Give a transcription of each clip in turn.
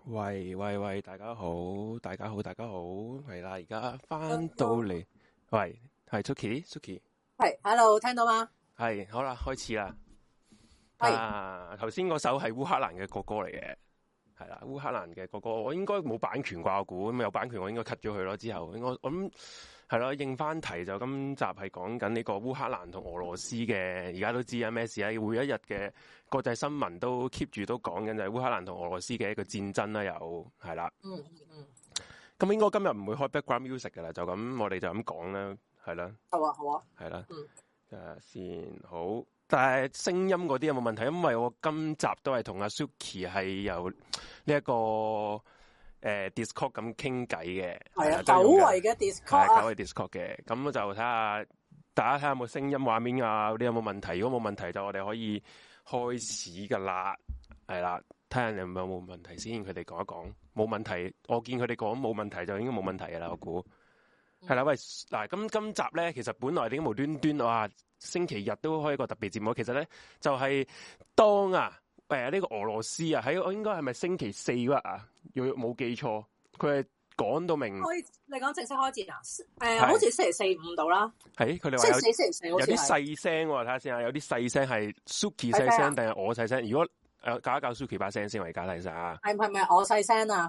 喂，大家好，係啦，而家翻到嚟，喂，係 Suki， 係 ，Hello，聽到嗎？ 係，好啦，開始啦。 係， 頭先嗰首係烏克蘭嘅國歌嚟嘅，係啦，烏克蘭嘅國歌，我應該冇版權啩，我估咁有版權我應該 cut 咗佢咯。之後應該我諗係咯，應翻題就今集係講緊呢個烏克蘭同俄羅斯嘅，而家都知啊咩事啊，每一日嘅國際新聞都 keep 住都講緊就係烏克蘭同俄羅斯嘅一個戰爭啦，又係啦。咁應該今日唔會開 background music 噶啦，就咁我哋就咁講啦，係啦。 好啊， 係啦。先好，但係聲音嗰啲有冇問題？因為我今集都係同阿 Suki 係由呢一個Discord 咁傾偈嘅， 係啊，久違嘅 Discord 啊， 久違 Discord 嘅，咁就睇下大家睇下有冇聲音畫面啊嗰啲有冇問題？如果冇問題就我哋可以開始噶啦，係啦，睇下有冇問題先，佢哋講一講，冇問題，我見佢哋講冇問題就應該冇問題噶啦，我估。係啦，喂，嗱，今集咧，其實本來點解無端端哇，星期日都開一個特別節目，其實咧就係、是、當呢個俄羅斯啊，喺我應該係咪星期四啊？若冇記錯，佢係講到明。 你講正式開戰啊？好似星期四五到啦。 係佢哋話星期四有啲細聲喎，睇下先啊，有啲細聲係 Suki 細聲定係我細聲？如果教一教 Suki 把聲先，我而家睇晒啊。 係咪我細聲啊？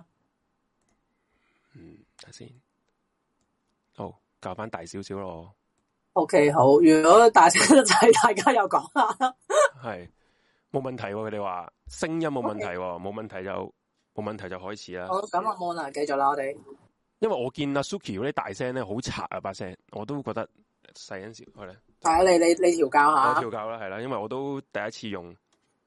睇先。好，教翻大少少咯。 OK， 好。如果大聲就係大家又講下。 係冇問題喎，佢哋話聲音冇問題喎，冇問題就開始啦。 好，咁啊冇啦，繼續啦，我哋。 因為我見阿 Suki 嗰啲大聲咧，好賊啊把聲，我都覺得細聲少係咧。 係啊，你調教下。 我調教啦，係啦，因為我都第一次用。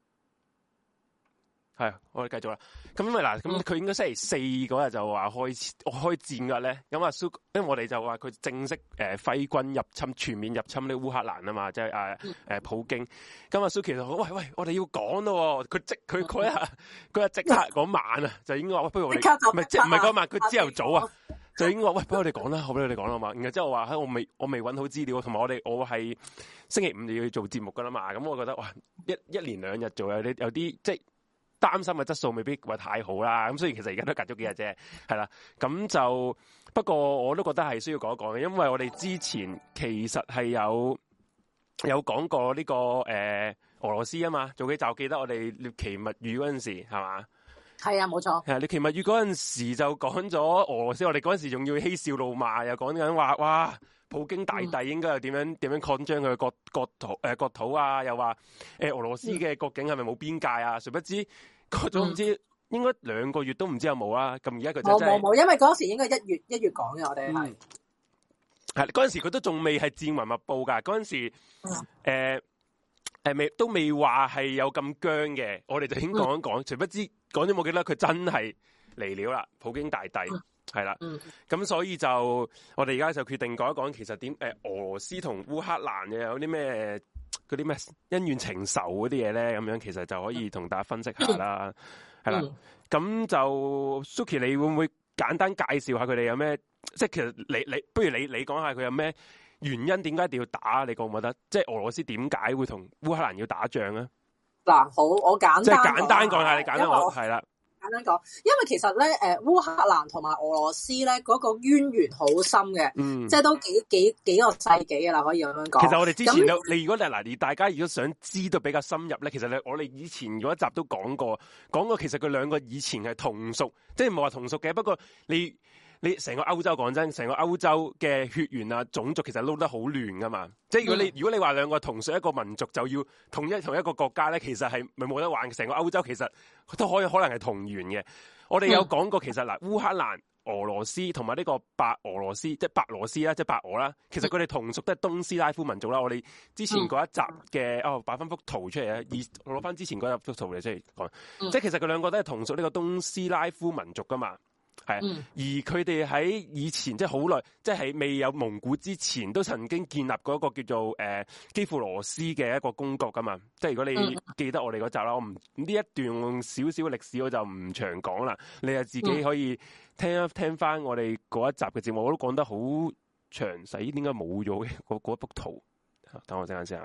係，我哋繼續啦。咁因為嗱，咁佢應該星期四嗰日就話開戰㗎咧。咁啊，因為我哋就話佢正式揮軍入侵，全面入侵呢烏克蘭啊嘛，即係普京。咁啊，Suki 就話：喂，我哋要講咯。佢嗰日即刻嗰晚啊，就應該話：不如我哋唔係嗰晚，佢朝頭早啊，就應該話：喂，不如我哋講啦，好俾你哋講啦嘛。然後之後我話：我未揾好資料，同埋我係星期五就要做節目㗎啦嘛。咁我覺得哇，一連兩日做有啲即係。擔心嘅質素未必話太好啦，咁所以其實而家都隔咗幾日啫，係啦，咁就不過我都覺得係需要講一講嘅，因為我哋之前其實係有講過呢個俄羅斯啊嘛，做幾集記得我哋獵奇物語嗰陣時係嘛？係啊，冇錯。 係獵奇物語嗰陣時就講咗俄羅斯，我哋嗰陣時仲要嬉笑怒罵，又講緊話哇。普京大帝應該又點樣擴張佢嘅國土啊？又話俄羅斯嘅國境係咪冇邊界啊？誰不知都唔知應該2個月都唔知有冇啊！咁而家佢冇，因為嗰時應該1月講嘅，我哋係嗰陣時佢都仲未係戰雲密布㗎，嗰陣時都未話係有咁僵嘅，我哋就已經講一講，誰不知講咗冇幾多，佢真係嚟了啦！普京大帝。係啦，咁所以就我哋而家就決定講一講，其實俄羅斯同烏克蘭嘅有啲咩嗰啲咩恩怨情仇嗰啲嘢咧，咁樣其實就可以同大家分析下啦。係啦，咁就 Suki 你會唔會簡單介紹下佢哋有咩？即係其實你不如你講下佢有咩原因，點解一定要打？你覺唔覺得？即係俄羅斯點解會同烏克蘭要打仗咧？ 嗱，好，我簡單講下，你簡單講係啦。 簡單講，因為其實咧，烏克蘭同埋俄羅斯咧嗰個淵源好深嘅，即係都幾個世紀噶啦，可以咁樣講。其實我哋之前你如果嗱，大家如果想知道比較深入咧，其實我哋以前嗰一集都講過，其實佢兩個以前係同屬，即係唔係話同屬嘅。不過你成個歐洲講真，成個歐洲嘅血緣啊種族其實撈得好亂噶嘛。即係如果你話兩個同屬一個民族就要同一個國家咧，其實係咪冇得玩？成個歐洲其實都可能係同源嘅。我哋有講過，其實嗱，烏克蘭、俄羅斯同埋呢個白俄羅斯，即係白羅斯啦，即係白俄啦，其實佢哋同屬都係東斯拉夫民族啦。我哋之前嗰一集嘅擺翻幅圖出嚟啊，我攞翻之前嗰一幅圖嚟出嚟講，即係其實佢兩個都係同屬呢個東斯拉夫民族噶嘛。係，而佢哋喺以前即係好耐，即係未有蒙古之前，都曾經建立過一個叫做基輔羅斯嘅一個公國噶嘛。即係如果你記得我哋嗰集啦，我唔呢一段少少歷史我就唔長講啦，你就自己可以聽翻我哋嗰一集嘅節目，我都講得好詳細。點解冇咗嗰幅圖？等我陣間先啊。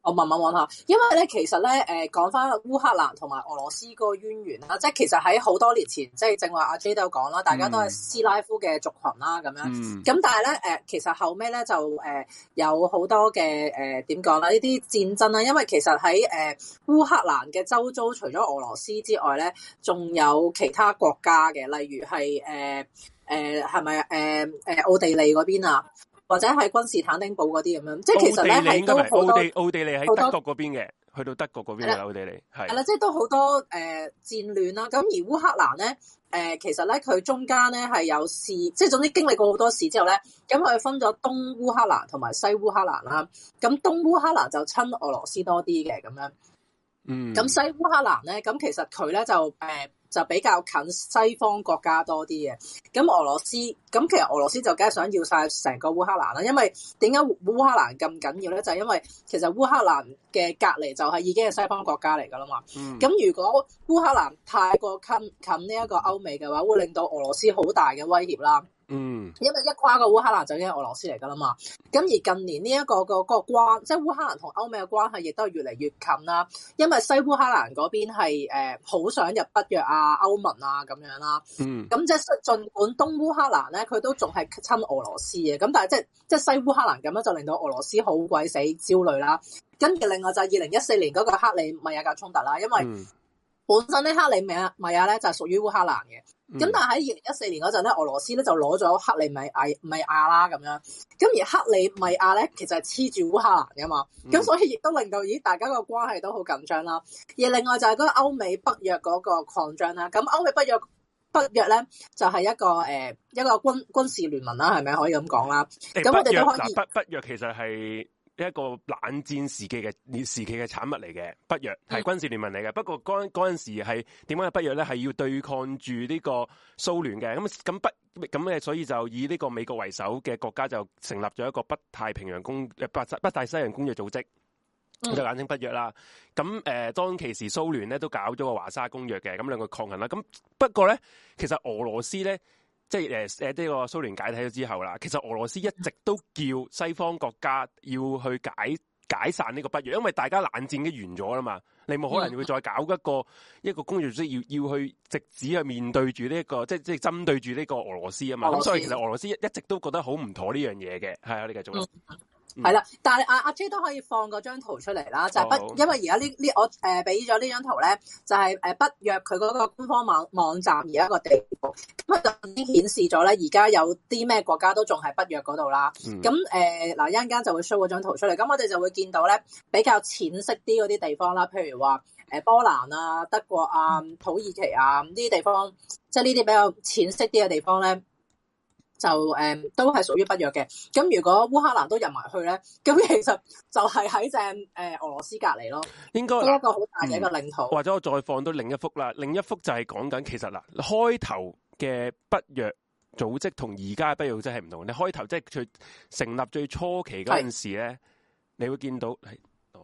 我慢慢揾下，因為咧其實咧講翻烏克蘭同埋俄羅斯個淵源啦，即係其實喺好多年前，即係正話阿 J 都有講啦，大家都係斯拉夫嘅族群啦咁樣。咁但係咧其實後尾咧就有好多嘅點講啦，呢啲戰爭啦，因為其實喺烏克蘭嘅周遭，除咗俄羅斯之外咧，仲有其他國家嘅，例如係係咪奧地利嗰邊啊？或者係君士坦丁堡嗰啲咁樣，即係其實咧係都好多奧地利喺德國嗰邊嘅，去到德國嗰邊嘅奧地利係啦，即係都好多戰亂啦。咁而烏克蘭咧其實咧佢中間咧係有事，即係總之經歷過好多事之後咧，咁佢分咗東烏克蘭同埋西烏克蘭啦。咁東烏克蘭就親俄羅斯多啲嘅咁樣，咁西烏克蘭咧，咁其實佢咧就比較近西方國家多啲嘅，咁俄羅斯，咁其實俄羅斯就梗係想要晒成個烏克蘭啦，因為點解烏克蘭咁緊要咧？就係因為其實烏克蘭嘅隔離就係已經係西方國家嚟噶啦嘛。咁如果烏克蘭太過近呢一個歐美嘅話，會令到俄羅斯好大嘅威脅啦。因為一跨過烏克蘭就已經係俄羅斯嚟噶啦嘛，咁而近年呢一個關，即係烏克蘭同歐美嘅關係亦都係越嚟越近啦。因為西烏克蘭嗰邊係好想入北約啊、歐盟啊咁樣啦。咁即係儘管東烏克蘭咧，佢都仲係親俄羅斯嘅，咁但係即係西烏克蘭咁樣就令到俄羅斯好鬼死焦慮啦。跟住另外就係2014年嗰個克里米亞嘅衝突啦，因為本身咧克里米亞咧就係屬於烏克蘭嘅。咁但係喺2014年嗰陣咧，俄羅斯咧就攞咗克里米亞啦咁樣，咁而克里米亞咧其實係黐住烏克蘭噶嘛，咁所以亦都令到大家個關係都好緊張啦。而另外就係嗰個歐美北約嗰個擴張啦，咁歐美北約咧就係一個軍事聯盟啦，係咪可以咁講啦？咁我哋都可以北約其實係一個冷戰時期嘅產物嚟嘅，北約係軍事聯盟嚟嘅。不過嗰陣時係點解北約咧係要對抗住呢個蘇聯嘅？咁所以就以呢個美國為首嘅國家就成立咗一個北大西洋公約組織，就簡稱北約啦。咁當其時蘇聯咧都搞咗個華沙公約嘅，咁兩個抗衡啦。咁不過咧，其實俄羅斯咧。即係呢個蘇聯解體咗之後啦，其實俄羅斯一直都叫西方國家要去解散呢個北約，因為大家冷戰已經完咗啦嘛，你冇可能會再搞一個工業組織要去直指去面對住呢個即係針對住呢個俄羅斯啊嘛，咁所以其實俄羅斯一直都覺得好唔妥呢樣嘢嘅，係啊，你繼續啦。 係啦，但係阿 J 都可以放嗰張圖出嚟啦，就係因為而家我俾咗呢張圖咧，就係北約佢嗰個官方網站而家個地圖，咁就已經顯示咗咧，而家有啲咩國家都仲係北約嗰度啦。咁嗱一陣間就會 show 嗰張圖出嚟，咁我哋就會見到咧比較淺色啲嗰啲地方啦，譬如話波蘭啊、德國啊、土耳其啊呢啲地方，即係呢啲比較淺色啲嘅地方咧。就都係屬於北約嘅，咁如果烏克蘭都入埋去咧，咁其實就係喺正俄羅斯隔離咯， 應該一個好大嘅一個領土。 或者我再放到另一幅啦，另一幅就係講緊其實嗱，開頭嘅北約組織同而家嘅北約組織係唔同。你開頭即係佢成立最初期嗰陣時咧，你會見到係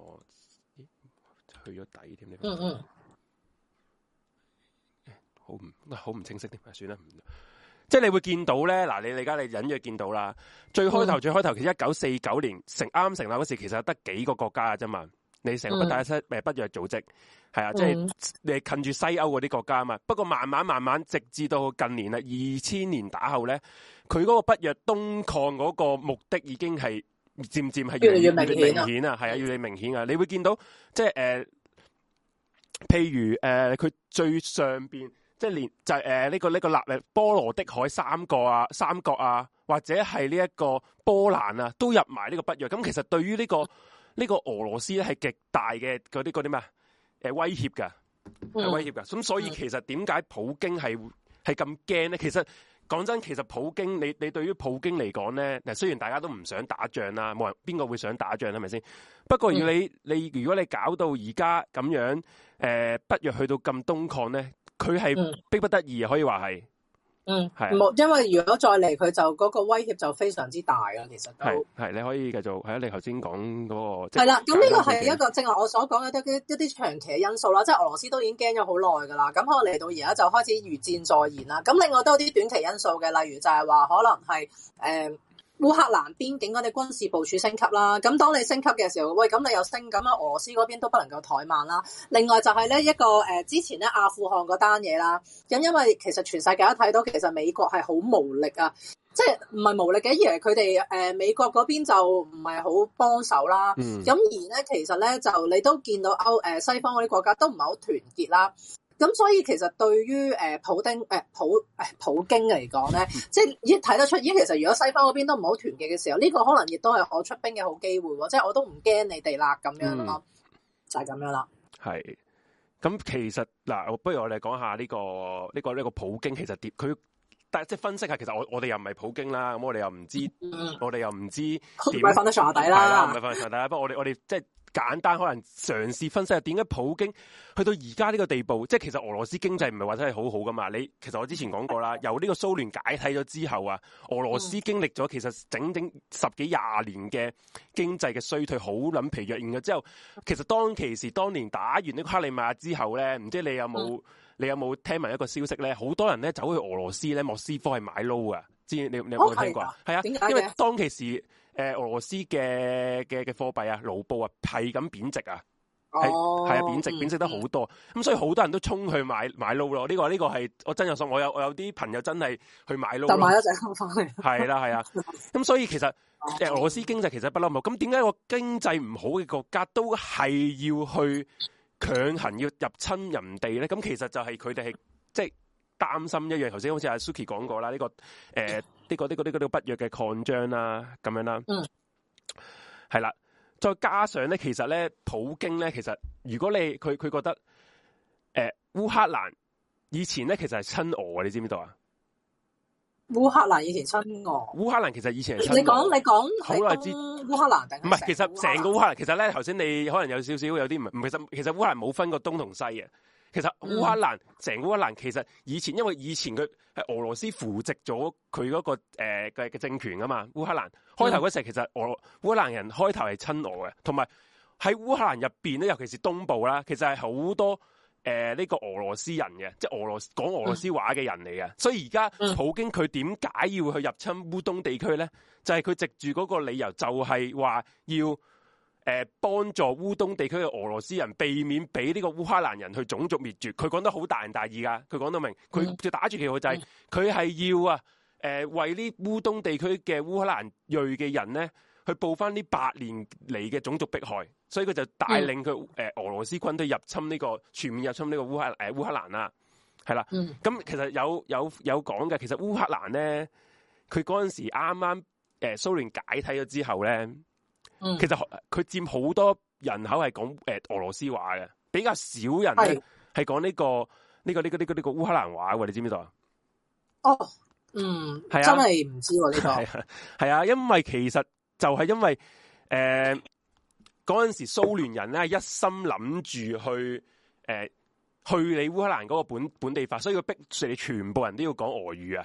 去咗底添，你好唔清晰添，算啦。即係你會見到咧，嗱你而家你隱約見到啦。最開頭其實1949年啱成立嗰時，其實得幾個國家嘅啫嘛。你成個北約組織係啊，即係你近住西歐嗰啲國家啊嘛。不過慢慢，直至到近年啦，2000年打後咧，佢嗰個北約東擴嗰個目的已經係漸係越嚟越明顯啊，係啊，越嚟越明顯啊。你會見到即係譬如佢最上邊。即係連就係呢個波羅的海三角啊，或者係呢一個波蘭啊，都入埋呢個北約。咁其實對於呢個俄羅斯咧係極大嘅嗰啲咩威脅㗎，係威脅㗎。咁所以其實點解普京係咁驚咧？其實講真，其實普京你對於普京嚟講咧，嗱雖然大家都唔想打仗啦，冇人邊個會想打仗係咪先？不過如果如果你搞到而家咁樣北約去到咁東擴咧。佢係逼不得已，可以話係，係冇，因為如果再嚟，佢就嗰個威脅就非常之大啦。其實係你可以繼續係啊，你頭先講嗰個係啦，咁呢個係一個正如我所講嘅一啲長期嘅因素啦。即係俄羅斯都已經驚咗好耐噶啦，咁可能嚟到而家就開始如箭在弦啦。咁另外都有啲短期因素嘅，例如就係話可能係烏克蘭邊境嗰啲軍事部署升級啦。咁當你升級嘅時候，喂，咁你又升，咁啊俄羅斯嗰邊都不能夠怠慢啦。另外就係咧一個之前咧阿富汗嗰單嘢啦。咁因為其實全世界都睇到，其實美國係好無力啊。即係唔係無力嘅，而係佢哋美國嗰邊就唔係好幫手啦。咁而咧其實咧就你都見到西方嗰啲國家都唔係好團結啦。咁所以其實對於普京嚟講咧，即係已經睇得出，其實如果西方嗰邊都唔好團結嘅時候，呢個可能亦都係我出兵嘅好機會喎。即係我都唔驚你哋啦，咁樣咯，就係咁樣啦。係。 咁其實嗱，不如我哋講下呢個普京其實點佢。但係即係分析下，其實我哋又唔係普京啦，咁我哋又唔知，我哋又唔知點，唔係瞓得床底啦， 唔係瞓得床底啦。不過我哋即係簡單可能嘗試分析下點解普京去到而家呢個地步，即係其實俄羅斯經濟唔係話真係好好噶嘛。其實我之前講過啦，由呢個蘇聯解體咗之後啊，俄羅斯經歷咗其實整整10幾20年嘅經濟嘅衰退，好撚疲弱。然後之後，其實當年打完呢個克里米亞之後咧，唔知你有冇聽聞一個消息咧？好多人咧走去俄羅斯咧莫斯科係買撈啊！你有冇聽過？係啊，因為當其時俄羅斯嘅貨幣啊，盧布啊係咁貶值啊，係啊貶值得好多。咁所以好多人都衝去買撈咯。呢個係我真有信，我有啲朋友真係去買撈， 就買咗隻撈翻嚟。係啦係啊。咁所以其實俄羅斯經濟其實不嬲冇。咁點解個經濟唔好嘅國家都係要去強行要入侵人地咧？咁其實就係佢哋係即係擔心一樣，頭先好似阿 Suki 講過啦，呢個北約嘅擴張啦，咁樣啦，係啦，再加上咧，其實咧，普京咧，其實如果佢覺得烏克蘭以前咧，其實係親俄，你知唔知道啊？ 烏克蘭以前親俄，烏克蘭其實以前係親俄。 你講好耐之烏克蘭定唔係？其實成個烏克蘭，其實咧頭先你可能有少少有啲唔，其實烏克蘭冇分過東同西嘅。其實烏克蘭成個烏克蘭其實因為以前佢係俄羅斯扶植咗佢嗰個嘅政權啊嘛。烏克蘭開頭嗰時其實烏克蘭人開頭係親俄嘅，同埋喺烏克蘭入邊咧，尤其是東部啦，其實係好多呢個俄羅斯人嘅，即係講俄羅斯話嘅人嚟嘅。所以而家普京佢點解要去入侵烏東地區咧？就係佢藉住嗰個理由，就係話要幫助烏東地區嘅俄羅斯人避免俾呢個烏克蘭人去種族滅絕。佢講得好大仁大義㗎，佢講到明，佢就打住旗號就係佢係要為呢烏東地區嘅烏克蘭裔嘅人咧去報翻呢8年嚟嘅種族迫害，所以佢就帶領佢俄羅斯軍隊全面入侵呢個烏克蘭啦，係啦。咁其實有講嘅，其實烏克蘭咧，佢嗰陣時啱啱蘇聯解體咗之後咧。其實佢佔好多人口係講俄羅斯話嘅，比較少人咧係講呢個烏克蘭話嘅，你知唔知道啊？ 哦，係啊，真係唔知喎呢個。係啊，因為其實就係因為嗰陣時蘇聯人咧一心諗住去你烏克蘭嗰個本地化，所以佢逼住你全部人都要講俄語啊。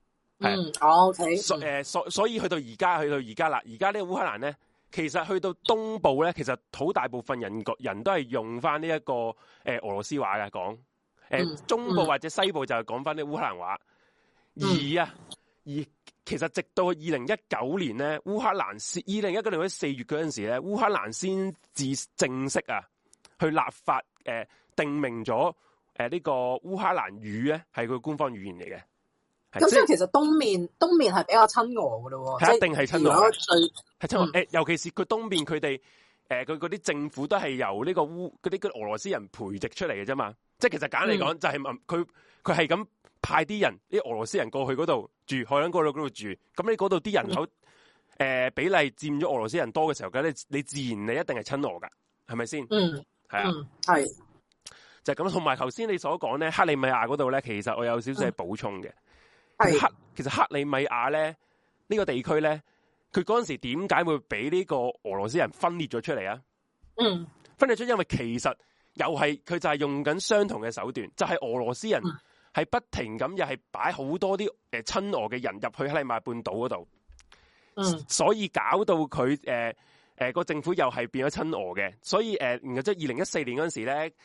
OK。 所以去到而家啦，而家呢個烏克蘭咧。其實去到東部咧，其實好大部分人都係用翻呢一個俄羅斯話嘅講，中部或者西部就係講翻啲烏克蘭話。而其實直到2019年咧，烏克蘭2019年4月嗰陣時咧，烏克蘭先至正式去立法定明咗呢個烏克蘭語咧係佢官方語言嚟嘅。 咁即係其實東面係比較親俄嘅咯喎， 係一定係親俄，係親俄。尤其是佢東面佢哋佢嗰啲政府都係由呢個嗰啲俄羅斯人培植出嚟嘅啫嘛。即係其實簡單嚟講，就係佢係咁派啲人啲俄羅斯人過去嗰度住，去喺嗰度住。咁你嗰度啲人口比例佔咗俄羅斯人多嘅時候，咁你自然你一定係親俄㗎，係咪先？係啊， 係就係咁。同埋頭先你所講咧，克里米亞嗰度咧，其實我有少少係補充嘅。其實克里米亞咧呢個地區咧，佢嗰陣時點解會俾呢個俄羅斯人分裂咗出嚟啊？分裂出，因為其實又係佢就係用緊相同嘅手段，就係俄羅斯人係不停咁又係擺好多啲親俄嘅人入去克里米亞半島嗰度，所以搞到佢個政府又係變咗親俄嘅，所以然後即係2014年嗰陣時咧，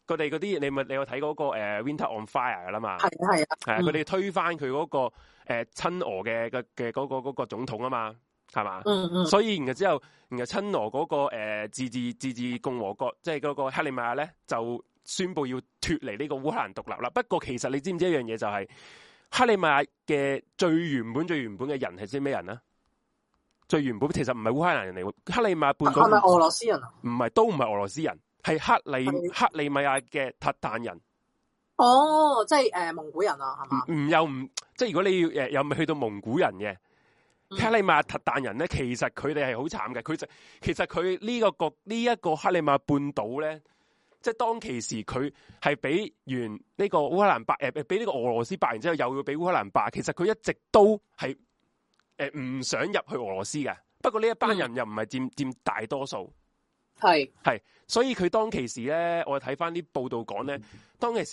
佢哋嗰啲你有睇嗰個Winter on Fire 噶啦嘛？ 係啊， 佢哋推翻佢嗰個親俄嘅嗰個總統啊嘛，係嘛？所以然後之後，然後親俄嗰個自治共和國，即係嗰個克里米亞咧，就宣布要脫離呢個烏克蘭獨立啦。不過其實你知唔知一樣嘢就係克里米亞嘅最原本嘅人係啲咩人啊？最原本其實唔係烏克蘭人嚟喎，克里米亞半島係咪俄羅斯人啊？ 唔係，都唔係俄羅斯人，係克里米亞嘅韃靼人。 哦，即係蒙古人啊，係嘛？ 唔即係如果你要又未去到蒙古人嘅克里米亞韃靼人咧，其實佢哋係好慘嘅。其實佢呢一個克里米亞半島咧，即係當其時佢係俾完呢個烏克蘭霸俾呢個俄羅斯霸完之後，又要俾烏克蘭霸。其實佢一直都係唔想入去俄羅斯嘅。不過呢一班人又唔係佔大多數。係，所以佢當其時咧，我睇翻啲報道講咧，當其時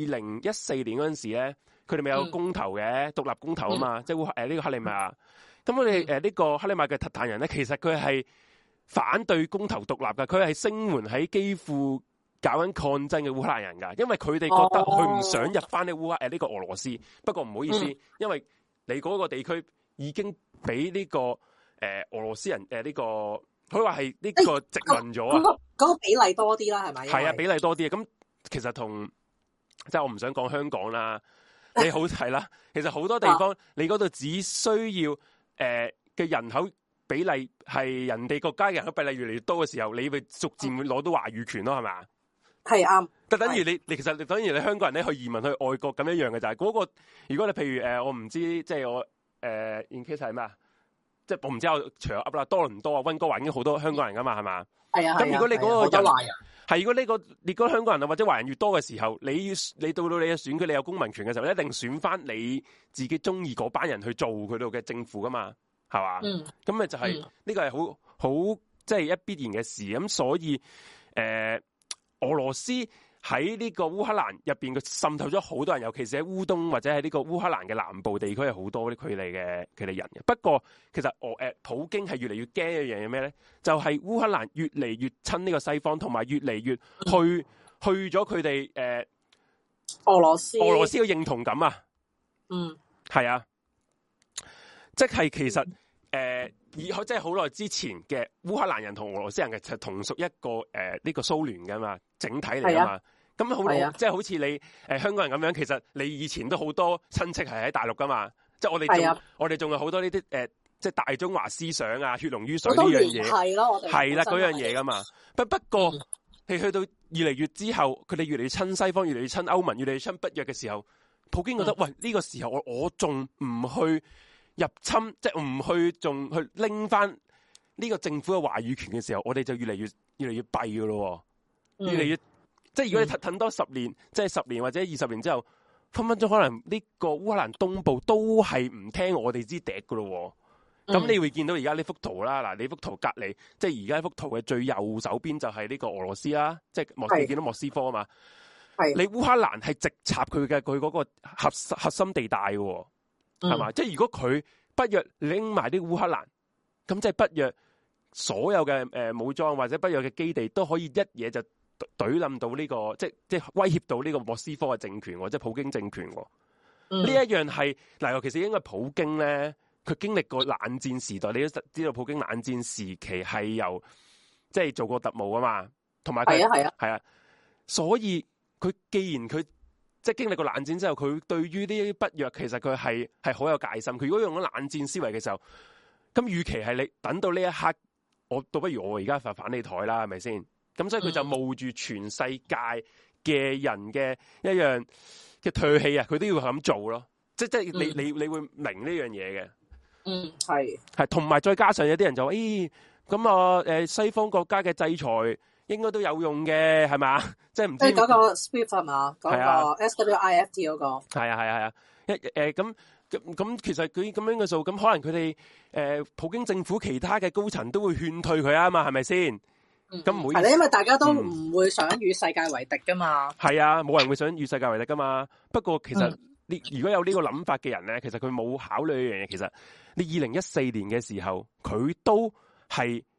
2014年嗰陣時咧，佢哋咪有公投嘅獨立公投啊嘛，即係呢個克里米亞。咁我哋呢個克里米亞嘅韃靼人咧，其實佢係反對公投獨立㗎，佢係聲援喺基輔搞緊抗爭嘅烏克蘭人㗎，因為佢哋覺得佢唔想入翻呢個俄羅斯。不過唔好意思，因為你嗰個地區已經俾呢個俄羅斯人呢個。佢話係呢個殖民咗啊， 嗰個比例多啲啦，係咪？ 係啊，比例多啲啊。咁其實即係我唔想講香港啦，你好係啦。其實好多地方你嗰度只需要嘅人口比例係人哋國家嘅人口比例越嚟越多嘅時候，你會逐漸會攞到話語權咯，係咪？係啱。就等於你其實等於你香港人咧去移民去外國咁一樣嘅就係嗰個。如果你譬如我唔知即係我in case 係咩啊？即係我唔知我除咗噏啦，多倫多啊、溫哥華已經好多香港人噶嘛，係嘛？係啊。咁如果你嗰個人係如果你嗰個香港人啊或者華人越多嘅時候，你到你嘅選舉，你有公民權嘅時候，你一定選翻你自己中意嗰班人去做佢度嘅政府噶嘛，係嘛？咁咪就係呢個係好即係一必然嘅事。咁所以俄羅斯喺呢個烏克蘭入邊，佢滲透咗好多人，尤其是喺烏東或者喺呢個烏克蘭嘅南部地區，係好多佢哋人嘅。不過其實普京係越嚟越驚一樣嘢咩咧？就係烏克蘭越嚟越親呢個西方，同埋越嚟越去咗佢哋俄羅斯嘅認同感啊。係啊，即係其實即係好耐之前嘅烏克蘭人同俄羅斯人嘅就同屬一個呢個蘇聯噶嘛，整體嚟噶嘛。咁即係好似你香港人咁樣，其實你以前都好多親戚係喺大陸噶嘛，即係我哋仲有好多呢啲即係大中華思想啊，血濃於水呢樣嘢係咯，係啦嗰樣嘢噶嘛。不過係去到越嚟越之後，佢哋越嚟越親西方，越嚟越親歐盟，越嚟越親北約嘅時候，普京覺得喂呢個時候我仲唔去入侵，即係唔去仲去拎翻呢個政府嘅話語權嘅時候，我哋就越嚟越弊噶咯，越嚟越。即係如果你等多10年，即係10年或者20年之後，分分鐘可能呢個烏克蘭東部都係唔聽我哋支笛噶咯。咁你會見到而家呢幅圖啦，嗱，你幅圖隔籬，即係而家呢幅圖嘅最右手邊就係呢個俄羅斯啦，即係你見到莫斯科啊嘛。你烏克蘭係直插佢嗰個核心地帶嘅，係嘛？即係如果佢北約拎埋啲烏克蘭，咁即係北約所有嘅武裝或者北約嘅基地都可以一嘢就懟冧到呢個，即係威脅到呢個莫斯科嘅政權，即係普京政權。呢一樣係嗱，尤其是應該普京咧，佢經歷過冷戰時代，你都知道普京冷戰時期係由即係做過特務啊嘛，同埋係啊，所以佢既然佢即係經歷過冷戰之後，佢對於呢啲北約其實佢係好有戒心。佢如果用咗冷戰思維嘅時候，咁與其係你等到呢一刻，我倒不如我而家反你台啦，係咪先？咁所以佢就冒住全世界嘅人嘅一樣嘅唾棄啊，佢都要咁做咯。即係你會明呢樣嘢嘅。係同埋再加上有啲人就話，咁啊西方國家嘅制裁應該都有用嘅，係嘛？即係唔知嗰個 SWIFT 係嘛？嗰個 SWIFT 嗰個係啊。咁其實佢咁樣嘅數，咁可能佢哋普京政府其他嘅高層都會勸退佢啊嘛，係咪先？咁唔會係咧，因為大家都唔會想與世界為敵噶嘛。係啊，冇人會想與世界為敵噶嘛。不過其實如果有呢個諗法嘅人咧，其實佢冇考慮一樣嘢。其實你2014年嘅時候，佢都係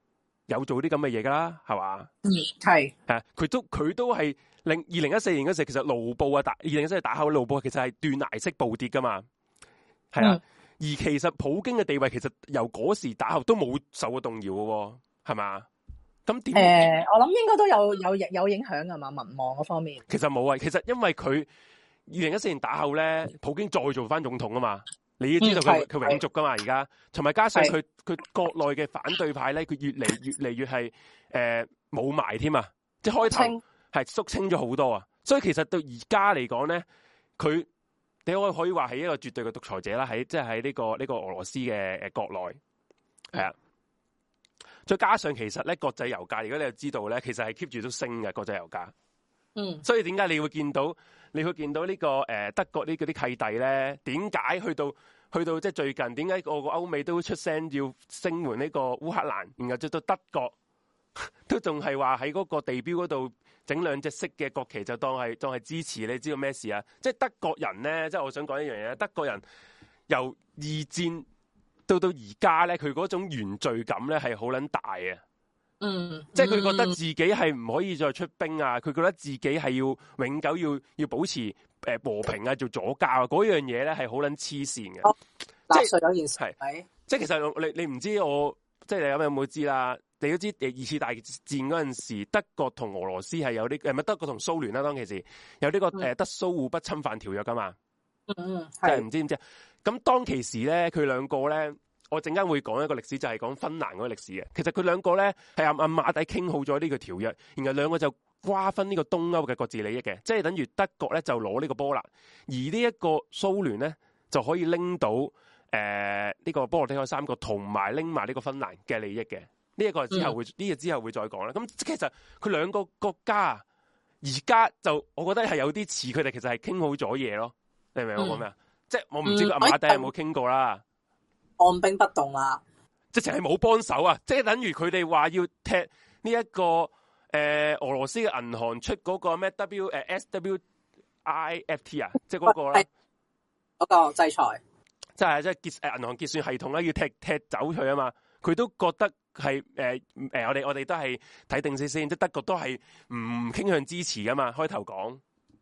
有做啲咁嘅嘢噶啦，係嘛？ 係佢都係2014年嗰時，其實盧布啊2014年打後盧布其實係斷崖式暴跌噶嘛，係啊。而其實普京嘅地位其實由嗰時打後都冇受過動搖嘅，係嘛？咁點？ 我諗應該都有影響㗎嘛，民望嗰方面。其實冇啊，其實因為佢2014年打後咧，普京再做翻總統啊嘛，你要知道佢永續噶嘛，而家同埋加上佢國內嘅反對派咧，佢越嚟越係冇埋添啊，即係開頭係肅清咗好多啊，所以其實到而家嚟講咧，佢你可以話係一個絕對嘅獨裁者啦，即係喺呢個俄羅斯嘅國內係啊。再加上其實咧國際油價，如果你又知道咧，其實係 keep 住都升嘅國際油價。所以點解你會見到呢個德國呢嗰啲契弟咧？點解去到即係最近？點解個歐美都出聲要聲援呢個烏克蘭？然後直到德國都仲係話喺嗰個地標嗰度整兩隻色嘅國旗，就當係支持。你知道咩事啊？即係德國人咧，即係我想講一樣嘢，德國人由二戰到而家咧，佢嗰種原罪感咧係好撚大啊！即係佢覺得自己係唔可以再出兵啊！佢覺得自己係要永久要保持和平啊，做左膠啊，嗰樣嘢咧係好撚黐線嘅。即係有件事係，即係其實你唔知我即係你有冇知啦？你都知二次大戰嗰陣時，德國同俄羅斯係有啲咪德國同蘇聯啦，當其時有呢個德蘇互不侵犯條約噶嘛。即係唔知唔知。咁當其時咧，佢兩個咧，我陣間會講一個歷史，就係講芬蘭嗰個歷史嘅。其實佢兩個咧係暗馬底傾好咗呢個條約，然後兩個就瓜分呢個東歐嘅各自利益嘅，即係等於德國咧就攞呢個波蘭，而呢一個蘇聯咧就可以拎到呢個波羅的海三國同埋拎埋呢個芬蘭嘅利益嘅。呢一個之後會呢個之後會再講啦。咁其實佢兩個國家而家就我覺得係有啲似佢哋其實係傾好咗嘢咯。你明唔明我講咩啊？即係我唔知阿馬底有冇傾過啦。 按兵不動啦， 直情係冇幫手啊！即係等於佢哋話要踢呢一個俄羅斯嘅銀行出嗰個咩 SWIFT 啊，即係嗰個啦， 嗰個制裁， 即係銀行結算系統咧，要踢走佢啊嘛！佢都覺得係我哋都係睇定先，即係德國都係唔傾向支持噶嘛，開頭講，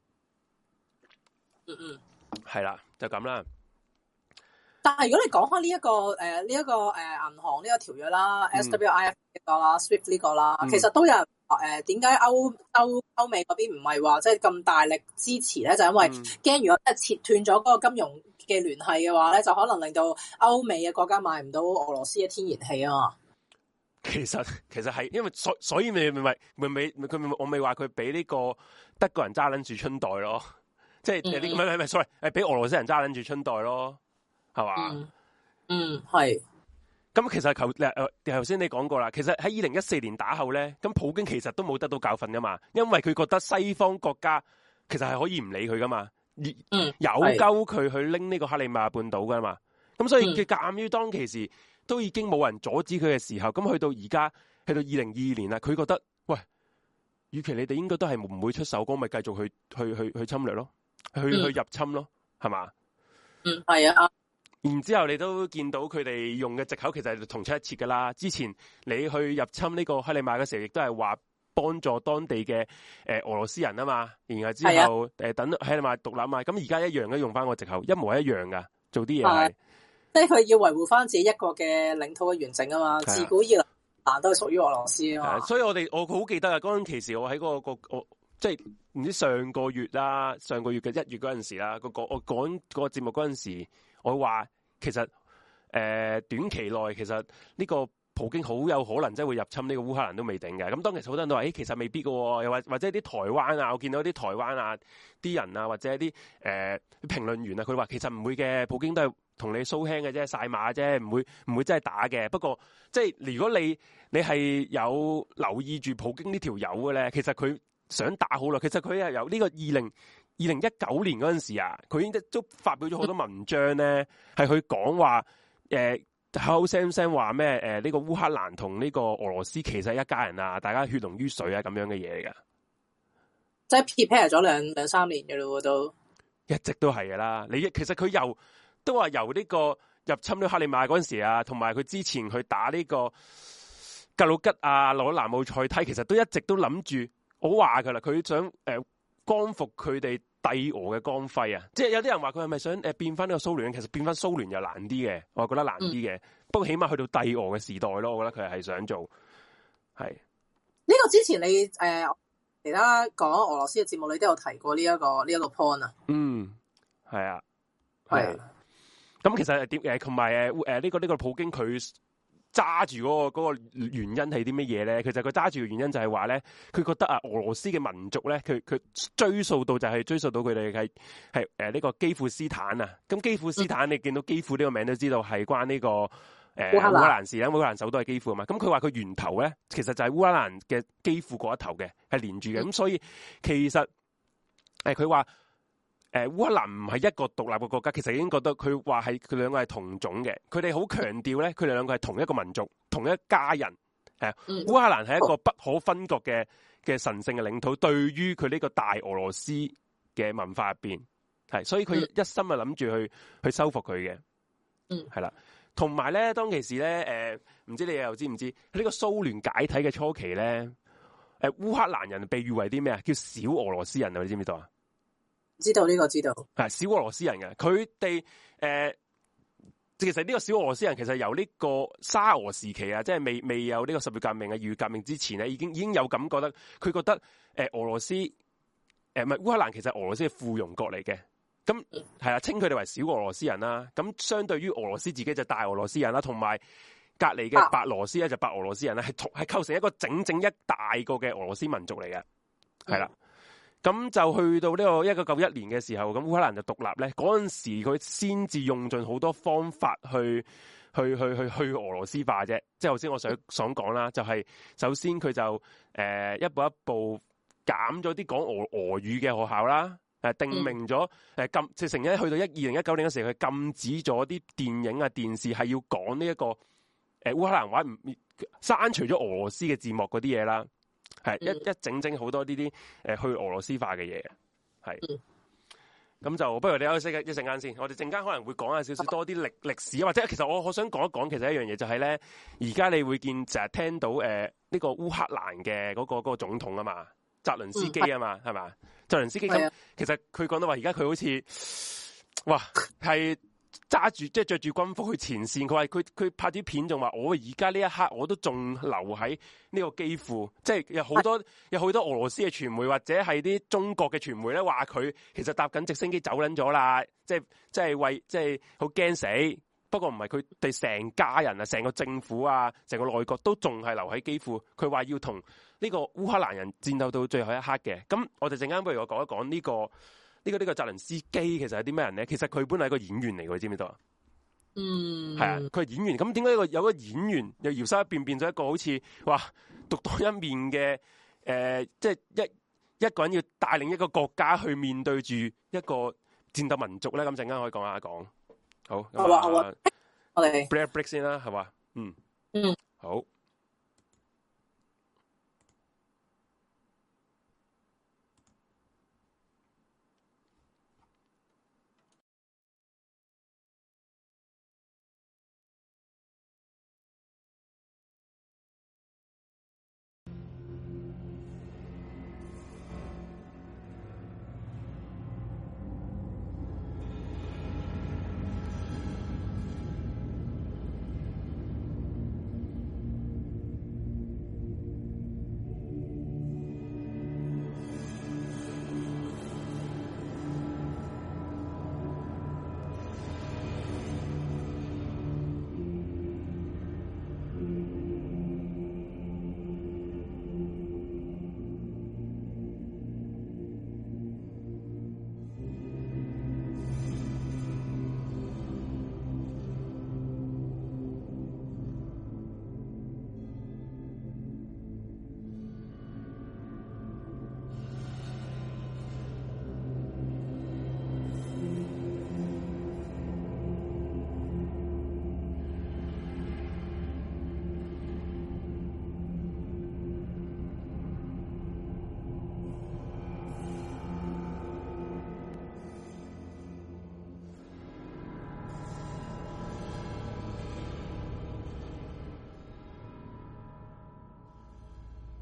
係啦，就咁啦。 但係如果你講開呢一個銀行呢個條約啦，SWIFT 呢個啦，SWIFT 呢個啦，其實都有人點解歐美嗰邊唔係話即係咁大力支持咧？就因為驚如果即係切斷咗嗰個金融嘅聯繫嘅話咧，就可能令到歐美嘅國家買唔到俄羅斯嘅天然氣啊嘛。 其實係因為所以我咪話佢俾呢個德國人揸撚住春袋咯，即係唔係 sorry， 係俾俄羅斯人揸撚住春袋咯。係嘛？係。咁其實頭先你講過啦，其實喺2014年打後咧，咁普京其實都冇得到教訓噶嘛，因為佢覺得西方國家其實係可以唔理佢噶嘛，有鳩佢去拎呢個克里米亞半島噶嘛，咁所以佢鑑於當其時都已經冇人阻止佢嘅時候，咁去到而家去到2022年啦，佢覺得喂，與其你哋應該都係唔會出手，咁咪繼續去侵略咯，去入侵咯，係嘛？ 係啊。 然之後你都見到佢哋用嘅藉口其實係同出一轍噶啦。之前你去入侵呢個克里米亞嘅時候，亦都係話幫助當地嘅俄羅斯人啊嘛。然後之後等克里米亞獨立啊嘛。咁而家一樣嘅用翻個藉口，一模一樣噶，做啲嘢係。 即係佢要維護翻自己一個嘅領土嘅完整啊嘛。自古以來都係屬於俄羅斯啊嘛。 所以我好記得啊，嗰陣其時我喺嗰個即係唔知上個月嘅1月嗰陣時啦，我講個節目嗰陣時，我話其實短期內其實呢個普京好有可能真係會入侵呢個烏克蘭都未定嘅。咁當其實好多人都話，其實未必嘅喎，又或者啲台灣啊，我見到啲台灣啊啲人啊，或者啲評論員啊，佢話其實唔會嘅，普京都係同你蘇輕嘅啫，晒馬啫，唔會真係打嘅。不過即係如果你係有留意住普京呢條友嘅咧，其實佢想打好耐。其實佢係由呢個2019年嗰陣時啊，佢已經都發表咗好多文章咧，係去講話口口聲聲話咩呢個烏克蘭同呢個俄羅斯其實係一家人啊，大家血濃於水啊咁樣嘅嘢嚟㗎。 即係 prepare 咗兩三年嘅咯，都一直都係㗎啦。其實佢都話由呢個入侵呢克里米亞嗰陣時啊，同埋佢之前去打呢個格魯吉亞攞南奧塞梯，其實都一直都諗住，我話佢啦，佢想光復佢哋帝俄嘅光輝啊！即係有啲人話佢係咪想變翻呢個蘇聯？其實變翻蘇聯又難啲嘅，我覺得難啲嘅。不過起碼去到帝俄嘅時代咯，我覺得佢係想做。係呢個之前你其他講俄羅斯嘅節目，你都有提過呢一個 point 啊。 係啊， 係。 咁其實點同埋呢個普京佢揸住嗰個原因係啲乜嘢咧？其實佢揸住嘅原因就係話咧，佢覺得啊，俄羅斯嘅民族咧，佢追溯到佢哋係呢個基輔斯坦啊。咁基輔斯坦，你見到基輔呢個名都知道係關呢個烏克蘭事啦。烏克蘭首都係基輔啊嘛。咁佢話佢源頭咧，其實就係烏克蘭嘅基輔嗰一頭嘅，係連住嘅。咁所以其實佢話。烏克蘭唔係一個獨立嘅國家，其實已經覺得佢話係佢兩個係同種嘅，佢哋好強調咧，佢哋兩個係同一個民族、同一家人。烏克蘭係一個不可分割嘅神聖嘅領土，對於佢呢個大俄羅斯嘅文化入邊，所以佢一心啊諗住去收復佢嘅。係啦，同埋咧，當其時咧，唔知你又知唔知呢個蘇聯解體嘅初期咧，烏克蘭人被譽為啲咩啊？叫小俄羅斯人啊，你知唔知道啊？ 知道呢個知道， 係小俄羅斯人嘅，佢哋其實呢個小俄羅斯人其實由呢個沙俄時期啊，即係未有呢個十月革命啊、二月革命之前咧，已經有咁覺得，佢覺得俄羅斯唔係烏克蘭，其實俄羅斯係附庸國嚟嘅，咁係啊，稱佢哋為小俄羅斯人啦。咁相對於俄羅斯自己就大俄羅斯人啦，同埋隔離嘅白羅斯咧就白俄羅斯人咧，係構成一個整一大個嘅俄羅斯民族嚟嘅，係啦。咁就去到呢個1991年嘅時候，咁烏克蘭就獨立咧。嗰陣時佢先至用盡好多方法去俄羅斯化啫。即係頭先我想講啦，就係首先佢就一步一步減咗啲講俄語嘅學校啦，定明咗禁，直情咧去到2019年嘅時候，佢禁止咗啲電影啊電視係要講呢一個烏克蘭話，刪除咗俄羅斯嘅字幕嗰啲嘢啦。係一整好多呢啲去俄羅斯化嘅嘢，係咁就不如你休息一陣間先。我哋陣間可能會講下少少多啲歷史，或者其實我想講一講，其實一樣嘢就係咧，而家你會見成日聽到呢個烏克蘭嘅嗰個總統啊嘛，澤倫斯基啊嘛，係嘛？澤倫斯基咁，其實佢講到話，而家佢好似哇係。揸住即係着住軍服去前線，佢話佢拍啲片仲話我而家呢一刻我都仲留喺呢個基輔，即係有好多俄羅斯嘅傳媒或者係啲中國嘅傳媒咧話佢其實搭緊直升機走撚咗啦，即係好驚死。不過唔係，佢哋成家人啊，成個政府啊，成個內閣都仲係留喺基輔。佢話要同呢個烏克蘭人戰鬥到最後一刻嘅。咁我哋陣間不如我講一講呢個澤倫斯基其實係啲咩人咧？其實佢本來係個演員嚟嘅，知唔知道啊？係啊，佢係演員。咁點解有個演員又搖身一變咗一個好似哇獨當一面嘅即係一個人要帶領一個國家去面對住一個戰鬥民族咧？咁陣間可以講下講。好，好啊，我哋 break 先啦，係嘛？好。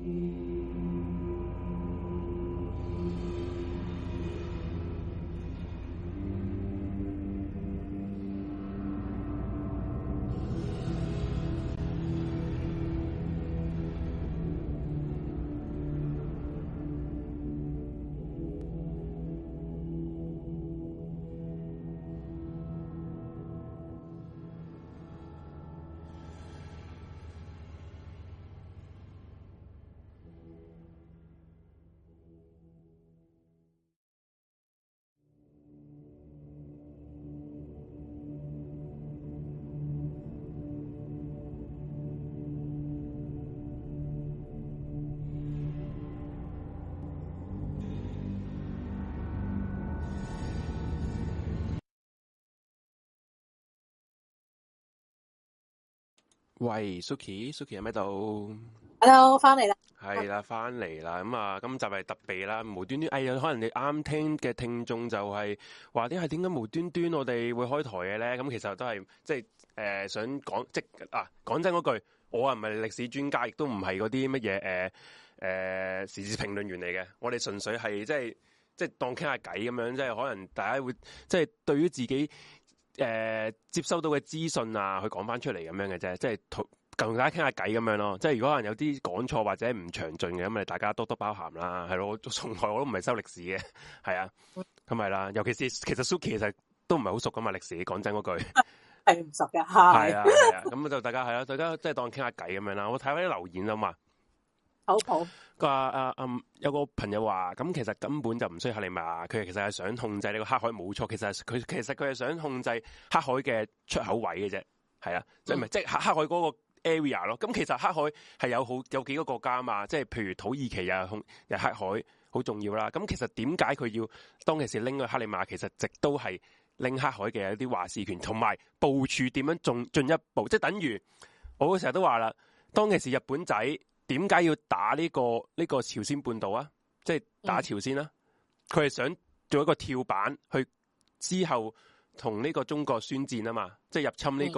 喂，Suki 喺咪度？ Hello， 翻嚟啦。 係啦，翻嚟啦。咁啊，今集係特備啦，無端端，可能你啱聽嘅聽眾就係話啲係點解無端端我哋會開台嘅咧？咁其實都係即係想講，講真嗰句，我啊唔係歷史專家，亦都唔係嗰啲乜嘢時事評論員嚟嘅。我哋純粹係即係當傾下偈咁樣，即係可能大家會即係對於自己接收到嘅資訊啊，去講翻出嚟咁樣嘅啫，即係同大家傾下偈咁樣咯。即係如果可能有啲講錯或者唔詳盡嘅，咁咪大家多多包涵啦，係咯。我從來我都唔係修歷史嘅，係啊，咁係啦。尤其是其實 Suki 其實都唔係好熟噶嘛歷史，講真嗰句係唔熟嘅， 係啊。咁就大家係啦，大家即係當傾下偈咁樣啦。我睇翻啲留言啊嘛。 好， 佢話有個朋友話，咁其實根本就唔需要克里米亞，佢其實係想控制呢個黑海，冇錯。其實佢係想控制黑海嘅出口位嘅啫，係啊，即係唔係即係黑海嗰個 area 咯。咁其實黑海係有幾個國家啊嘛，即係譬如土耳其又黑海好重要啦。咁其實點解佢要當其時拎去克里米亞？其實直都係拎黑海嘅一啲話事權，同埋部署點樣進一步，即係等於我成日都話啦，當其時日本仔。點解要打呢個朝鮮半島啊？即係打朝鮮啦，佢係想做一個跳板，去之後同呢個中國宣戰啊嘛，即係入侵呢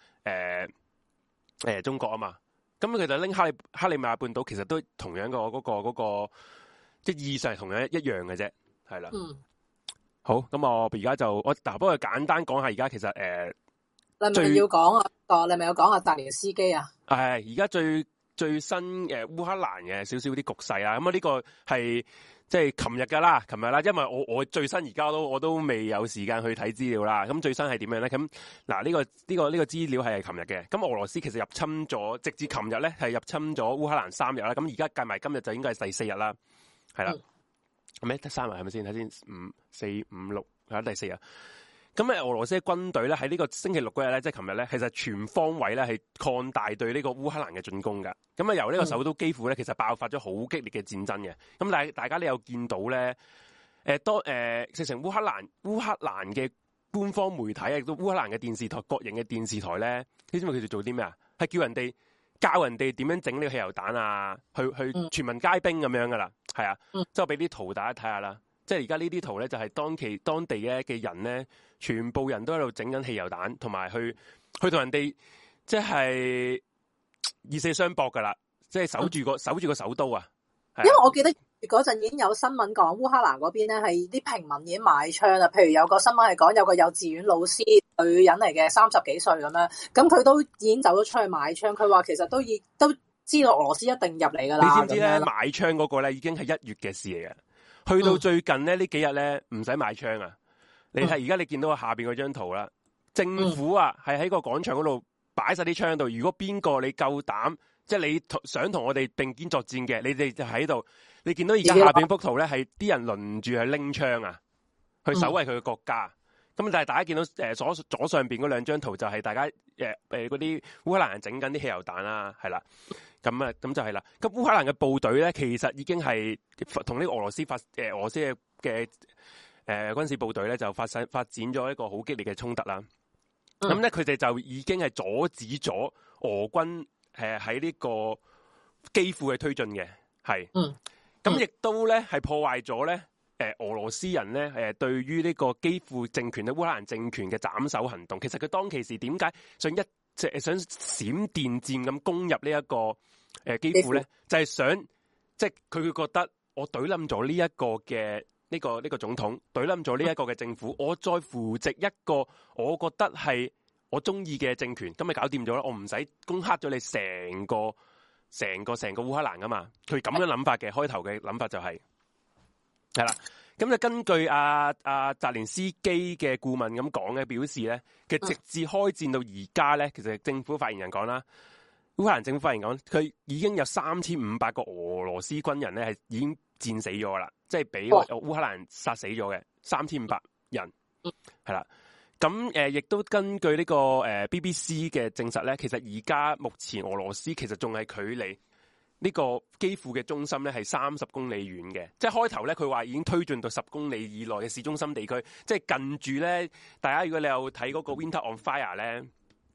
個中國啊嘛。咁佢就拎克里米亞半島，其實都同樣嗰個即係意義上係同樣一樣嘅啫，係啦。好，咁我而家就不過簡單講下而家其實你係咪要講啊？你係咪有講下澤連斯基啊？ 係而家最新嘅烏克蘭嘅少少啲局勢啦，咁啊呢個係即係琴日啦，因為我最新而家我都未有時間去睇資料啦。咁最新係點樣咧？咁嗱呢個資料係琴日嘅。咁俄羅斯其實入侵咗，直至琴日咧係入侵咗烏克蘭3日啦。咁而家計埋今日就應該係第4日啦，係啦。咩得3日係咪先？睇先，5、4、5、6係第4日。咁俄羅斯嘅軍隊咧喺呢個星期六嗰日咧，即係琴日咧，其實全方位咧係擴大對呢個烏克蘭嘅進攻㗎。咁啊由呢個首都基輔咧，其實爆發咗好激烈嘅戰爭嘅。咁但係大家你有見到咧，直情烏克蘭嘅官方媒體啊，亦都烏克蘭嘅電視台、國營嘅電視台咧，你知唔知佢哋做啲咩啊？係教人哋點樣整呢個汽油彈啊，去全民皆兵咁樣噶啦，係啊，即係我俾啲圖大家睇下啦。即係而家呢啲圖咧，就係當地嘅人咧，全部人都喺度整緊汽油彈，同埋去同人哋即係以死相搏噶啦，即係守住個首都啊！ 因為我記得嗰陣已經有新聞講烏克蘭嗰邊咧係啲平民已經買槍啦，譬如有個新聞係講有個幼稚園老師女人嚟嘅30幾歲咁樣，咁佢都已經走咗出去買槍，佢話其實都知道俄羅斯一定入嚟噶啦。你知唔知咧？ 買槍嗰個咧已經係1月嘅事嚟嘅。去到最近咧呢幾日咧唔使買槍啊！你睇而家你見到下邊嗰張圖啦，政府啊係喺個廣場嗰度擺晒啲槍喺度。如果邊個你夠膽，即係你想同我哋並肩作戰嘅，你哋就喺度。你見到而家下邊幅圖咧係啲人輪住去拎槍啊，去守衛佢嘅國家。咁但係大家見到左上邊嗰2張圖就係大家嗰啲烏克蘭人整緊啲汽油彈啦，係啦。咁就係啦。咁烏克蘭嘅部隊咧，其實已經係同呢個俄羅斯嘅軍事部隊咧，就發展咗一個好激烈嘅衝突啦。咁咧，佢哋就已經係阻止咗俄軍喺呢個基輔嘅推進嘅，係。咁亦都咧係破壞咗咧俄羅斯人咧對於呢個基輔政權咧烏克蘭政權嘅斬首行動。其實佢當其時點解想閃電戰咁攻入呢一個基輔咧，就係想即係佢會覺得我懟冧咗呢一個嘅呢個總統，懟冧咗呢一個嘅政府，我再扶植一個我覺得係我中意嘅政權，咁咪搞掂咗啦，我唔使攻克咗你成個烏克蘭噶嘛。佢咁樣諗法嘅，開頭嘅諗法就係啦。咁就根據阿澤連斯基嘅顧問咁講嘅表示咧，其實直至開戰到而家咧，其實政府發言人講啦，烏克蘭政府發言講，佢已經有3500個俄羅斯軍人咧係已經戰死咗啦，即係俾烏克蘭殺死咗嘅3500人，係啦。咁亦都根據呢個BBC 嘅證實咧，其實而家目前俄羅斯其實仲係距離呢個基輔嘅中心咧係30公里遠嘅，即係開頭咧佢話已經推進到10公里以內嘅市中心地區，即係近住咧。大家如果你有睇嗰個 Winter on Fire 咧，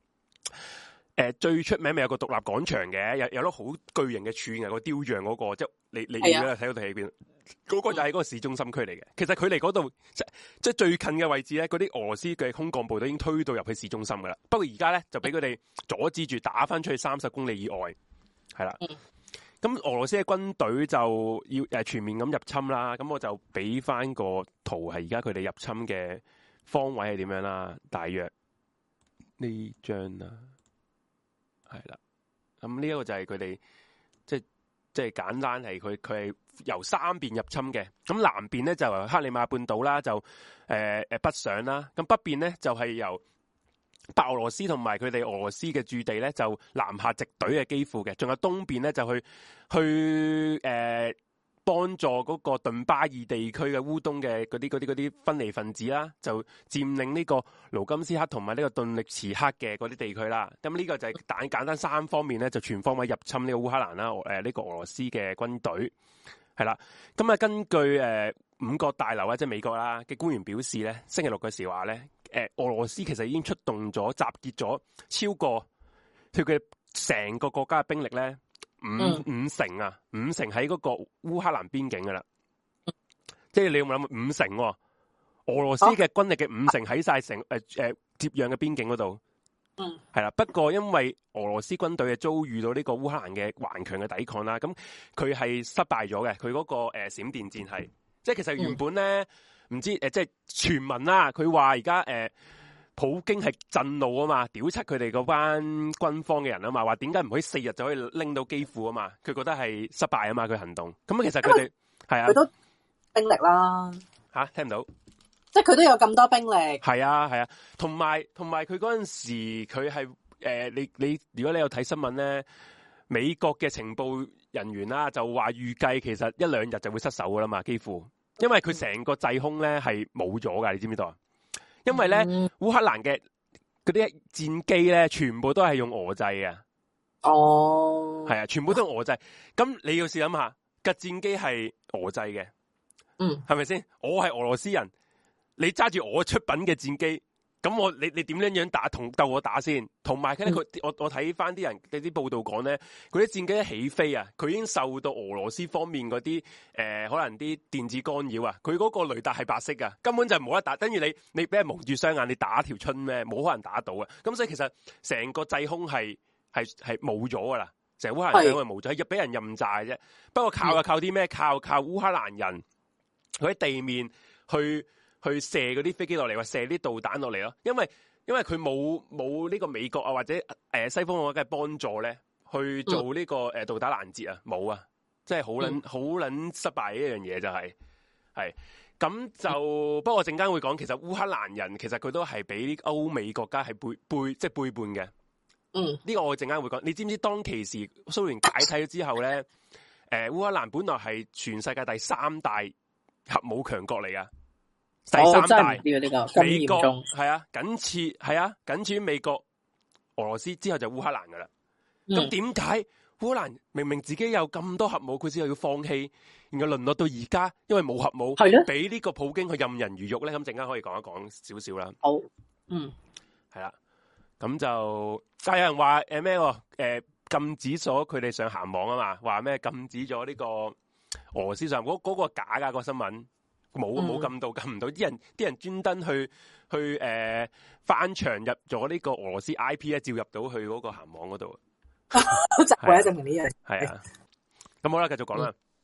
最出名咪有個獨立廣場嘅，有粒好巨型嘅柱嘅個雕像嗰個，即係你如果睇到睇邊，嗰個就係嗰個市中心區嚟嘅。其實佢離嗰度即係最近嘅位置咧，嗰啲俄羅斯嘅空降部隊已經推到入去市中心噶啦。不過而家咧就俾佢哋阻止住，打翻出去30公里以外，係啦。咁俄羅斯嘅軍隊就要全面咁入侵啦，咁我就俾翻個圖係而家佢哋入侵嘅方位係點樣啦，大約呢張啦，係啦，咁呢一個就係佢哋即係簡單係佢係由三邊入侵嘅，咁南邊咧就由克里米亞半島啦，就北上啦，咁北邊咧就係由白俄羅斯同埋佢哋俄羅斯嘅駐地咧，就南下直隊嘅基輔嘅，仲有東邊咧就去幫助嗰個頓巴爾地區嘅烏東嘅嗰啲分離分子啦，就佔領呢個盧甘斯克同埋呢個頓涅茨克嘅嗰啲地區啦。咁呢個就係簡單三方面咧，就全方位入侵呢個烏克蘭啦。呢個俄羅斯嘅軍隊係啦。咁啊，根據五角大樓即係美國啦嘅官員表示咧，星期六嘅時話咧。俄羅斯其實已經出動咗、集結咗超過佢嘅成個國家嘅兵力咧，五成喺嗰個烏克蘭邊境噶啦，即係你有冇諗5成？俄羅斯嘅軍力嘅5成喺晒成接壤嘅邊境嗰度，係啦。不過因為俄羅斯軍隊係遭遇到呢個烏克蘭嘅頑強嘅抵抗啦，咁佢係失敗咗嘅。佢嗰個閃電戰係，即係其實原本咧。唔知即係傳聞啦，佢話而家普京係震怒啊嘛，屌柒佢哋嗰班軍方嘅人啊嘛，話點解唔可以4日就可以拎到基輔啊嘛？佢覺得係失敗啊嘛，佢行動。咁其實佢哋係啊， 佢都兵力啦吓，聽唔到， 即係佢都有咁多兵力。係啊，同埋佢嗰陣時佢係你如果你有睇新聞咧，美國嘅情報人員啦就話預計其實1-2日就會失守噶啦嘛，基輔。因為佢成個制空咧係冇咗噶，你知唔知道啊？因為咧烏克蘭嘅嗰啲戰機咧，全部都係用俄製嘅。哦，係啊，全部都用俄製。咁你要試諗下，架戰機係俄製嘅，係咪先？我係俄羅斯人，你揸住我出品嘅戰機。咁你點樣打鬥我打先？同埋咧，我睇翻啲人嘅啲報道講咧，嗰啲戰機一起飛啊，佢已經受到俄羅斯方面嗰啲可能啲電子干擾啊，佢嗰個雷達係白色噶，根本就冇得打。等於你俾人蒙住雙眼，你打條春咩？冇可能打到啊！咁所以其實成個制空係冇咗噶啦，成烏克蘭制空係冇咗，係俾人任炸啫。不過靠啲咩？靠烏克蘭人佢喺地面去射嗰啲飛機落嚟，或射啲導彈落嚟咯。因為佢冇呢個美國啊或者西方國家嘅幫助咧，去做呢個導彈攔截啊，冇啊，即係好撚失敗一樣嘢就係咁就。不過我陣間會講，其實烏克蘭人其實佢都係俾歐美國家係背叛嘅。呢個我陣間會講。你知唔知當其時蘇聯解體咗之後咧，烏克蘭本來係全世界第3大核武強國嚟噶。第3大，美國係啊，僅次於美國、俄羅斯之後就烏克蘭噶啦。咁點解烏克蘭明明自己有咁多核武，佢之後要放棄，然後淪落到而家，因為冇核武，俾呢個普京去任人魚肉咧？咁陣間可以講一講少少啦。好，係啦，咁就但係有人話咩？禁止咗佢哋上鹹網啊嘛，話咩禁止咗呢個俄羅斯上嗰個假噶個新聞。冇禁唔到，啲人專登去翻牆入咗呢個俄羅斯 IP 咧，照入到去嗰個鹹網嗰度，就為咗證明呢樣。係啊，咁好啦，繼續講啦。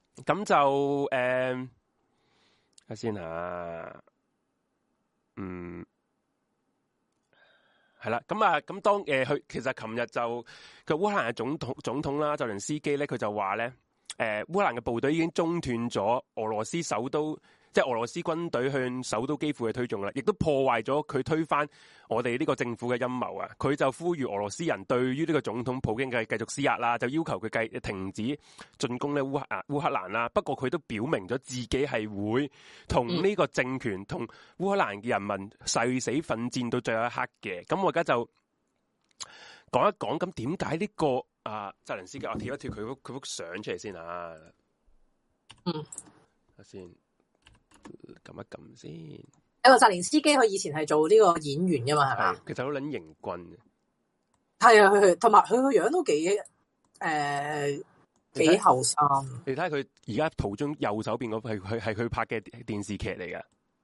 咁就睇下先吓，係啦，咁當佢其實琴日就佢烏克蘭嘅總統啦，澤連斯基咧，佢就話咧，烏克蘭嘅部隊已經中斷咗俄羅斯首都，即係俄羅斯軍隊向首都基輔嘅推進啦，亦都破壞咗佢推翻我哋呢個政府嘅陰謀啊！佢就呼籲俄羅斯人對於呢個總統普京嘅繼續施壓啦，就要求佢停止進攻咧烏克蘭啦。不過佢都表明咗自己係會同呢個政權同烏克蘭嘅人民誓死奮戰到最後一刻嘅。咁我而家就講一講，咁點解呢個澤連斯基，我貼一貼佢幅相出嚟先啊。先撳一撳先。 有個澤連斯基，佢以前係做呢個演員噶嘛，係嘛？ 其實好撚型棍嘅。 係啊，佢同埋佢個樣都幾後生。 你睇下佢而家圖中右手邊嗰係佢拍嘅電視劇嚟噶，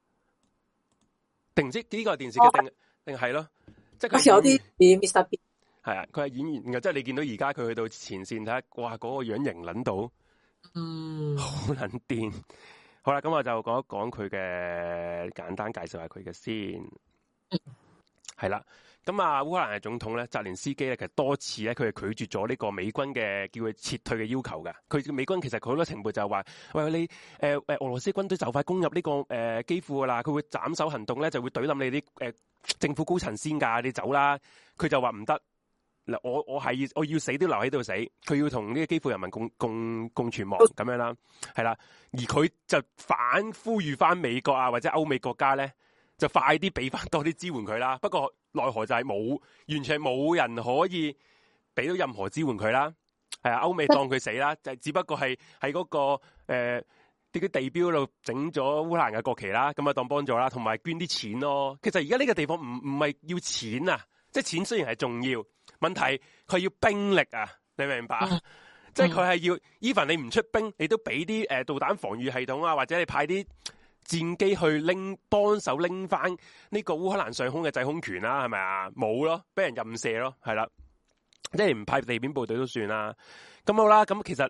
定唔知呢個係電視劇定係咯？即係佢有啲 Mr. Bean。係啊，佢係演員嘅，即係你見到而家佢去到前線睇下，哇，嗰個樣型撚到，好撚癲。好啦，咁我就講一講佢嘅簡單介紹下佢嘅先。係啦，咁烏克蘭嘅總統咧，澤連斯基咧，其實多次咧，佢係拒絕咗呢個美軍嘅叫佢撤退嘅要求噶。佢美軍其實佢好多情報就係話，喂，你俄羅斯軍隊就快攻入呢個基輔噶啦，佢會斬首行動咧，就會懟冧你啲政府高層先噶，你走啦。佢就話唔得。嗱，我要死都留喺度死，佢要同呢個基輔人民共存亡咁樣啦，係啦，而佢就反呼籲翻美國啊或者歐美國家咧，就快啲俾翻多啲支援佢啦。不過奈何就係完全冇人可以俾到任何支援佢啦。係啊，歐美當佢死啦，就只不過係喺嗰個啲地標度整咗烏克蘭嘅國旗啦，咁啊當幫助啦，同埋捐啲錢咯。其實而家呢個地方唔係要錢啊，即係錢雖然係重要。問題佢要兵力啊，你明唔明白？即係佢係要 even 你唔出兵，你都俾啲導彈防禦系統啊，或者你派啲戰機去幫手拎翻呢個烏克蘭上空嘅制空權啦，係咪啊？冇咯，俾人任射咯，係啦，即係唔派地面部隊都算啦。咁好啦，咁其實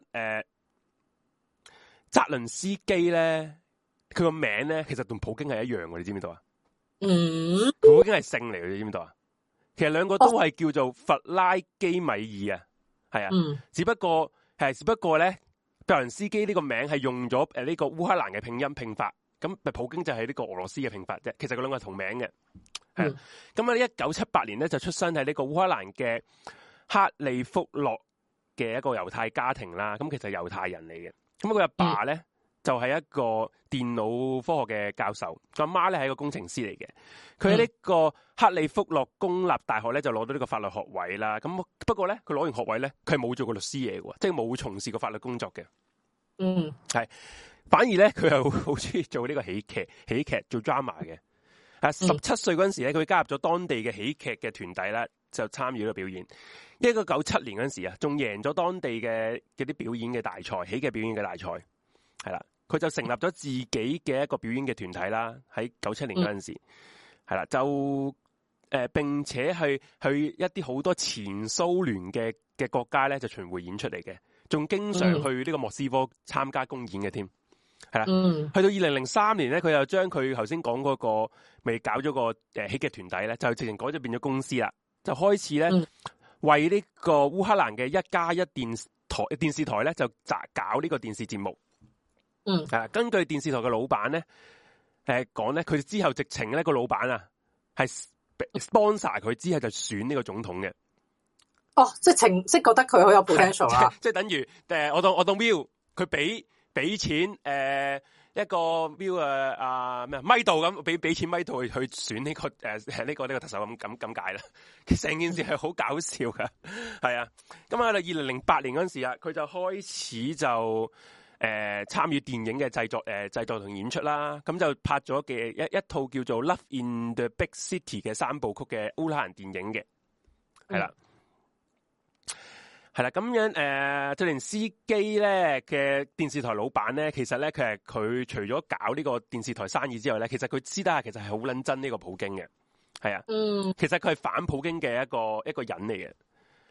澤倫斯基咧，佢個名咧其實同普京係一樣嘅，你知唔知道啊？普京係姓嚟嘅，你知唔知道啊？其實兩個都係叫做弗拉基米爾啊，係啊，只不過咧，澤倫斯基呢個名係用咗呢個烏克蘭嘅拼法，咁普京就係呢個俄羅斯嘅拼法啫。其實佢兩個係同名嘅，係啊。咁喺1978年咧就出生喺呢個烏克蘭嘅克利福諾嘅一個猶太家庭啦。咁其實係猶太人嚟嘅。咁佢阿爸咧就係一個電腦科學嘅教授，佢阿媽咧係一個工程師嚟嘅。佢喺呢個克利福諾公立大學咧就攞到呢個法律學位啦。咁不過咧佢攞完學位咧，佢係冇做過律師嘢嘅，即係冇從事過法律工作嘅。係反而咧佢又好中意做呢個喜劇做 drama 嘅。17歲嗰陣時咧，佢加入咗當地嘅喜劇嘅團體啦，就參與呢個表演。1997年嗰陣時啊，仲贏咗當地嘅啲表演嘅大賽，喜劇表演嘅大賽。係啦，佢就成立咗自己嘅一個表演嘅團體啦。喺97年嗰陣時，係啦，就並且去一啲好多前蘇聯嘅國家咧，就巡迴演出嚟嘅，仲經常去呢個莫斯科參加公演嘅添。係啦，去到2003年咧，佢又將佢頭先講嗰個未搞咗個喜劇團體咧，就直情改咗變咗公司啦，就開始咧為呢個烏克蘭嘅1+1電視台咧就搞呢個電視節目。根據電視台嘅老闆咧，講咧，佢之後直情咧個老闆啊係 sponsor 佢之後就選呢個總統嘅。 哦，即係覺得佢好有 potential 啦。 即係等於我當 Will 佢俾錢一個 Will 咩咪度咁俾錢咪度去選呢個呢個特首咁解啦。成件事係好搞笑噶，係啊。咁喺2008年嗰陣時啊，佢就開始就參與電影嘅製作同演出啦。咁就拍咗嘅一套叫做《Love in the Big City》嘅3部曲嘅烏克蘭電影嘅，係啦。係啦，咁樣澤連斯基咧嘅電視台老闆咧，其實咧佢除咗搞呢個電視台生意之外咧，其實佢私底下其實係好撚憎呢個普京嘅，係啊，其實佢係反普京嘅一個人嚟嘅，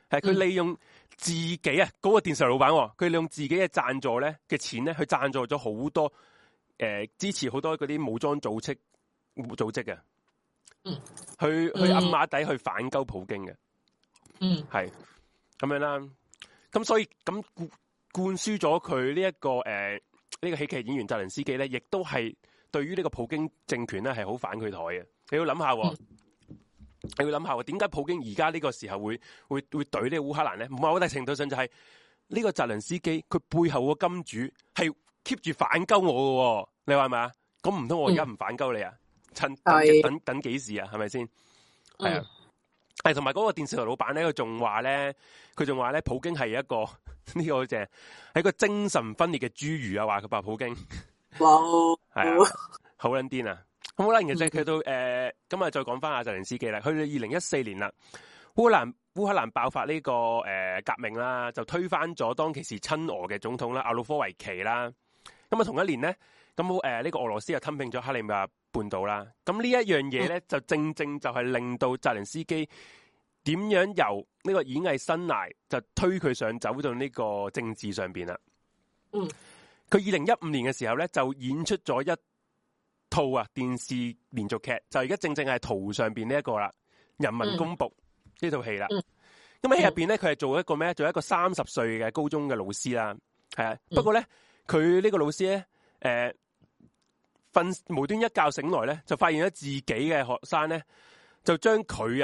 係佢利用自己啊，嗰、個電視台老闆，佢利用自己嘅贊助咧嘅錢咧，去贊助咗好多支持好多嗰啲武裝組織嘅，去暗馬底去反鳩普京嘅，係咁樣啦。咁所以咁灌輸咗佢呢一個呢個喜劇演員澤連斯基咧，亦都係對於呢個普京政權咧係好反佢台嘅。你要諗下。你要諗下點解普京而家呢個時候會懟呢個烏克蘭咧？某大程度上就係呢個澤連斯基佢背後個金主係 keep 住反鳩我嘅，你話係咪啊？咁唔通我而家唔反鳩你啊？趁等幾時啊？係咪先？係啊，係同埋嗰個電視台老闆咧，佢仲話咧，普京係一個呢個就係一個精神分裂嘅侏儒啊！話佢話普京， 哇， 係啊，好撚癲啊！咁好啦，其實佢到咁啊，再講翻阿澤連斯基啦。去到2014年啦，烏克蘭爆發呢個革命啦，就推翻咗當其時親俄嘅總統啦，亞努科維奇啦。咁啊同一年咧，咁呢個俄羅斯又吞併咗克里米亞半島啦。咁呢一樣嘢咧，就正就係令到澤連斯基點樣由呢個演藝生涯就推佢上走到呢個政治上邊啦。佢2015年嘅時候咧，就演出咗一套電視連續劇，就而家正係圖上邊呢一個啦，《人民公僕》呢套戲啦。咁喺戲入邊咧，佢係做一個咩？做一個30歲嘅高中嘅老師啦，係啊。不過咧，佢呢個老師咧，無端一覺醒來咧，就發現咗自己嘅學生咧，就將佢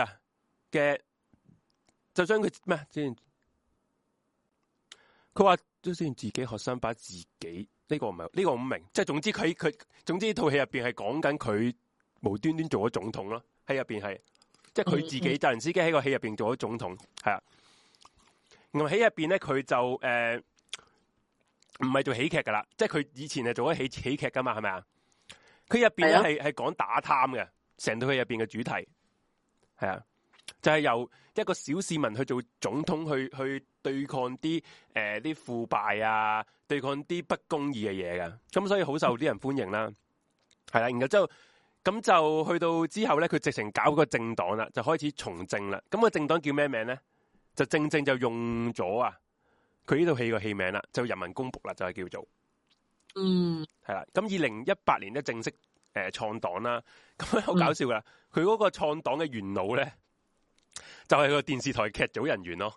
咩先？佢話都先自己學生把自己。呢個唔係呢個唔明，即係總之總之套戲入邊係講緊佢無端端做咗總統咯，喺入邊係即係佢自己澤連斯基喺個戲入邊做咗總統，係啊。然後喺入邊咧，佢就唔係做喜劇噶啦，即係佢以前係做咗喜劇噶嘛，係咪啊？佢入邊咧係講打貪嘅，成套戲入邊嘅主題係啊，就係由一個小市民去做總統，去對抗啲腐敗啊，對抗啲不公義嘅嘢噶，咁所以好受啲人歡迎啦，係啦，然後之後咁就去到之後咧，佢直情搞個政黨啦，就開始從政啦。咁個政黨叫咩名咧？就正就用咗佢呢套戲個戲名啦，就人民公僕啦，就係叫做係啦。咁2018年咧正式創黨啦，咁好搞笑噶，佢嗰個創黨嘅元老咧，就係個電視台劇組人員咯。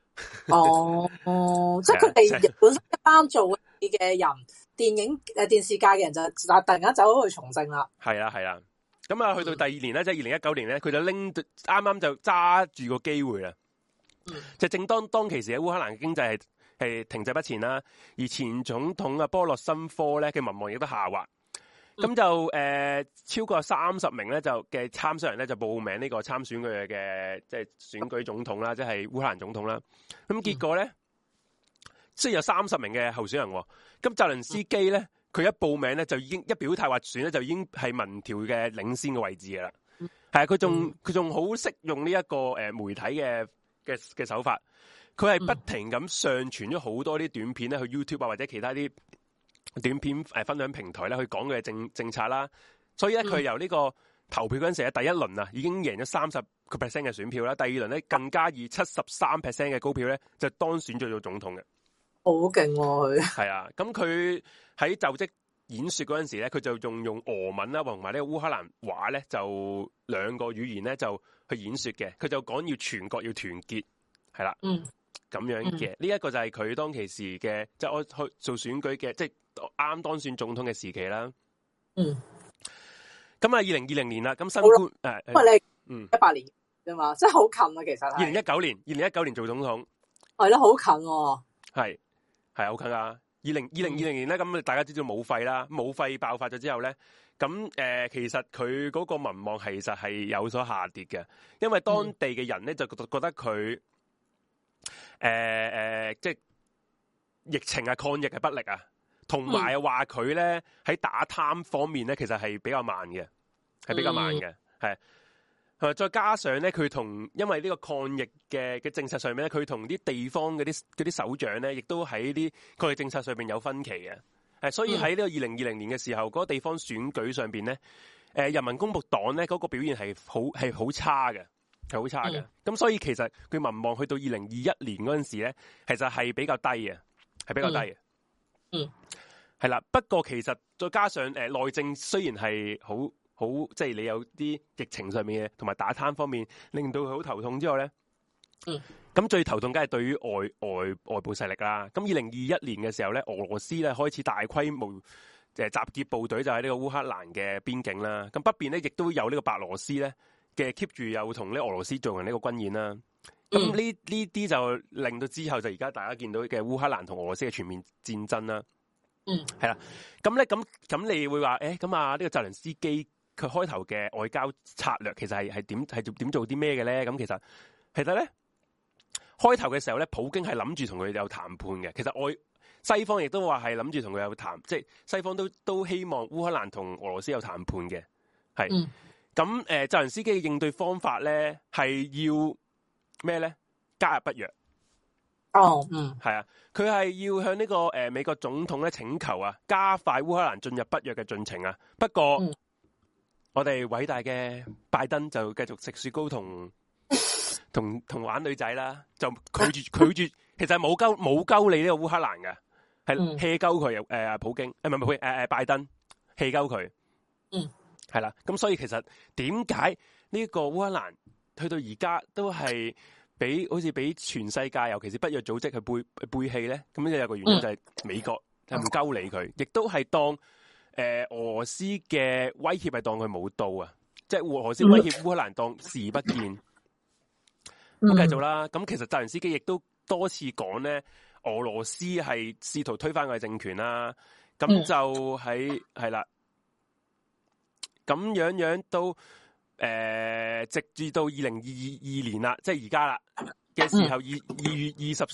即係佢哋本身一班做戲嘅人，電視界嘅人就突然間走咗去從政啦。係啦。咁啊，去到第二年咧，即係2019年咧，佢就啱啱就揸住個機會啦。就正當其時喺烏克蘭嘅經濟係停滯不前啦，而前總統波洛申科咧嘅民望亦都下滑。咁就超過30名咧就嘅參選人咧就報名呢個參選佢嘅即係選舉總統啦，即係烏克蘭總統啦。咁結果咧，雖然有30名嘅候選人，咁澤連斯基咧佢一報名咧就已經一表態話選咧就已經係民調嘅領先嘅位置噶啦。係啊，佢仲好識用呢一個媒體嘅手法，佢係不停咁上傳咗好多啲短片咧去 YouTube 或者其他啲短片分享平台咧去講佢嘅政策啦，所以咧佢由呢個投票嗰陣時咧第一輪已經贏咗30% 嘅選票啦，第二輪咧更加以73% 嘅高票咧就當選咗做總統嘅， 好勁喎佢。 係啊，咁佢喺就職演說嗰陣時咧，佢就用俄文啦同埋呢個烏克蘭話咧，就兩個語言咧就去演說嘅，佢就講要全國要團結，係啦，咁樣嘅呢一個就係佢當其時嘅即係我去做選舉嘅即係。啱當選總統嘅時期啦，咁2020年啦，咁新冠因為你18年啫嘛，即係好近啊，其實 2019年做總統， 係咯，好近喎， 係好近啊！2020年咧，咁大家知道武肺啦，武肺爆發咗之後咧，咁其實佢嗰個民望其實係有所下跌嘅，因為當地嘅人咧就覺得佢即係疫情抗疫係不力啊。同埋話佢咧喺打貪方面咧，其實係比較慢嘅，係再加上咧，佢因為呢個抗疫嘅政策上面咧，佢同啲地方嗰啲首長咧，亦都喺啲抗疫政策上面有分歧嘅，所以喺呢個2020年嘅時候，嗰個地方選舉上邊咧，人民公僕黨咧嗰個表現係好差嘅， 係好差嘅。咁所以其實佢民望去到2021年嗰陣時咧，其實係比較低嘅，係比較低嘅。係啦。不過其實再加上內政雖然係好即係你有啲疫情上面嘅，同埋打貪方面令到佢好頭痛之外咧，咁最頭痛梗係對於外部勢力啦。咁2021年嘅時候咧，俄羅斯咧開始大規模集結部隊，就喺呢個烏克蘭嘅邊境啦。咁北邊咧亦都有呢個白羅斯咧嘅 keep 住有同呢俄羅斯進行呢個軍演啦。咁呢啲就令到之後就而家大家見到嘅烏克蘭同俄羅斯嘅全面戰爭啦。係啦。咁咧咁你會話咁啊呢個澤連斯基佢開頭嘅外交策略其實係點做啲咩嘅咧？咁其實咧開頭嘅時候咧，普京係諗住同佢有談判嘅。其實西方亦都話係諗住同佢有談，即係西方都希望烏克蘭同俄羅斯有談判嘅。係。咁澤連斯基嘅應對方法咧係要咩咧？加入北約。係啊，佢係要向呢個美國總統咧請求啊，加快烏克蘭進入北約嘅進程啊。不過我哋偉大嘅拜登就繼續食雪糕同玩女仔啦，就拒絕，其實冇鳩你呢個烏克蘭嘅，係 hea 鳩佢普京，唔係拜登 hea 鳩佢。係啦。咁所以其實點解呢個烏克蘭去到而家都係好似俾全世界，尤其是北約組織去背棄咧？咁有個原因就係美國係唔鳩理佢，亦都係當俄羅斯嘅威脅係當佢冇到啊！即係俄羅斯威脅烏克蘭當視而不見。咁繼續啦。咁其實澤連斯基亦都多次講咧，俄羅斯係試圖推翻佢嘅政權啦。咁就係啦。咁樣都直至到2022年啦，即係而家啦嘅時候，2月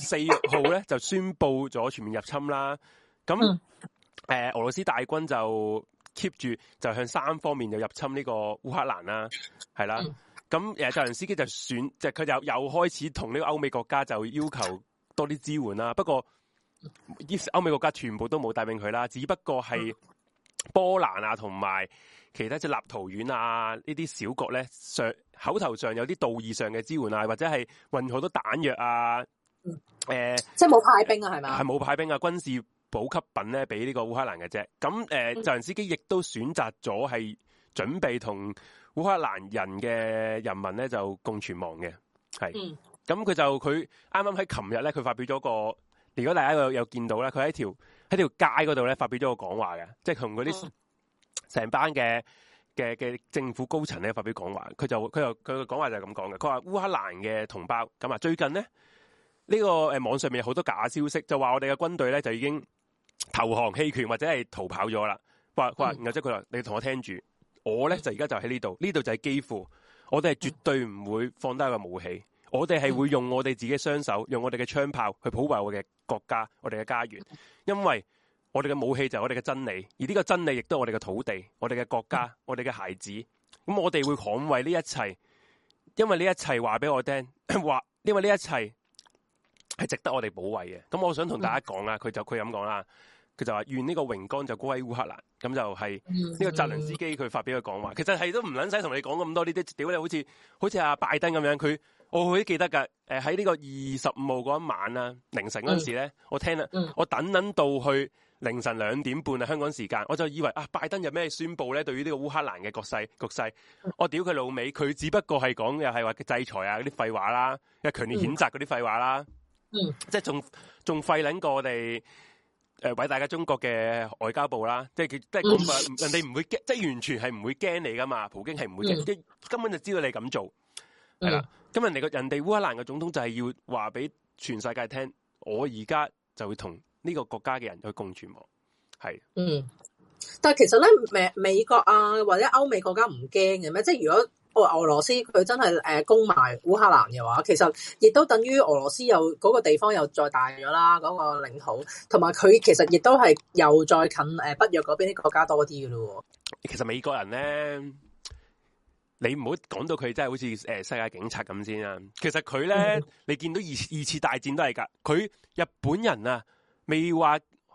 24號咧就宣布咗全面入侵啦。咁俄羅斯大軍就 keep 住就向3方面就入侵呢個烏克蘭啦，係啦。咁澤連斯基就佢又開始同呢個歐美國家就要求多啲支援啦。不過歐美國家全部都冇答應佢啦，只不過係波蘭啊同埋其他即係立陶宛啊呢啲小國咧，口頭上有啲道義上嘅支援啊，或者係運好多彈藥啊， 即係冇派兵啊，係咪？ 係冇派兵啊，軍事補給品咧俾呢個烏克蘭嘅啫。咁澤連斯基亦都選擇咗係準備同烏克蘭人嘅人民咧就共存亡嘅，係。咁佢啱啱喺琴日咧，佢發表咗個，如果大家有見到咧，佢喺條街嗰度咧發表咗個講話嘅，即係同嗰啲成班嘅政府高層咧發表講話。佢嘅講話就係咁講嘅，佢話烏克蘭嘅同胞咁啊，最近咧呢個網上面有好多假消息，就話我哋嘅軍隊咧就已經投降棄權或者係逃跑咗啦。佢話，然後即係佢話你同我聽住，我咧就而家就喺呢度就係基輔，我哋係絕對唔會放低個武器。我哋係會用我哋自己雙手，用我哋嘅槍炮去保衛我嘅國家，我哋嘅家園。因為我哋嘅武器就係我哋嘅真理，而呢個真理亦都係我哋嘅土地、我哋嘅國家、我哋嘅孩子。咁我哋會捍衛呢一切，因為呢一切話俾我聽，因為呢一切係值得我哋保衛嘅。咁我想同大家講啦，佢咁講啦，佢就話願呢個榮光就歸烏克蘭。咁就係呢個澤連斯基佢發表嘅講話。其實係都唔撚使同你講咁多呢啲，屌你好似阿拜登咁樣，我都記得㗎。喺呢個25號嗰一晚啦，凌晨嗰陣時咧，我聽啦，我等到去凌晨2點半啊，香港時間，我就以為拜登有咩宣佈咧？對於呢個烏克蘭嘅局勢，我屌佢老味，佢只不過係講又係話制裁啊嗰啲廢話啦，又強烈譴責嗰啲廢話啦，即係仲廢撚過我哋偉大嘅中國嘅外交部啦，即係人哋唔會驚，即係完全係唔會驚你噶嘛，普京係唔會驚，即係根本就知道你咁做。係啦，咁人哋烏克蘭嘅總統就係要話俾全世界聽，我而家就會同呢個國家嘅人去共存亡。係， 但係其實咧，美國啊或者歐美國家唔驚嘅咩？即係如果俄羅斯佢真係攻埋烏克蘭嘅話，其實亦都等於俄羅斯又嗰個地方又再大咗啦，嗰個領土，同埋佢其實亦都係又再近北約嗰邊啲國家多啲嘅咯。 其實美國人咧。你唔好講到佢真係好似世界警察咁先啊！其實佢咧，你見到二次大戰都係㗎。佢日本人啊，未話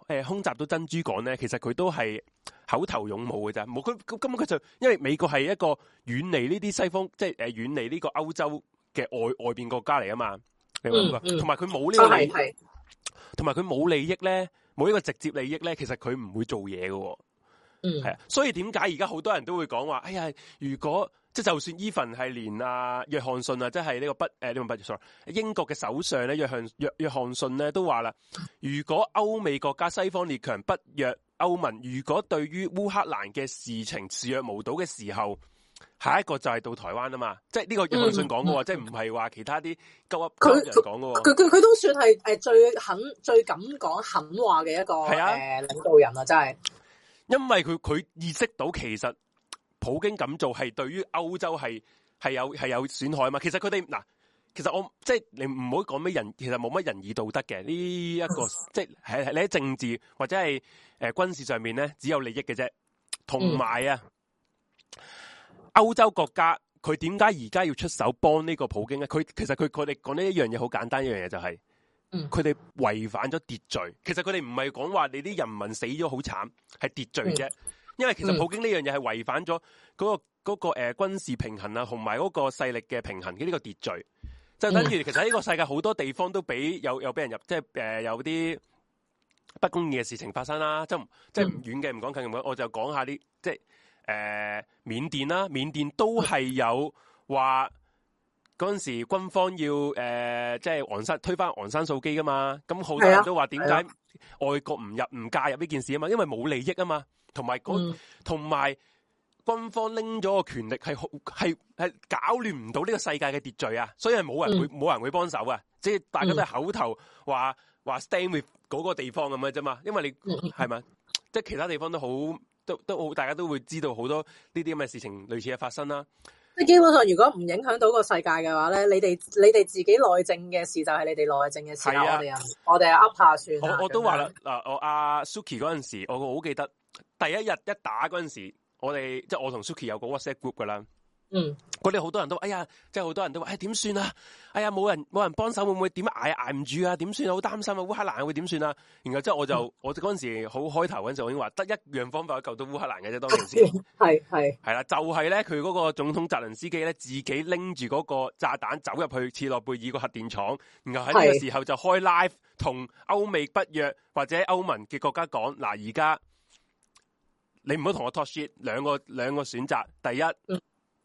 空襲到珍珠港咧，其實佢都係口頭勇武嘅咋，冇佢根本佢就因為美國係一個遠離呢啲西方，即係遠離呢個歐洲嘅外邊國家嚟啊嘛，你明唔明？同埋佢冇呢個利益，同埋佢冇利益咧，冇呢個直接利益咧，其實佢唔會做嘢嘅。係啊，所以點解而家好多人都會講話，哎呀，如果即係就算 even 係連約翰遜啊，即係呢個sorry，英國嘅首相咧，約翰遜咧都話啦，如果歐美國家西方列強不約歐盟，如果對於烏克蘭嘅事情視若無睹嘅時候，下一個就係到台灣啊嘛，即係呢個約翰遜講嘅喎，即係唔係話其他啲鳩人講嘅喎。 佢都算係最敢講狠話嘅一個領導人啊，真係。 因為佢意識到其實普京咁做係對於歐洲係有損害嘛。其實佢哋嗱，其實我即係你唔好講咩人，其實冇乜仁義道德嘅呢一個，即係你喺政治或者係軍事上面咧，只有利益嘅啫。同埋啊，歐洲國家佢點解而家要出手幫呢個普京咧？其實佢哋講呢一樣嘢好簡單，一樣嘢就係。佢哋違反咗秩序，其實佢哋唔係講話你啲人民死咗好慘，係秩序啫。因為其實普京呢樣嘢係違反咗嗰個軍事平衡啊，同埋嗰個勢力嘅平衡嘅呢個秩序，就等於其實呢個世界好多地方都俾有俾人入，即係有啲不公義嘅事情發生啦。即係唔遠嘅，唔講近嘅，我就講下啲即係緬甸啦，緬甸都係有話。嗰陣時軍方要即係推翻昂山素姬噶嘛，咁好多人都話點解外國唔介入呢件事啊嘛，因為冇利益啊嘛，同埋軍方拎咗個權力係搞亂唔到呢個世界嘅秩序啊，所以係冇人會幫手啊，即係大家都係口頭話 stand with 嗰個地方咁嘅啫嘛，因為你係咪即係其他地方都好大家都會知道好多呢啲咁嘅事情類似嘅發生啦。 即係基本上，如果唔影響到個世界嘅話咧，你哋自己內政嘅事就係你哋內政嘅事啦。我哋噏下算。我都話啦，嗱，我阿 Suki 嗰陣時，我好記得第一日一打嗰陣時，即係我同 Suki 有個 WhatsApp group 噶啦。嗰啲好多人都，哎呀，即係好多人都話，點算啊？哎呀，冇人幫手，會唔會點捱唔住啊？點算啊？好擔心啊！烏克蘭會點算啊？然後之後我嗰陣時好開頭嗰陣時，我已經話得一樣方法救到烏克蘭嘅啫。當陣時係啦，就係咧，佢嗰個總統澤連斯基咧，自己拎住嗰個炸彈走入去切諾貝爾個核電廠，然後喺呢個時候就開 live 同歐美北約或者歐盟嘅國家講，嗱，而家你唔好同我 talk shit，兩個選擇，第一。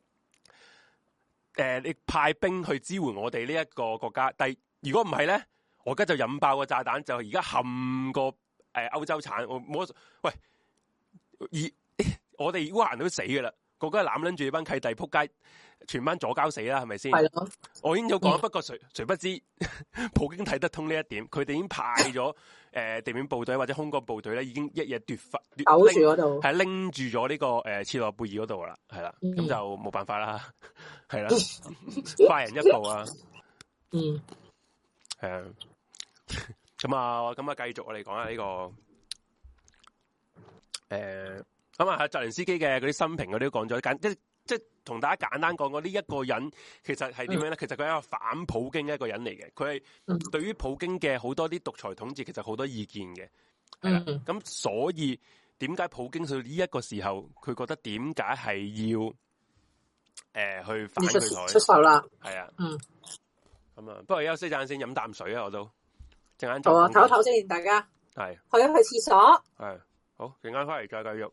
你派兵去支援我哋呢一個國家，但如果唔係咧，我而家就引爆個炸彈，就而家冚個歐洲產，喂，我哋烏克蘭都死噶啦，個個攬撚住班契弟撲街，全班左膠死啦，係咪先？係咯，我已經有講，不過誰不知普京睇得通呢一點，佢哋已經派咗地面部隊或者空軍部隊咧，已經一夜奪住嗰度，係拎住咗呢個切諾貝爾嗰度啦，係啦，咁就冇辦法啦，係啦，快人一步啊，係啊，咁啊，繼續我哋講下呢個咁啊，澤連斯基嘅嗰啲生平嗰啲都講咗，即係同大家簡單講過呢一個人其實係點樣咧？其實佢係一個反普京嘅一個人嚟嘅，佢係對於普京嘅好多啲獨裁統治其實好多意見嘅，係啦。咁所以點解普京到呢一個時候，佢覺得點解係要去反佢台出手啦？ 係啊，咁啊，不過休息陣先飲啖水啊，我都陣間好啊，唞一唞先，大家係去一去廁所， 係好，陣間翻嚟再繼續。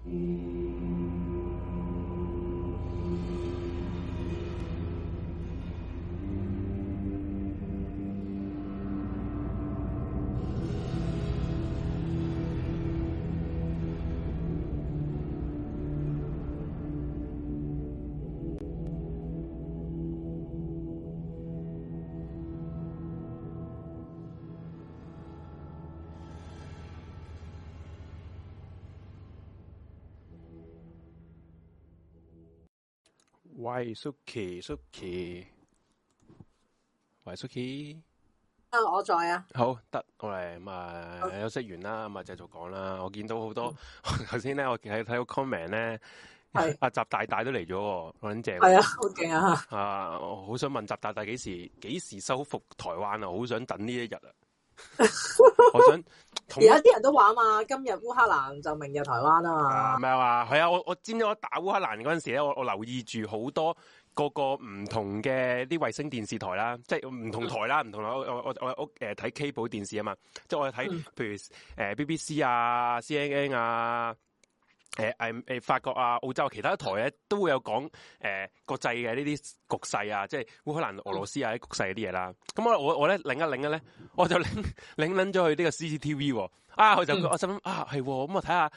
喂，Suki，喂，Suki， 我在啊。 好得，我嚟咁啊，休息完啦，咁啊繼續講啦。我見到好多頭先咧，我睇個 comment 咧，阿習大大都嚟咗，好撚正。 係啊，好勁啊！ 啊，我好想問習大大幾時收復台灣啊？好想等呢一日啊！我想而家啲人都話嘛，今日烏克蘭就明日台灣啊嘛。 咩話？係啊，我知唔知我打烏克蘭嗰陣時咧，我留意住好多個唔同嘅啲衛星電視台啦，即係唔同台啦，唔同我睇 cable 電視啊嘛，即係我睇譬如BBC 啊、CNN 啊。法國啊、澳洲其他台咧都會有講國際嘅呢啲局勢啊，即係烏克蘭、俄羅斯啊啲局勢嗰啲嘢啦。咁我咧擰一擰咧，我就擰咗去呢個 CCTV 喎。我就我心諗係咁我睇下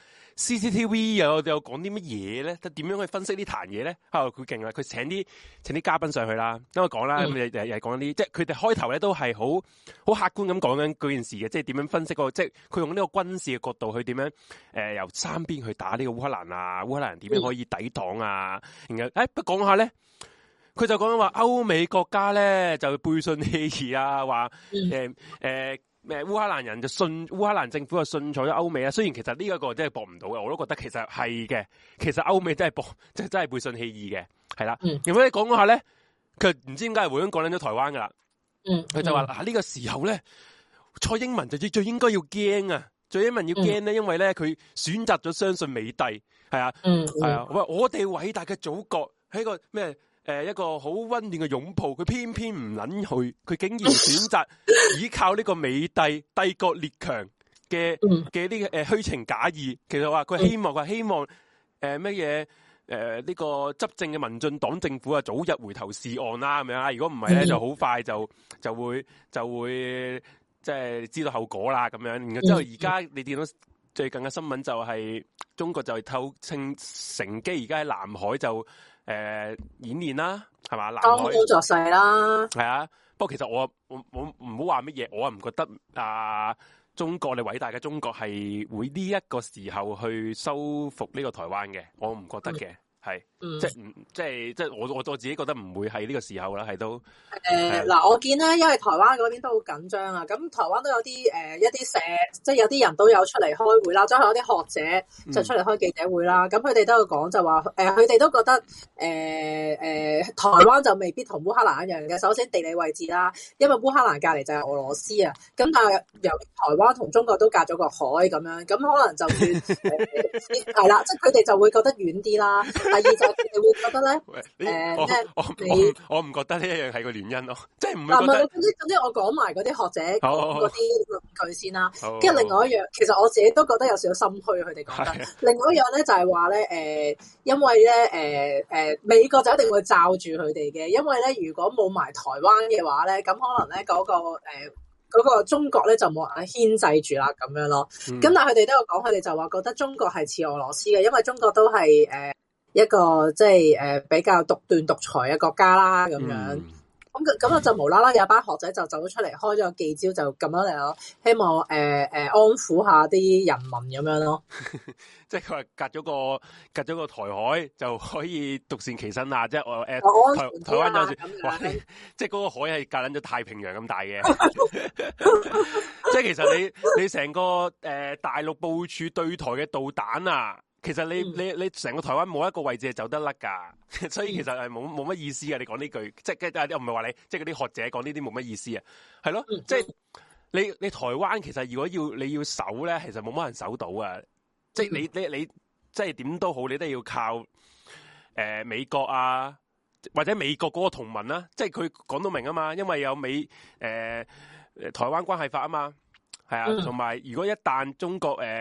CCTV 又講啲乜嘢咧？點樣去分析呢壇嘢咧？佢勁啊！佢請啲嘉賓上去啦，咁我講啦，咁又講啲，即係佢哋開頭咧都係好客觀咁講緊嗰件事嘅，即係點樣分析即係佢用呢個軍事嘅角度去點樣由三邊去打呢個烏克蘭啊，烏克蘭點樣可以抵擋啊？然後不講下咧，佢就講緊話歐美國家咧就背信棄義啊，話烏克蘭人就信烏克蘭政府就信咗歐美啊。雖然其實呢一個真係駁唔到嘅，我都覺得其實係嘅。其實歐美真係真係背信棄義嘅，係啦。咁咧講下咧，佢唔知點解係會咁講緊咗台灣噶啦。佢就話呢個時候咧，蔡英文就最應該要驚啊！蔡英文要驚咧，因為咧佢選擇咗相信美帝，係啊，係啊。我哋偉大嘅祖國係個咩？一個好溫暖嘅擁抱，佢偏偏唔捻去，佢竟然選擇依靠呢個美帝帝國列強嘅呢個虛情假意。其實話佢希望乜嘢呢個執政嘅民進黨政府啊早日回頭是岸啦咁樣啊。如果唔係咧，就好快就會即係知道後果啦咁樣。然後之後而家你見到最近嘅新聞就係中國就趁機而家喺南海就。演練啦，係嘛？當工作勢啦， 係啊。不過其實我唔好話乜嘢，我唔覺得中國你偉大嘅中國係會呢一個時候去收復呢個台灣嘅，我唔覺得嘅。係，即係我自己覺得唔會係呢個時候啦，係都嗱，我見咧，因為台灣嗰邊都好緊張啊，咁台灣都有啲一啲即係有啲人都有出嚟開會啦，即係有啲學者就出嚟開記者會啦，咁佢哋都有講就話，佢哋都覺得台灣就未必同烏克蘭一樣嘅。首先地理位置啦，因為烏克蘭隔離就係俄羅斯啊，咁但係由台灣同中國都隔咗個海咁樣，咁可能就會係啦，即係佢哋就會覺得遠啲啦。第二就係佢哋會覺得咧， 我唔覺得呢一樣係個原因咯，即係唔會覺得。 總之我講埋嗰啲學者講嗰啲論據先啦。跟住另外一樣，其實我自己都覺得有少少心虛，佢哋講得。另外一樣咧就係話咧，因為咧美國就一定會罩住佢哋嘅，因為咧如果冇埋台灣嘅話咧，咁可能咧嗰個中國咧就冇人牽制住啦咁樣咯。咁但係佢哋都有講，佢哋就話覺得中國係似俄羅斯嘅，因為中國都係一個即係比較獨斷獨裁嘅國家啦，咁樣咁就無啦啦有班學者就走咗出嚟開咗個記招，就咁樣嚟咯，希望安撫下啲人民咁樣咯。 即係佢話隔咗個台海就可以獨善其身啊！即係台灣有時即係嗰個海係隔撚咗太平洋咁大嘅。即係其實你成個大陸部署對台嘅導彈啊！其實你成個台灣冇一個位置係走得甩㗎，所以其實係冇乜意思嘅。你講呢句，即係唔係話你，即係嗰啲學者講呢啲冇乜意思啊，係咯，即係你台灣其實如果你要守咧，其實冇乜人守到啊。即係你即係點都好，你都要靠美國啊，或者美國嗰個同盟啦。即係佢講到明啊嘛，因為有台灣關係法啊嘛，係啊，同埋如果一旦中國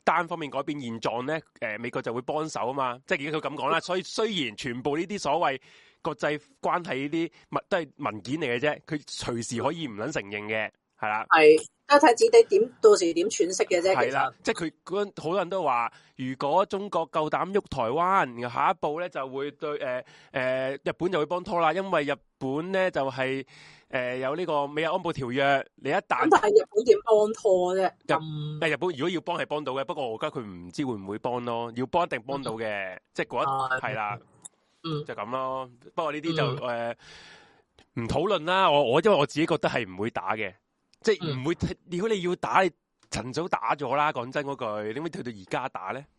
單方面改變現狀咧，美國就會幫手啊嘛，即係而家佢咁講啦。所以雖然全部呢啲所謂國際關係呢啲都係文件嚟嘅啫，佢隨時可以唔撚承認嘅，係啦。 係，都睇自己點到時點詮釋嘅啫。 係啦，即係佢好多人都話，如果中國夠膽喐台灣，然後下一步咧就會對日本就會幫拖啦，因為日本咧就係、有呢個美日安保條約，你一旦但係日本點幫拖啫？ 日本如果要幫係幫到嘅，不過我覺得佢唔知會唔會幫咯，要幫一定幫到嘅，即係嗰一係啦，就咁咯。不過呢啲就唔討論啦。我因為我自己覺得係唔會打嘅，即係唔會。如果你要打，你趁早打咗啦。講真嗰句，點解退到而家打咧？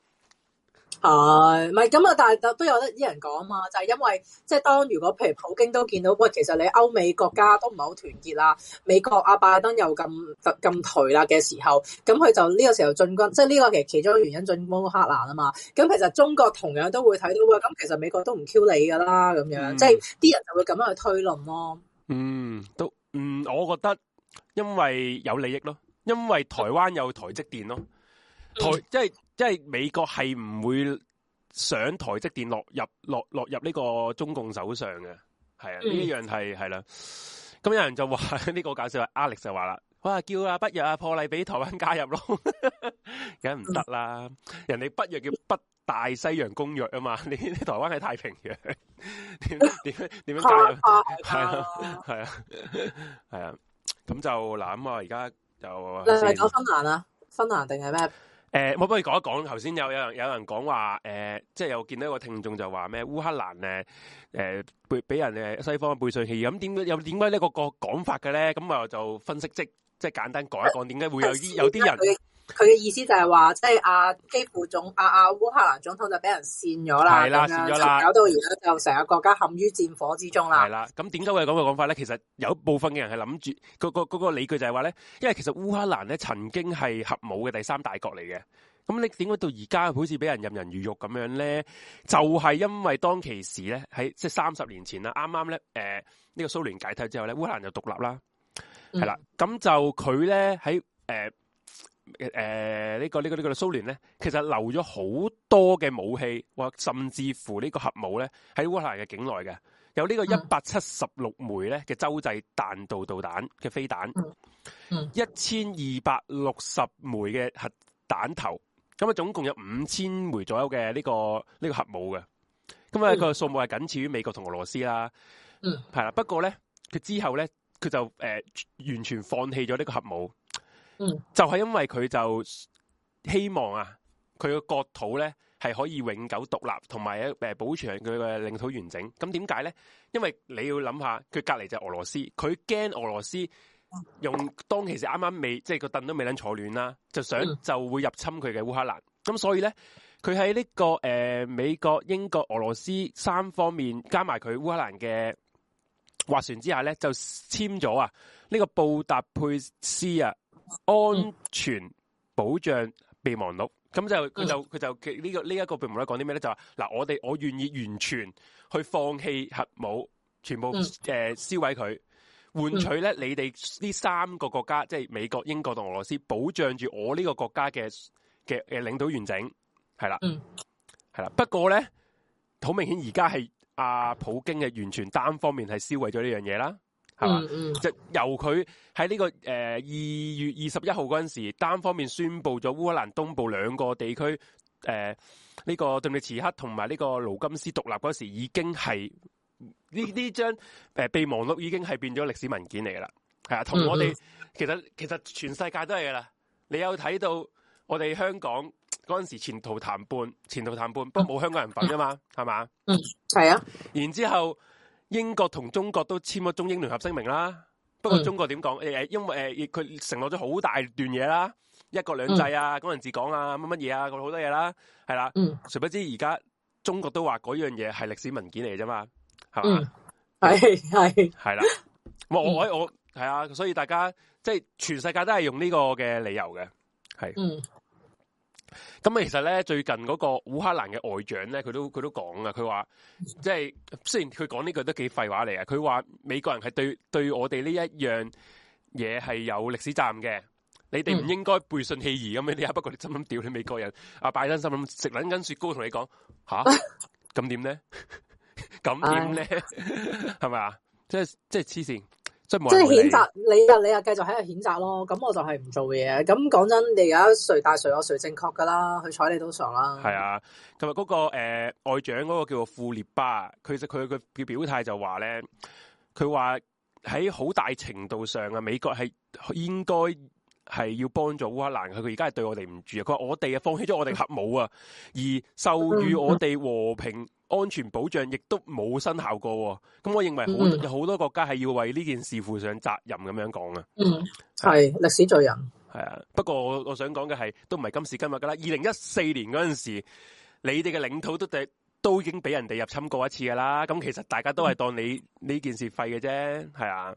唔係咁啊，但係都有得啲人講啊嘛，就係因為即係當如果譬如普京都見到，喂，其實你歐美國家都唔係好團結啦，美國阿拜登又咁頹啦嘅時候，咁佢就呢個時候進軍，即係呢個其中一個原因進攻烏克蘭啊嘛。咁其實中國同樣都會睇到，喂，咁其實美國都唔 Q 你噶啦，咁樣，即係啲人就會咁樣去推論咯。 我覺得因為有利益咯，因為台灣有台積電咯，即係美國係唔會想台積電落入呢個中共手上嘅，係啊，呢一樣係啦。咁有人就話呢個搞笑，Alex 就話啦，哇，叫北約啊破例俾台灣加入咯，梗唔得啦，人哋北約叫北大西洋公約啊嘛，你台灣係太平洋，點樣加入？係啊，咁就嗱咁啊，而家就你係講芬蘭啊？芬蘭定係咩？ 我不如講一講，頭先有人講話，即係又見到一個聽眾就話咩烏克蘭俾人西方背信棄義，咁點解呢個講法嘅咧？咁啊就分析即係簡單講一講，點解會有啲人佢嘅意思就係話，即係基輔烏克蘭總統就俾人煽咗啦， 係啦，煽咗啦， 搞到而家就成個國家陷於戰火之中啦。 係啦，咁點解會有咁嘅講法咧？其實有部分嘅人係諗住嗰個理據就係話咧，因為其實烏克蘭咧曾經係核武嘅第三大國嚟嘅。咁你點解到而家好似俾人任人魚肉咁樣咧？就係因為當其時咧，喺即係30年前啦，啱啱咧呢個蘇聯解體之後咧，烏克蘭就獨立啦，係啦，咁就佢咧喺呢個蘇聯咧，其實留咗好多嘅武器，或甚至乎呢個核武咧喺烏克蘭嘅境內嘅，有呢個176枚咧嘅洲際彈道導彈嘅飛彈，1260枚嘅核彈頭。咁啊，總共有5000枚左右嘅呢個核武嘅，咁啊個數目係僅次於美國同俄羅斯啦，係啦。不過咧，佢之後咧，佢就完全放棄咗呢個核武，就係因為佢就希望啊，佢個國土咧係可以永久獨立，同埋保存佢嘅領土完整。咁點解咧？因為你要諗下，佢隔離就係俄羅斯，佢驚俄羅斯。用當其時啱啱未，即係個凳都未能坐暖啦，就會入侵佢嘅烏克蘭。咁所以咧，佢喺呢個美國、英國、俄羅斯三方面加埋佢烏克蘭嘅斡旋之下咧，就簽咗呢個布達佩斯安全保障備忘錄。咁就佢就呢一個備忘錄講啲咩咧？就話嗱，我願意完全去放棄核武，全部燒毀佢。換取咧，你哋呢3個國家，即係美國、英國同俄羅斯，保障住我呢個國家嘅領土完整，係啦，係啦。不過咧，好明顯而家係普京嘅完全單方面係燒毀咗呢樣嘢啦，係嘛？就由佢喺呢個2月21號嗰陣時，單方面宣布咗烏克蘭東部2個地區，呢個頓涅茨克同埋呢個盧甘斯獨立嗰時，已經係。呢張備忘錄已經係變咗歷史文件嚟噶啦，係啊，同我哋其實全世界都係噶啦。你有睇到我哋香港嗰陣時前途談判，不過冇香港人份啊嘛，係嘛？ 係啊。然之後英國同中國都簽咗中英聯合聲明啦。不過中國點講？因為佢承諾咗好大段嘢啦，一國兩制啊，港人治港啊，乜嘢啊，好多嘢啦，係啦。誰不知而家中國都話嗰樣嘢係歷史文件嚟啫嘛。係嘛？係啦，我係啊，所以大家即係全世界都係用呢個嘅理由嘅，係。咁其實咧，最近嗰個烏克蘭嘅外長咧，佢都講啊，佢話即係雖然佢講呢句都幾廢話嚟啊，佢話美國人係對我哋呢一樣嘢係有歷史責任嘅， 你哋唔應該背信棄義咁樣啲啊！不過你心諗屌你美國人，拜登心諗食撚緊雪糕同你講吓，咁點咧？咁點咧？係咪啊？即係黐線，即係譴責你又繼續喺度譴責咯。咁我就係唔做嘢。咁講真，你而家誰大誰惡誰正確噶啦？去睬你都傻啦。 係啊，琴日嗰個外長嗰個叫做庫列巴，佢嘅表態就話咧，佢話喺好大程度上啊，美國係應該係要幫助烏克蘭，佢而家係對我哋唔住啊！佢話我哋啊放棄咗我哋核武啊，而授予我哋和平安全保障亦都冇生效過。咁我認為有好多國家係要為呢件事負上責任咁樣講啊。 係歷史罪人。 係啊，不過我想講嘅係都唔係今時今日噶啦。2014年嗰陣時，你哋嘅領土都已經俾人哋入侵過一次噶啦。咁其實大家都係當你呢件事廢嘅啫，係啊。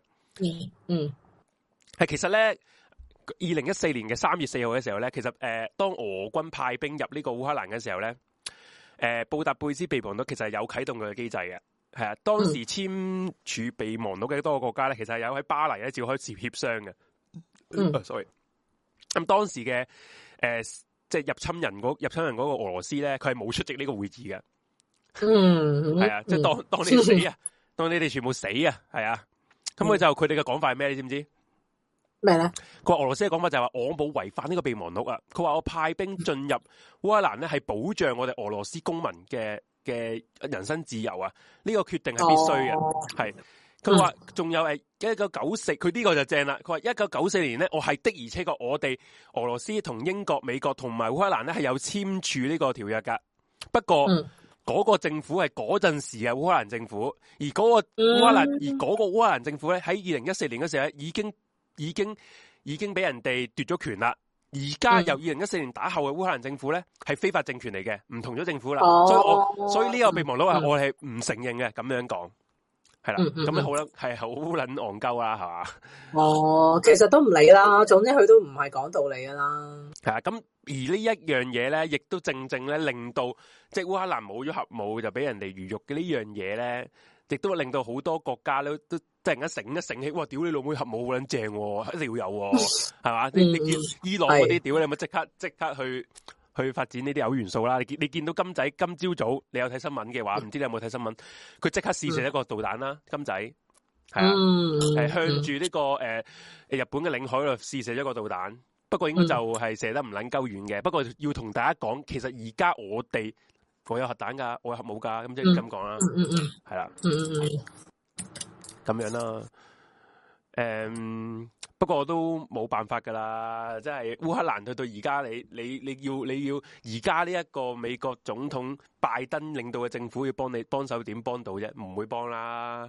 係其實咧。2014年嘅3月4號嘅時候咧，其實當俄軍派兵入呢個烏克蘭嘅時候咧，布達佩斯備忘錄其實係有啟動佢嘅機制嘅，係啊，當時簽署備忘錄嘅多個國家咧，其實係有喺巴黎咧召開協商嘅。sorry，咁當時嘅即係入侵人嗰個俄羅斯咧，佢係冇出席呢個會議嘅。係啊，即係當你死啊，當你哋全部死啊，係啊，咁佢哋嘅講法係咩？你知唔知？ 咩咧？ 佢話俄羅斯嘅講法就係話我冇違反呢個備忘錄啊！佢話我派兵進入烏克蘭咧係保障我哋俄羅斯公民嘅人身自由啊！呢個決定係必須嘅，係佢話仲有1994，佢呢個就正啦。佢話1994年咧，我係的而且確我哋俄羅斯同英國、美國同埋烏克蘭咧係有簽署呢個條約噶。不過嗰個政府係嗰陣時嘅烏克蘭政府，而嗰個烏克蘭政府咧喺2014年嗰時候咧已經俾人哋奪咗權啦。而家由2014年打後嘅烏克蘭政府咧係非法政權嚟嘅，唔同咗政府啦。所以呢個備忘錄我係唔承認嘅，咁樣講係啦。咁樣好啦，係好撚戇鳩啦，係嘛？ 其實都唔理啦，總之佢都唔係講道理噶啦。 係啊，咁而呢一樣嘢咧，亦都正咧令到即係烏克蘭冇咗核武就俾人哋魚肉嘅呢樣嘢咧，亦都令到好多國家咧都突然間醒起，哇！屌你老妹核武好撚正，一定要有，係嘛？你見伊朗嗰啲屌你咪即刻去發展呢啲核元素啦！你見到金仔今朝早你有睇新聞嘅話，唔知你有冇睇新聞？佢即刻試射一個導彈啦，金仔係啊，向住呢個日本嘅領海度試射一個導彈，不過應該就係射得唔撚夠遠嘅。不過要同大家講，其實而家我有核彈㗎，我有核武㗎，咁即係咁講啦，係啦。咁樣啦，不過都冇辦法噶啦，即係烏克蘭去到而家，你要而家呢一個美國總統拜登領導嘅政府要幫手，點幫到啫？唔會幫啦。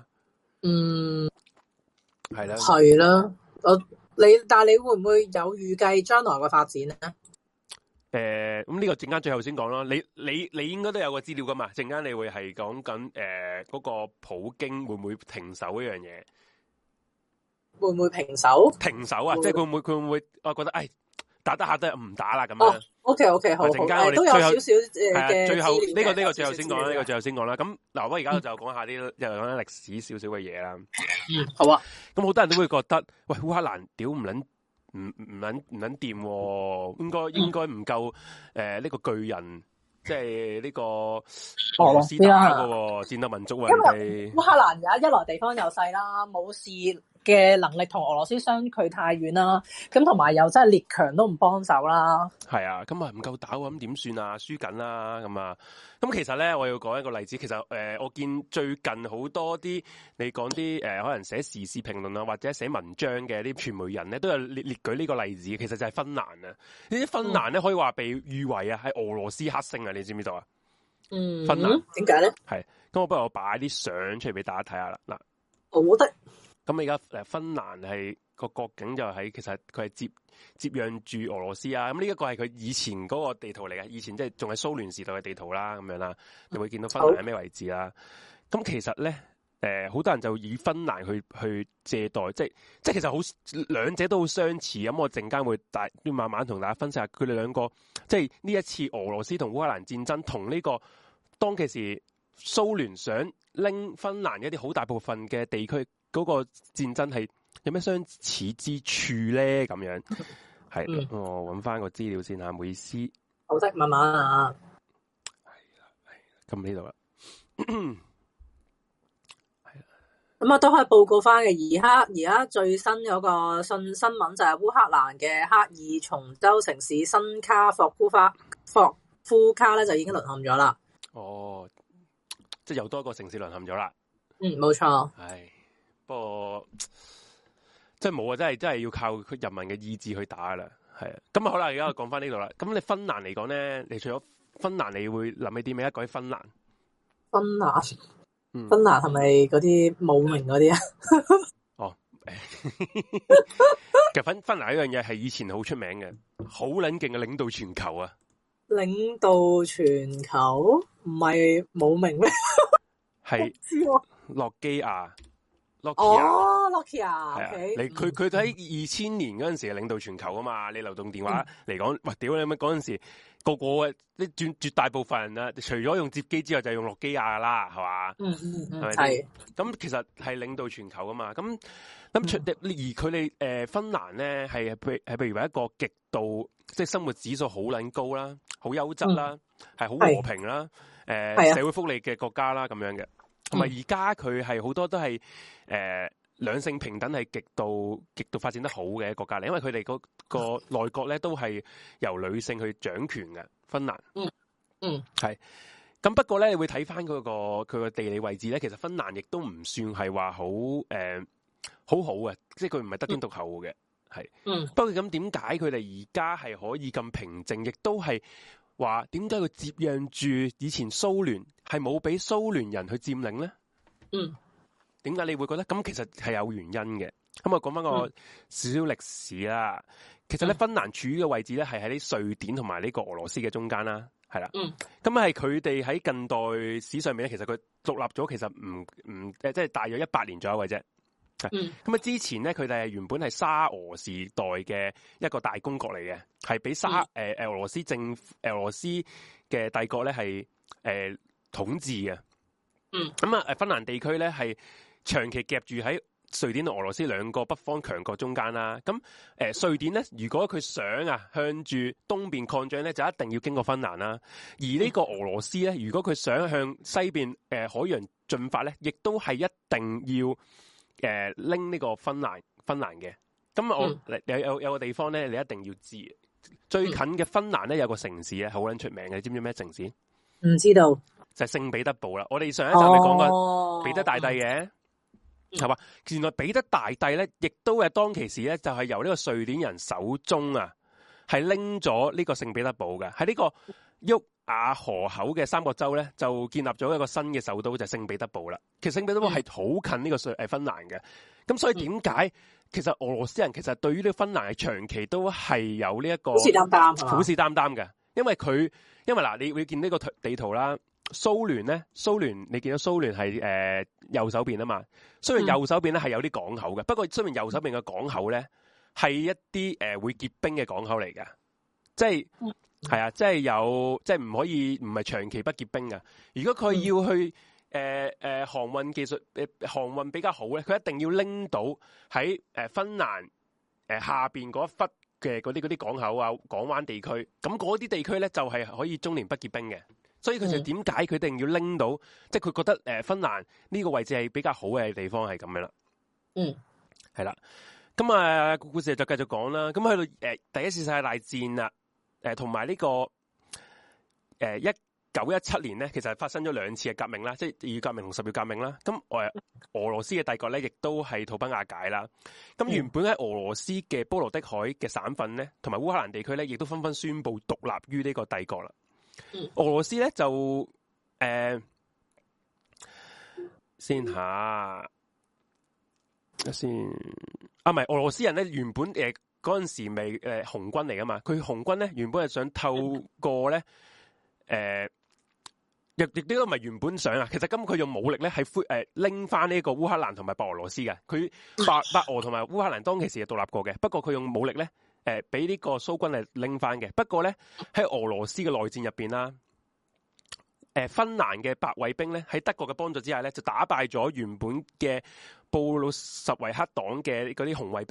係啦， 係啦，但係你會唔會有預計將來嘅發展咧？ 咁呢個陣間最後先講咯。你應該都有個資料噶嘛？陣間你會係講緊嗰個普京會唔會停手呢樣嘢？ 會唔會平手？ 停手啊！即係佢會唔會？我覺得打得下都係唔打啦咁樣。 OK，好。陣間我哋都有少少嘅最後呢個最後先講啦。呢個最後先講啦。咁嗱，我而家就講下啲又講啲歷史少少嘅嘢啦。 好啊。 咁好多人都會覺得，喂，烏克蘭屌唔撚掂，應該唔夠呢個巨人，即係呢個俄羅斯打嘅戰鬥民族啊！ 因為烏克蘭而家一來地方又細啦，冇事嘅能力同俄羅斯相距太遠啦，咁同埋又真係列強都唔幫手啦。係啊，咁啊唔夠打喎，咁點算啊？輸緊啦，咁啊，咁其實咧，我要講一個例子。其實我見最近好多啲你講啲可能寫時事評論啊，或者寫文章嘅啲傳媒人咧，都有列舉呢個例子。其實就係芬蘭啊，呢啲芬蘭咧可以話被譽為啊係俄羅斯黑星啊，你知唔知道啊？芬蘭點解咧？ 係，咁我不如我擺啲相出嚟俾大家睇下啦。嗱， 好得。咁而家芬蘭係個國境就喺，其實佢係接壤住俄羅斯啊。咁呢一個係佢以前嗰個地圖嚟嘅，以前即係仲係蘇聯時代嘅地圖啦，咁樣啦，你會見到芬蘭喺咩位置啦。咁其實咧，好多人就以芬蘭去借代，即係其實好兩者都好相似。咁我陣間會慢慢同大家分析下佢哋兩個，即係呢一次俄羅斯同烏克蘭戰爭同呢個當其時蘇聯想拎芬蘭一啲好大部分嘅地區。嗰個戰爭係有咩相似之處咧？咁樣係，我揾翻個資料先吓，唔好意思。 好的，慢慢啊。 咁呢度啦。 咁啊，都可以報告翻嘅。而家最新嗰個新聞就係烏克蘭嘅克爾松州城市新卡霍夫卡咧就已經淪陷咗啦。 哦，即係又多一個城市淪陷咗啦。 冇錯。 唉，不過即係冇啊，真係要靠佢人民嘅意志去打啦。係啊，咁啊好啦，而家我講翻呢度啦。咁你芬蘭嚟講咧，你除咗芬蘭，你會諗起啲咩？講起芬蘭。 芬蘭係咪嗰啲冇名嗰啲啊？ 哦，其實芬蘭呢樣嘢係以前好出名嘅，好撚勁嘅領導全球啊！ 領導全球唔係冇名咩？ 係諾基亞。 Nokia 係啊，佢喺2000年嗰陣時係領導全球啊嘛。你流動電話嚟講，哇屌你乜嗰陣時個個嘅啲絕大部分人啊，除咗用摺機之外，就係用諾基亞啦，係嘛？係咪？係。咁其實係領導全球啊嘛。咁而佢哋芬蘭咧係譬如話一個極度即係生活指數好撚高啦，好優質啦，係好和平啦，社會福利嘅國家啦咁樣嘅。同埋而家佢係好多都係兩性平等，係極度發展得好嘅國家嚟，因為佢哋嗰個內閣咧都係由女性去掌權嘅。芬蘭，係。咁不過咧，你會睇翻佢個地理位置咧，其實芬蘭亦都唔算係話好好嘅，即係佢唔係得天獨厚嘅，係。不過咁點解佢哋而家係可以咁平靜，亦都係話點解佢接壤住以前蘇聯？係冇俾蘇聯人去佔領咧？點解你會覺得咁？其實係有原因嘅。咁我講翻個少少歷史啦。其實咧，芬蘭處於嘅位置咧，係喺啲瑞典同埋呢個俄羅斯嘅中間啦，係啦。咁係佢哋喺近代史上面咧，其實佢獨立咗，其實即係大約100年左右嘅啫。咁之前咧，佢哋係原本係沙俄時代嘅一個大公國嚟嘅，係俾俄羅斯俄羅斯嘅帝國咧係統治嘅。芬蘭地區咧係長期夾住喺瑞典同俄羅斯兩個北方強國中間啦。咁瑞典咧，如果佢想向住東邊擴張咧，就一定要經過芬蘭啦。而呢個俄羅斯咧，如果佢想向西邊海洋進發咧，亦都係一定要拎呢個芬蘭嘅。咁我有個地方咧，你一定要知。最近嘅芬蘭咧有個城市咧，好撚出名嘅，你知唔知咩城市？ 唔知道。就係聖彼得堡啦。我哋上一集咪講過彼得大帝嘅，係嘛？原來彼得大帝咧，亦都係當其時咧，就係由呢個瑞典人手中係拎咗呢個聖彼得堡嘅。喺呢個沃亞河口嘅三角洲咧，就建立咗一個新嘅首都，就係聖彼得堡啦。其實聖彼得堡係好近呢個芬蘭嘅。咁所以點解其實俄羅斯人其實對於呢個芬蘭係長期都係有呢一個虎視眈眈嘅，因為嗱，你會見呢個地圖啦。蘇聯你見到蘇聯係右手邊啊嘛，雖然右手邊咧係有啲港口嘅，不過雖然右手邊嘅港口咧係一啲會結冰嘅港口嚟嘅，即係係啊，即係有即係唔可以唔係長期不結冰嘅。如果佢要去航運技術航運比較好咧，佢一定要拎到喺芬蘭下邊嗰一忽嘅嗰啲港口啊、港灣地區，咁嗰啲地區咧就係可以終年不結冰嘅。所以佢就點解佢一定要拎到，即係佢覺得芬蘭呢個位置係比較好嘅地方係咁樣啦。係啦。咁個故事就繼續講啦。咁去到第一次世界大戰啦，同埋呢個1917年咧，其實係發生咗2次嘅革命啦，即係2月革命同10月革命啦。咁俄羅斯嘅帝國咧，亦都係土崩瓦解啦。咁原本喺俄羅斯嘅波羅的海嘅省份咧，同埋烏克蘭地區咧，亦都紛紛宣布獨立於呢個帝國啦。俄羅斯咧就先下先唔係俄羅斯人咧，原本嗰陣時未紅軍嚟噶嘛，佢紅軍咧原本係想透過咧亦都唔係原本想啊，其實咁佢用武力咧係拎翻呢個烏克蘭同埋白俄羅斯嘅，佢白俄同埋烏克蘭當其時係獨立過嘅，不過佢用武力咧。俾呢個蘇軍嚟拎翻嘅，不過咧喺俄羅斯嘅內戰入邊啦，芬蘭嘅白衛兵咧喺德國嘅幫助之下咧，就打敗咗原本嘅布魯什維克黨嘅嗰啲紅衛兵，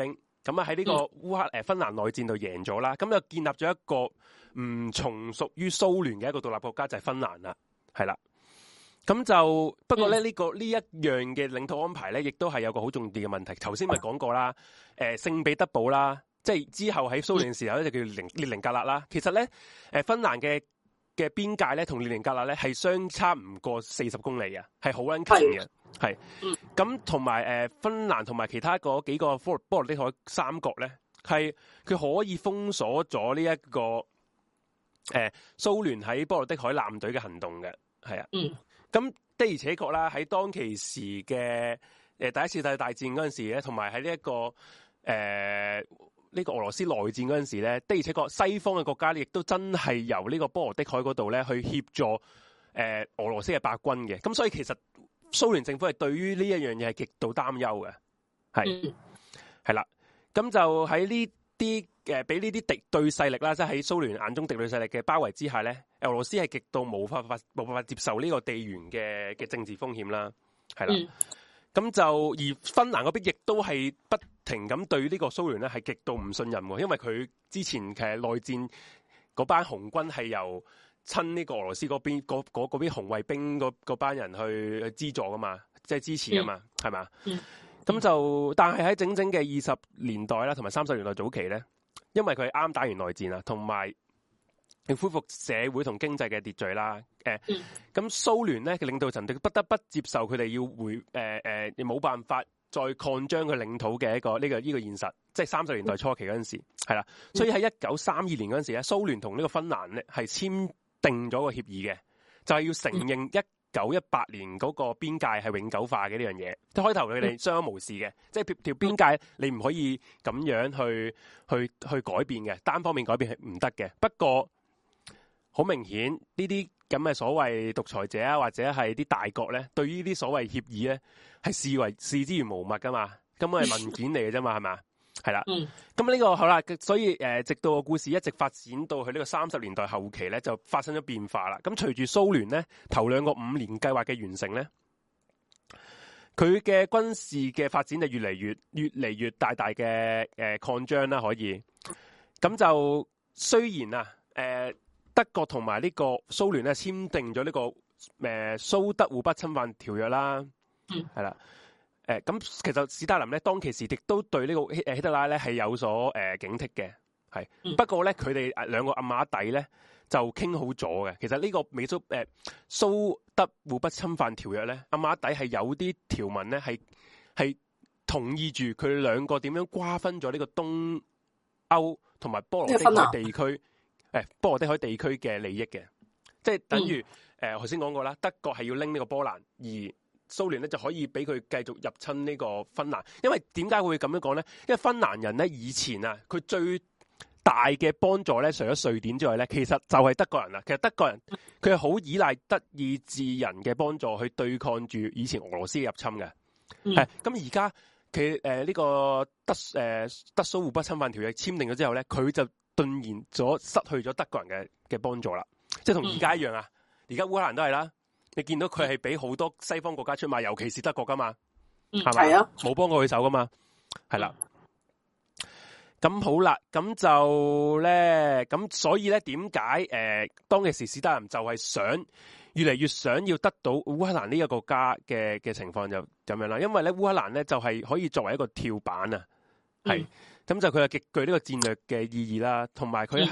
咁啊喺呢個芬蘭內戰度贏咗啦，咁就建立咗一個唔從屬於蘇聯嘅一個獨立國家，就係芬蘭啦，係啦。咁就不過咧呢一樣嘅領土安排咧，亦都係有個好重要嘅問題。頭先咪講過啦，聖彼得堡啦，即係之後喺蘇聯嘅時候咧就叫列寧格勒啦。其實咧芬蘭嘅邊界咧同列寧格勒咧係相差唔過40公里嘅，係好撚近嘅。係，咁同埋芬蘭同埋其他嗰幾個波羅的海三國咧，係佢可以封鎖咗呢一個蘇聯喺波羅的海艦隊嘅行動嘅，係啊。咁的而且確啦，喺當其時嘅第一次世界大戰嗰陣時咧，同埋喺呢一個呢個俄羅斯內戰嗰陣時咧，的而且確西方嘅國家亦都真係由呢個波羅的海嗰度咧去協助俄羅斯嘅白軍嘅。咁所以其實蘇聯政府係對於呢一樣嘢係極度擔憂嘅，係啦。咁就喺呢啲俾呢啲敵對勢力啦，即係喺蘇聯眼中敵對勢力嘅包圍之下咧，俄羅斯係極度冇辦法接受呢個地緣嘅政治風險啦，係啦。咁就而芬蘭嗰邊亦都係不停咁對呢個蘇聯咧係極度唔信任喎，因為佢之前其實內戰嗰班紅軍係由親呢個俄羅斯嗰邊嗰邊紅衛兵嗰班人去資助噶嘛，即係支持噶嘛，係嘛？咁就但係喺整整嘅20年代啦，同埋30年代早期咧，因為佢啱打完內戰啦，同埋要恢復社會同經濟嘅秩序啦。咁蘇聯咧嘅領導層不得不接受佢哋要冇辦法再擴張佢領土嘅一個呢個現實，即係30年代初期嗰陣時係啦。所以喺1932年嗰陣時咧，蘇聯同呢個芬蘭咧係簽訂咗個協議嘅，就係要承認1918年嗰個邊界係永久化嘅呢樣嘢。即係開頭佢哋相安無事嘅，即係條邊界你唔可以咁樣去改變嘅，單方面改變係唔得嘅。不過好明顯呢啲咁嘅所謂獨裁者啊，或者係啲大國咧，對於呢啲所謂協議咧係視之如無物噶嘛，根本係文件嚟嘅啫嘛，係嘛？係啦，咁呢個好啦，所以直到個故事一直發展到去呢個30年代後期咧，就發生咗變化啦。咁隨住蘇聯咧頭兩個5年計劃嘅完成咧，佢嘅軍事嘅發展就越嚟越大嘅擴張啦，可以。咁就雖然啊，德國同埋呢個蘇聯咧簽訂咗呢個蘇德互不侵犯條約啦，係啦。咁其實史達林咧當其時亦都對呢個希特拉咧係有所警惕嘅，係。不過咧佢哋兩個暗碼底咧就傾好咗嘅。其實呢個蘇德互不侵犯條約咧，暗碼底係有啲條文咧係同意住佢哋兩個點樣瓜分咗呢個東歐同埋波羅的海地區波羅的海地區嘅利益嘅，即係等於頭先講過啦，德國係要拎呢個波蘭而。蘇聯咧就可以俾佢繼續入侵呢個芬蘭，因為點解會咁樣講咧？因為芬蘭人咧以前啊，佢最大嘅幫助咧，除咗瑞典之外咧，其實就係德國人啦。其實德國人佢係好依賴德意志人嘅幫助去對抗住以前俄羅斯嘅入侵嘅。咁而家佢呢個德蘇互不侵犯條約簽訂咗之後咧，佢就頓然咗失去咗德國人嘅幫助啦。即係同而家一樣啊！而家烏克蘭都係啦。你見到佢係俾好多西方國家出賣，尤其是德國噶嘛，係咪？係啊，冇幫過佢手噶嘛，係啦。咁好啦，咁就咧，咁所以咧，點解當其時史達林就係越嚟越想要得到烏克蘭呢個國家嘅情況就咁樣啦？因為咧烏克蘭咧就係可以作為一個跳板啊，係咁就佢係極具呢個戰略嘅意義啦，同埋佢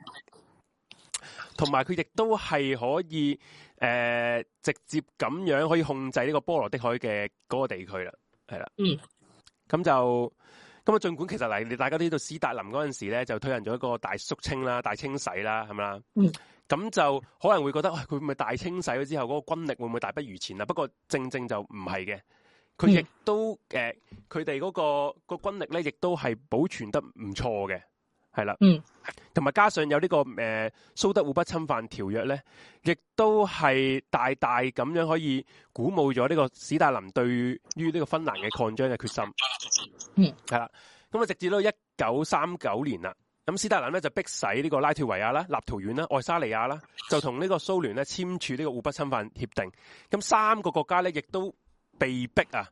亦都係可以。直接咁樣可以控制呢個波羅的海嘅嗰個地區啦，係啦，咁啊，儘管其實你大家都知道史達林嗰陣時咧就推行咗一個大肅清啦、大清洗啦，係咪啦？咁就可能會覺得，佢咪大清洗咗之後，嗰個軍力會唔會大不如前啊？不過正就唔係嘅，佢亦都佢哋嗰個軍力咧，亦都係保存得唔錯嘅。係啦，同埋加上有呢個蘇德互不侵犯條約咧，亦都係大咁樣可以鼓舞咗呢個史達林對於呢個芬蘭嘅擴張嘅決心。係啦，咁啊直至到1939年啦，咁史達林咧就逼使呢個拉脫維亞啦、立陶宛啦、愛沙尼亞啦，就同呢個蘇聯咧簽署呢個互不侵犯協定。咁3個國家咧亦都被逼啊，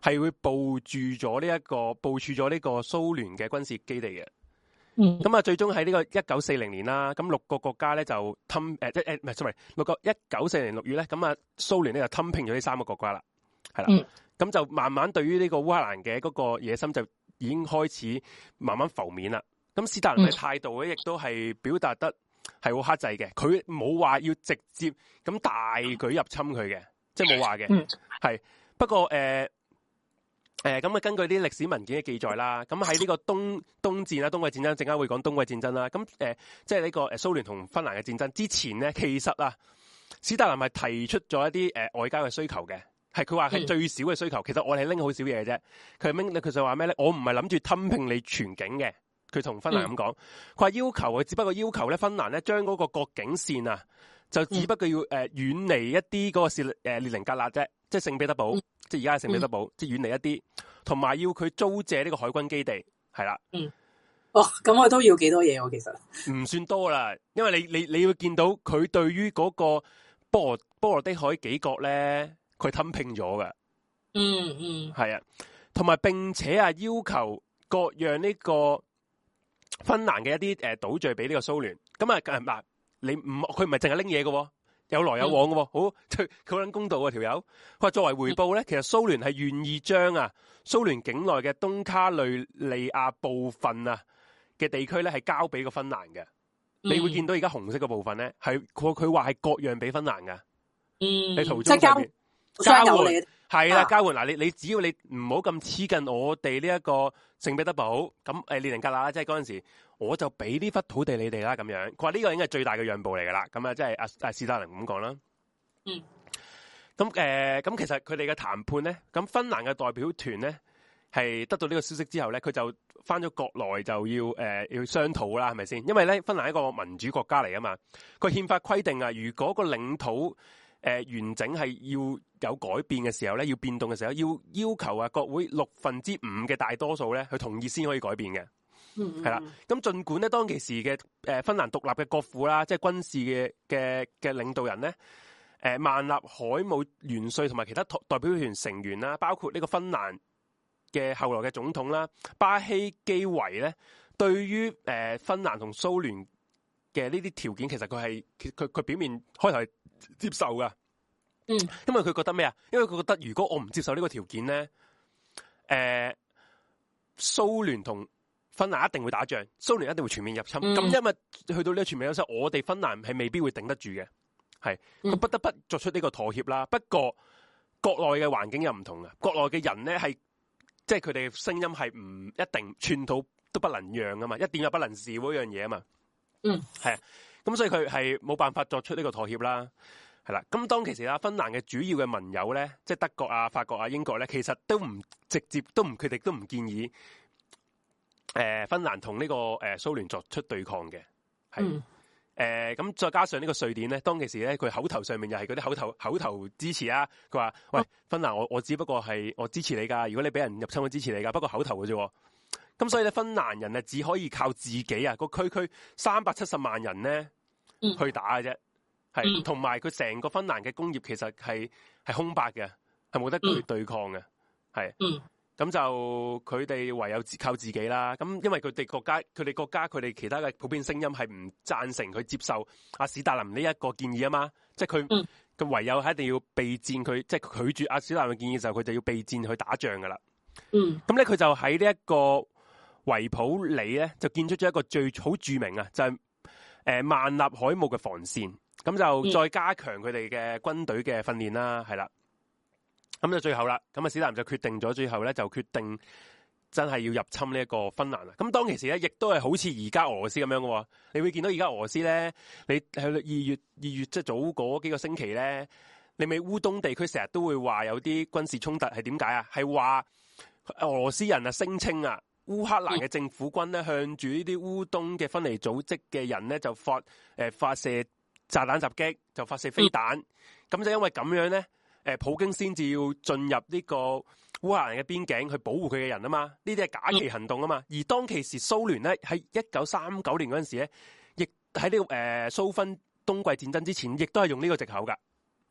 係會部署咗呢個蘇聯嘅軍事基地嘅。咁啊，最終喺呢個1940年啦，咁6個國家咧就吞1940年6月咧，咁啊蘇聯咧就吞併咗呢3個國家啦，係啦，咁就慢慢對於呢個烏克蘭嘅嗰個野心就已經開始慢慢浮面啦。咁斯大林嘅態度咧，亦都係表達得係好克制嘅，佢冇話要直接咁大舉入侵佢嘅，即係冇話嘅，係不過咁啊，根據啲歷史文件嘅記載啦，咁喺呢個冬戰啦、冬季戰爭，陣間會講冬季戰爭啦。咁即係呢個蘇聯同芬蘭嘅戰爭之前咧，其實啊，史達林係提出咗一啲外交嘅需求嘅，係佢話係最少嘅需求。其實我哋係拎好少嘢嘅啫。佢就話咩咧？我唔係諗住吞併你全境嘅。佢同芬蘭咁講，佢話要求佢只不過要求咧，芬蘭咧將嗰個國境線啊，就只不過要遠離一啲嗰個列寧格勒啫，即係聖彼得堡。即係而家係聖彼得堡，即係遠離一啲，同埋要佢租借呢個海軍基地，係啦。 咁我都要幾多嘢喎？其實唔算多啦，因為你會見到佢對於嗰個波羅的海幾國咧，佢吞併咗噶。係啊，同埋並且啊要求割讓呢個芬蘭嘅一啲島嶼俾呢個蘇聯。咁啊嗱，佢唔係淨係拎嘢嘅。有來有往嘅，好佢好捻公道啊條友。佢話作為回報咧，其實蘇聯係願意將啊蘇聯境內嘅東卡雷利亞部分啊嘅地區咧係交俾個芬蘭嘅。你會見到而家紅色嘅部分咧係佢話係割讓俾芬蘭嘅。你途中上面交換係啦，交換嗱，你只要你唔好咁黐近我哋呢一個聖彼得堡咁列寧格勒，即係嗰陣時我就俾呢忽土地你哋啦咁樣。佢話呢個已經係最大嘅讓步嚟噶啦。咁啊，即係斯大林咁講啦。咁其實佢哋嘅談判咧，咁芬蘭嘅代表團咧係得到呢個消息之後咧，佢就翻咗國內就要商討啦，係咪先？因為咧芬蘭係一個民主國家嚟啊嘛，佢憲法規定啊，如果個領土完整係要有改變嘅時候咧，要變動嘅時候，要求啊國會5%嘅大多數咧去同意先可以改變嘅。係啦，咁儘管咧當其時嘅芬蘭獨立嘅國父啦，即係軍事嘅領導人咧，萬納海姆元帥同埋其他代表團成員啦，包括呢個芬蘭嘅後來嘅總統啦，巴希基維咧，對於芬蘭同蘇聯嘅呢啲條件，其實佢表面開頭係接受噶。因為佢覺得咩啊？因為佢覺得如果我唔接受呢個條件咧，蘇聯同芬蘭一定會打仗，蘇聯一定會全面入侵。咁因為去到呢個全面入侵，我哋芬蘭係未必會頂得住嘅，係佢不得不作出呢個妥協啦。不過國內嘅環境又唔同啊，國內嘅人咧係即係佢哋嘅聲音係唔一定寸土都不能讓啊嘛，一點也不能少嗰樣嘢啊嘛。係啊，咁所以佢係冇辦法作出呢個妥協啦。係啦，咁當其時啦，芬蘭嘅主要嘅盟友咧，即係德國啊、法國啊、英國咧，其實都唔直接佢哋都唔建議芬蘭同呢個蘇聯作出對抗嘅。係咁再加上呢個瑞典咧，當其時咧佢口頭上面又係嗰啲口頭支持啊，佢話喂，芬蘭我只不過係我支持你噶，如果你俾人入侵我支持你噶，不過口頭嘅啫。咁所以咧芬蘭人啊只可以靠自己啊，個區370萬人咧去打嘅啫。係，同埋佢成個芬蘭嘅工業其實係空白嘅，係冇得對抗嘅，係。咁就佢哋唯有靠自己啦。咁因為佢哋國家佢哋其他嘅普遍聲音係唔贊成佢接受阿史達林呢一個建議啊嘛。即係佢唯有係一定要備戰佢，即係拒絕阿史達林嘅建議嘅時候，佢就要備戰去打仗噶啦。咁咧佢就喺呢一個維普里咧就建出咗一個最好著名啊，就係萬納海姆嘅防線。咁就再加強佢哋嘅軍隊嘅訓練啦，係啦。咁就最後啦，咁啊史達林就決定咗，最後咧就決定真係要入侵呢一個芬蘭啦。咁當其時咧，亦都係好似而家俄羅斯咁樣嘅。你會見到而家俄羅斯咧，你喺二月即係早嗰幾個星期咧，你咪烏東地區成日都會話有啲軍事衝突，係點解啊？係話俄羅斯人啊聲稱啊，烏克蘭嘅政府軍咧向住呢啲烏東嘅分離組織嘅人咧就發射炸彈襲擊，就發射飛彈。咁就因為咁樣咧。普京先至要進入呢個烏克蘭嘅邊境去保護佢嘅人啊嘛，呢啲係假期行動啊嘛。而當其時蘇聯咧喺1939年嗰陣時咧，亦喺呢個蘇芬冬季戰爭之前，亦都係用呢個藉口噶。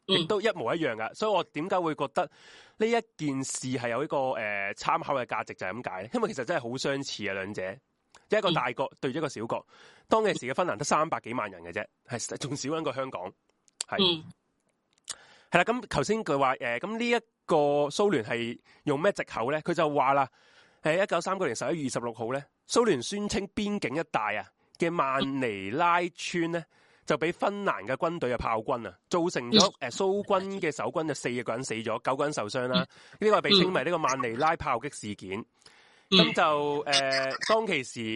亦都一模一樣噶。所以我點解會覺得呢一件事係有一個參考嘅價值，就係咁解咧。因為其實真係好相似啊，兩者一個大國對一個小國。當其時嘅芬蘭得300幾萬人嘅啫，係仲少過香港。係係啦，咁頭先佢話咁呢一個蘇聯係用咩藉口咧？佢就話啦，1939年11月26號咧，蘇聯宣稱邊境一帶啊嘅曼尼拉村咧，就俾芬蘭嘅軍隊嘅炮轟啊，造成咗蘇軍嘅守軍就4個人死咗，9個人受傷啦。呢個係被稱為呢個曼尼拉炮擊事件。咁就當其時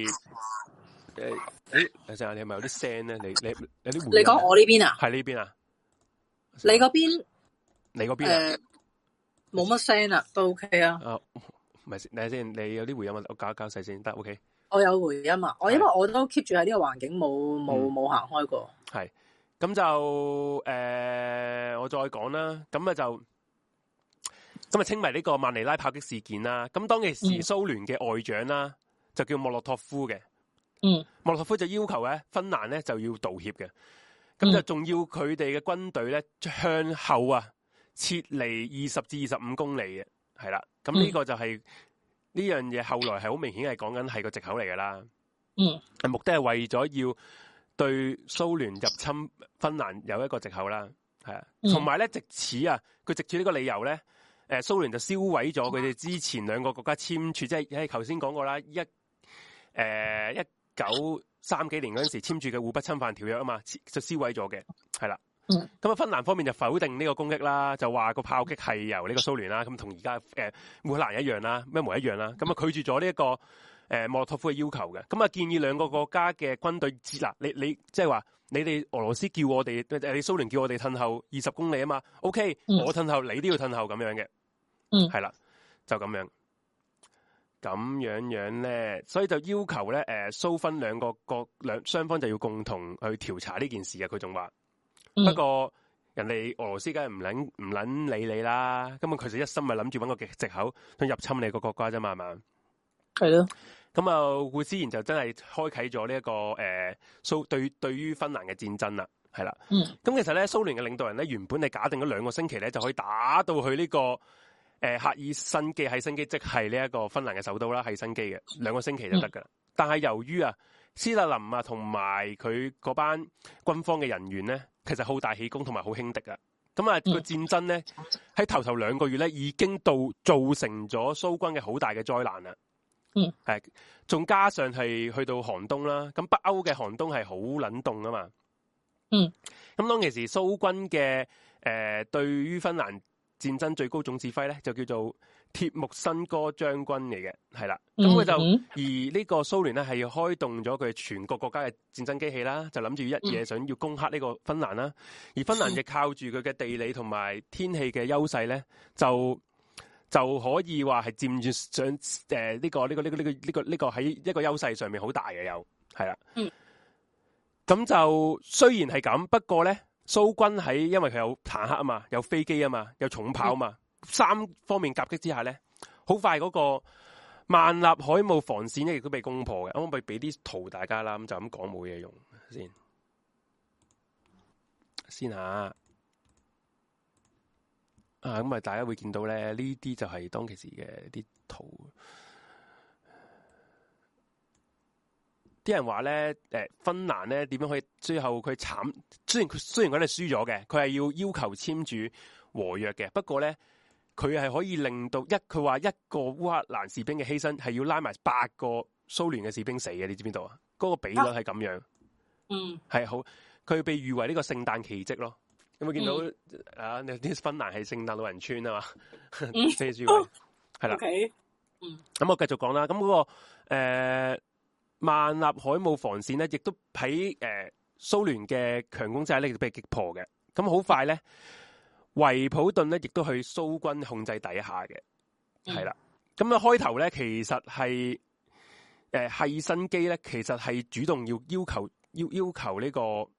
等陣，你係咪有啲聲咧？你有啲回？ 你講我呢邊啊？ 係呢邊啊？ 你嗰邊？ 你嗰邊啊？ 冇乜聲啊，都 OK 啊。 唔係，等下先，你有啲回音啊，我搞一搞細先得 OK。 我有回音啊，因為我都 keep 住喺呢個環境，冇行開過。 係，咁就我再講啦。咁啊稱為呢個曼尼拉炮擊事件啦。咁當其時蘇聯嘅外長啦，就叫莫洛托夫嘅。莫洛托夫就要求咧芬蘭咧就要道歉嘅。咁就仲要佢哋嘅軍隊咧向後啊撤離20至25公里嘅，係啦。咁呢個就係呢樣嘢，後來係好明顯係講緊係個藉口嚟噶啦。目的係為咗要對蘇聯入侵芬蘭有一個藉口啦，係啊。同埋咧，藉此啊，佢藉住呢個理由咧，蘇聯就銷毀咗佢哋之前兩個國家簽署，即係頭先講過啦，1930幾年嗰陣時簽署嘅互不侵犯條約啊嘛，就銷毀咗嘅，係啦。咁啊，芬蘭方面就否定呢個攻擊啦，就話個炮擊係由呢個蘇聯啦，咁同而家烏克蘭一樣啦，一模一樣啦。咁啊拒絕咗呢一個莫洛托夫嘅要求嘅，咁啊建議兩個國家嘅軍隊嗱，你即係話你哋俄羅斯叫我哋你蘇聯叫我哋褪後20公里啊嘛 ，OK，我褪後你都要褪後咁樣嘅，係啦，就咁樣。咁樣咧，所以就要求咧，蘇芬兩雙方就要共同去調查呢件事嘅。佢仲話，不過人哋俄羅斯梗係唔撚理你啦，根本佢就一心咪諗住搵個藉口想入侵你個國家啫嘛，係嘛？係咯。咁啊，顧思賢就真係開啟咗呢一個對於芬蘭嘅戰爭啦，係啦。咁其實咧，蘇聯嘅領導人咧原本係假定咗2個星期咧就可以打到去呢個。赫爾辛基即係呢一個芬蘭嘅首都啦，赫爾辛基嘅2個星期就得噶啦。但係由於啊，斯大林啊同埋佢嗰班軍方嘅人員咧，其實好大喜功同埋好輕敵啊。咁啊個戰爭咧喺頭2個月咧已經造成咗蘇軍嘅好大嘅災難啦。係，仲加上係去到寒冬啦。咁北歐嘅寒冬係好冷凍啊嘛。咁當其時蘇軍嘅對於芬蘭戰爭最高總指揮咧就叫做鐵木辛哥將軍嚟嘅，係啦。咁佢就而呢個蘇聯咧係要開動咗佢全國國家嘅戰爭機器啦，就諗住一嘢想要攻克呢個芬蘭啦。而芬蘭亦靠住佢嘅地理同埋天氣嘅優勢咧，就可以話係佔住上呢個喺一個優勢上面好大嘅，又係啦。咁就雖然係咁，不過咧。蘇軍喺因為佢有坦克啊嘛，有飛機啊嘛，有重炮啊嘛，3方面夾擊之下咧，好快嗰個萬立海姆防線咧亦都被攻破嘅。咁我咪俾啲圖大家啦，咁就咁講冇嘢用先吓。咁啊大家會見到咧，呢啲就係當其時嘅啲圖。啲人話咧，芬蘭咧點樣可以最後佢慘？雖然佢哋輸咗嘅，佢係要求簽署和約嘅。不過咧，佢係可以令到佢話一個烏克蘭士兵嘅犧牲係要拉埋8個蘇聯嘅士兵死嘅。你知邊度啊？嗰個比率係咁樣。係好，佢被譽為呢個聖誕奇蹟咯。有冇見到啊？啲芬蘭係聖誕老人村啊嘛？遮住佢係啦。咁我繼續講啦。咁嗰個萬納海姆防線咧，亦都喺蘇聯嘅強攻之下咧，亦都被擊破嘅。咁好快咧，維普頓咧，亦都去蘇軍控制底下嘅，係啦。咁啊開頭咧，其實係赫爾辛基咧，其實係主動要求呢個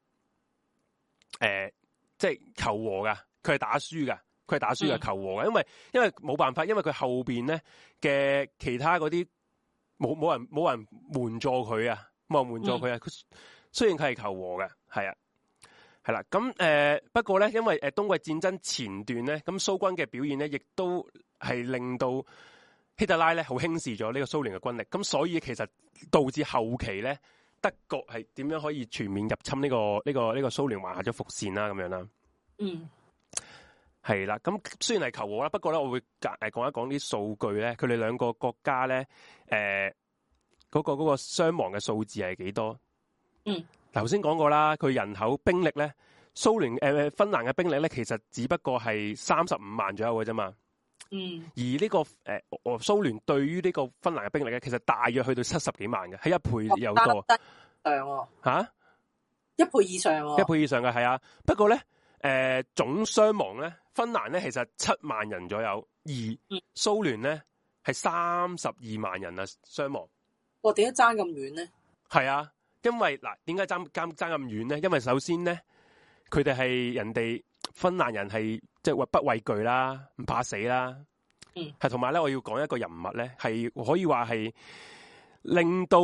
即係求和噶，佢係打輸噶，求和噶，因為冇辦法，因為佢後邊咧嘅其他嗰啲。冇人援助佢啊！冇人援助佢啊！雖然佢係求和嘅，係係啦，咁不過咧，因為冬季戰爭前段咧，咁蘇軍嘅表現咧，亦都係令到希特拉咧好輕視咗呢個蘇聯嘅軍力，咁所以其實導致後期咧，德國係點樣可以全面入侵呢個蘇聯，還下咗伏線啦，咁樣啦。 嗯， 係啦，咁雖然係求和啦，不過咧，我會講一講啲數據咧，佢哋兩個國家咧，嗰個傷亡嘅數字係幾多？ 嗯。 頭先講過啦，佢人口兵力咧，蘇聯芬蘭嘅兵力咧，其實只不過係35萬左右嘅啫嘛。 嗯。而呢個蘇聯對於呢個芬蘭嘅兵力咧，其實大約去到70幾萬嘅，係1倍有多。嚇？1倍以上喎。1倍以上嘅係啊，不過咧總傷亡咧，芬蘭咧其實7萬人左右，而蘇聯咧係32萬人啊傷亡。 哇！點解爭咁遠咧？ 係啊。因為嗱，點解爭咁遠咧？因為首先咧，佢哋係人哋芬蘭人係即係不畏懼啦，唔怕死啦。係同埋咧，我要講一個人物咧，係可以話係令到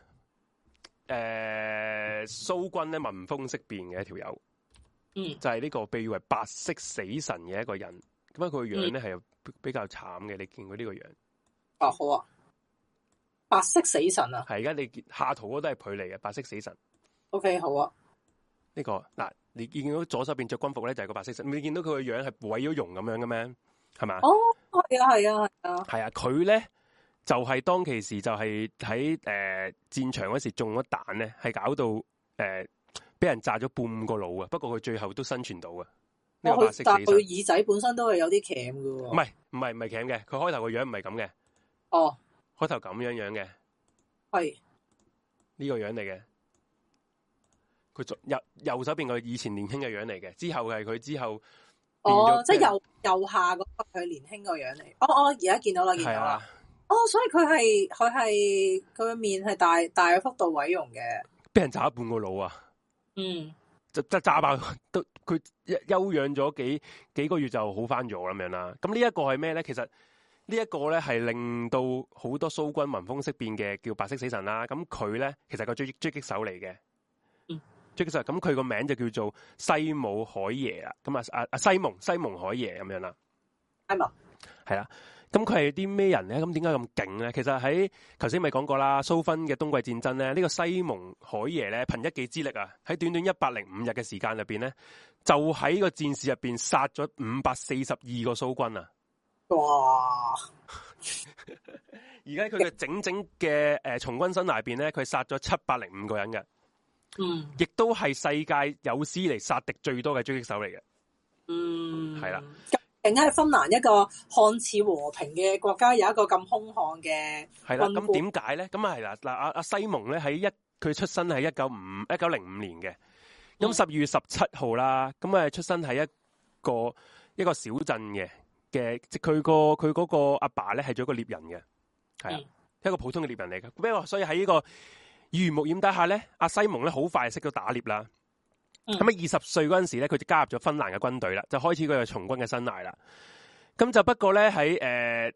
蘇軍咧聞風色變嘅一條友。就係呢個被譽為白色死神嘅一個人。咁佢個樣咧係比較慘嘅，你見佢呢個樣。 哦，好啊。白色死神啊， 係而家你下圖嗰都係佢嚟嘅白色死神。 OK， 好啊。 呢個嗱，你見到左手邊着軍服咧就係個白色神，你見到佢個樣係毀咗容咁樣嘅咩？係咪？ 哦，係啊，係啊，係啊。 係啊，佢咧就係當其時就係喺戰場嗰時中咗彈咧，係搞到俾人炸咗半個腦啊！不過佢最後都生存到啊。呢個白色死神。但佢耳仔本身都係有啲鉗嘅喎。 唔係鉗嘅，佢開頭個樣唔係咁嘅。 哦。 開頭咁樣嘅， 係呢個樣嚟嘅。佢右手邊個以前年輕嘅樣嚟嘅，之後係佢之後。 即係右下嗰個佢年輕個樣嚟。而家見到啦，見到啦。所以佢係個面係大幅度毀容嘅， 俾人炸咗半個腦啊！就炸爆都，佢休養咗幾個月就好翻咗咁樣啦。咁呢一個係咩咧？其實。呢一個咧係令到好多蘇軍聞風色變嘅，叫白色死神啦。咁佢咧其實個狙擊手嚟嘅，狙擊手。咁佢個名就叫做西姆海耶啦。咁西蒙海耶咁樣啦。係啦。咁佢係啲咩人咧？咁點解咁勁咧？其實喺頭先咪講過啦，蘇芬嘅冬季戰爭咧，呢個西蒙海耶咧憑一己之力啊，喺短短105日嘅時間入邊咧，就喺個戰事入邊殺咗542個蘇軍啊！ 哇！ 而家佢嘅整嘅從軍生涯入邊咧，佢殺咗705個人嘅，亦都係世界有史嚟殺敵最多嘅狙擊手嚟嘅，係啦。 勁喺芬蘭一個看似和平嘅國家，有一個咁兇悍嘅係啦。咁點解咧？咁啊係啦，嗱阿西蒙咧佢出生係1905年嘅，咁12月17號啦，咁啊出生喺一個小鎮嘅。即佢嗰個阿爸咧係做一個獵人嘅，係啊，一個普通嘅獵人嚟嘅。不過所以喺呢個耳濡目染底下咧，阿西蒙咧好快就識到打獵啦。咁喺20歲嗰陣時咧，佢就加入咗芬蘭嘅軍隊啦，就開始佢嘅從軍嘅生涯啦。咁就不過咧喺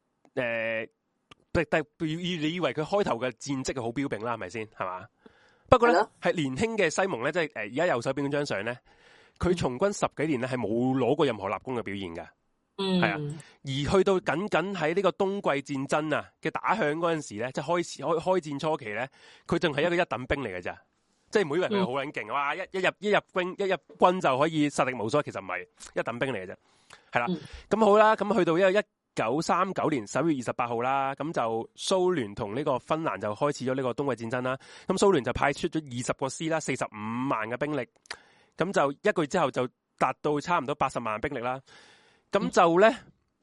你以為佢開頭嘅戰績係好彪炳啦，係咪先？係嘛？不過咧係年輕嘅西蒙咧，即係而家右手邊嗰張相咧，佢從軍10幾年咧係冇攞過任何立功嘅表現㗎。係啊，而去到僅喺呢個冬季戰爭啊嘅打響嗰陣時咧，即係開戰初期咧，佢仲係一個一等兵嚟嘅咋，即係唔好以為佢好撚勁，哇！一入軍就可以殺敵無數，其實唔係一等兵嚟嘅啫。係啦，咁好啦，咁去到1939年11月28號啦，咁就蘇聯同呢個芬蘭就開始咗呢個冬季戰爭啦。咁蘇聯就派出咗20個師啦，45萬嘅兵力，咁就一個月之後就達到差唔多80萬兵力啦。咁就咧，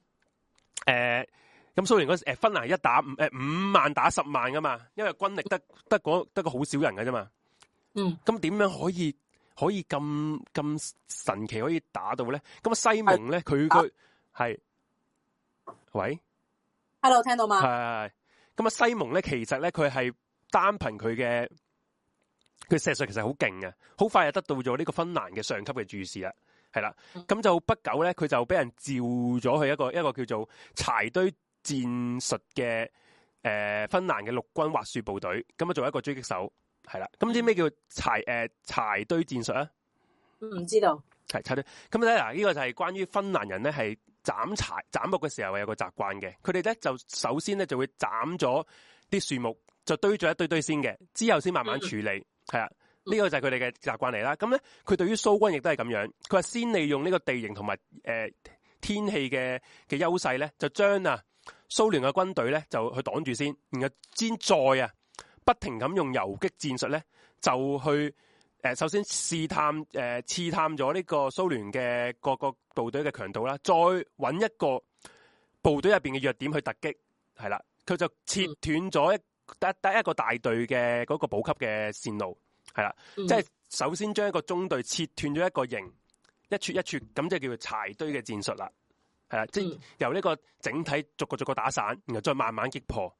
咁蘇聯嗰時芬蘭一打5萬打10萬噶嘛，因為軍力得個好少人嘅啫嘛。咁點樣可以咁神奇可以打到咧？咁啊西蒙咧，佢係喂 ，hello 聽到嗎？ 係。咁啊西蒙咧，其實咧佢係單憑佢射術其實好勁嘅，好快就得到咗呢個芬蘭嘅上級嘅注視啦。係啦，咁就不久咧，佢就俾人召咗去一個叫做柴堆戰術嘅芬蘭嘅陸軍滑雪部隊，咁啊做一個狙擊手，係啦。咁知咩叫柴堆戰術啊？ 唔知道。 係插隊。咁咧嗱，呢個就係關於芬蘭人咧係斬木嘅時候有個習慣嘅。佢哋咧就首先咧就會斬咗啲樹木，就堆咗一堆先嘅，之後先慢慢處理。係啊，呢個就係佢哋嘅習慣嚟啦。咁咧，佢對於蘇軍亦都係咁樣。佢話先利用呢個地形同埋天氣嘅優勢咧，就將蘇聯嘅軍隊咧就去擋住先，然後先再不停咁用游擊戰術咧，就去首先試探咗呢個蘇聯嘅各個部隊嘅強度啦，再揾一個部隊入邊嘅弱點去突擊，係啦，佢就切斷咗第一個大隊嘅嗰個補給嘅線路，係啦，即係首先將一個中隊切斷咗一個營，一撮一撮咁就叫做柴堆嘅戰術啦，係啦，即係由呢個整體逐個打散，然後再慢慢擊破。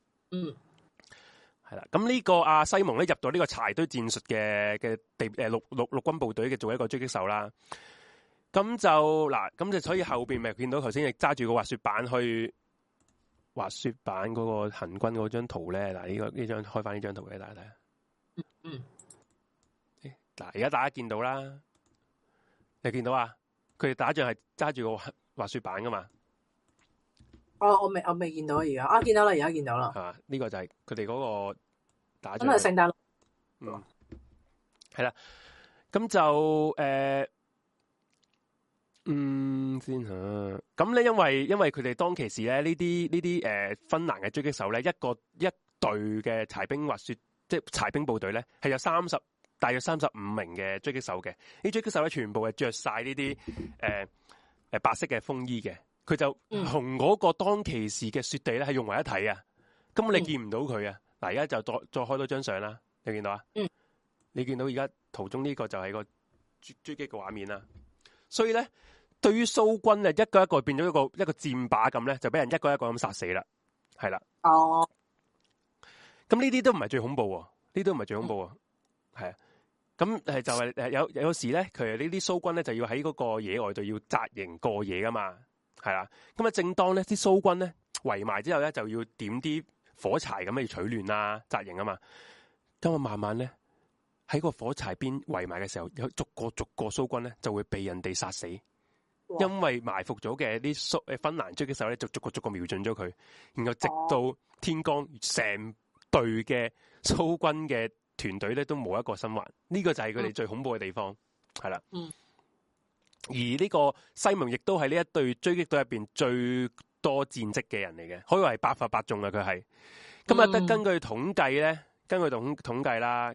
係啦，咁呢個西蒙咧入到呢個柴堆戰術嘅陸軍部隊嘅做一個狙擊手啦。咁就所以後邊咪見到頭先亦揸住個滑雪板去滑雪板嗰個行軍嗰張圖咧。嗱，呢張開翻呢張圖俾大家睇。嗱，而家大家見到啦，你見到啊？佢哋打仗係揸住個滑雪板噶嘛？ 我未見到而家見到啦，而家見到啦。 係嘛？呢個就係佢哋嗰個打仗。 咁係聖誕。 係啦。咁就先嚇。咁咧，因為佢哋當其時咧，呢啲芬蘭嘅狙擊手咧，一隊嘅柴兵滑雪，即係柴兵部隊咧，係有大約35名嘅狙擊手嘅。呢狙擊手咧，全部係着晒呢啲白色嘅風衣嘅。佢就同嗰個當其時嘅雪地咧係融為一體啊！根本你見唔到佢啊！嗱，而家就再開多張相啦，你見到啊？你見到而家圖中呢個就係個狙擊嘅畫面啦。所以咧，對於蘇軍一個一個變咗一個箭靶咁咧，就俾人一個一個咁殺死啦。係啦。哦。咁呢啲都唔係最恐怖喎，呢啲都唔係最恐怖喎。係啊。咁就係有時咧，佢呢啲蘇軍咧就要喺嗰個野外度要紮營過夜噶嘛。係啦，咁正當咧啲蘇軍咧圍埋之後咧，就要點啲火柴咁去取暖啦、紮營啊嘛。咁慢慢咧喺個火柴邊圍埋嘅時候，有逐個蘇軍咧就會被人哋殺死，因為埋伏咗嘅啲芬蘭狙擊手咧就逐個瞄準咗佢，然後直到天光，成隊嘅蘇軍嘅團隊咧都冇一個生還。呢個就係佢哋最恐怖嘅地方，係啦。而呢個西蒙亦都係呢一隊狙擊隊入邊最多戰績嘅人嚟嘅，可以話係百發百中啊！佢係咁啊，根據統計咧，統計啦，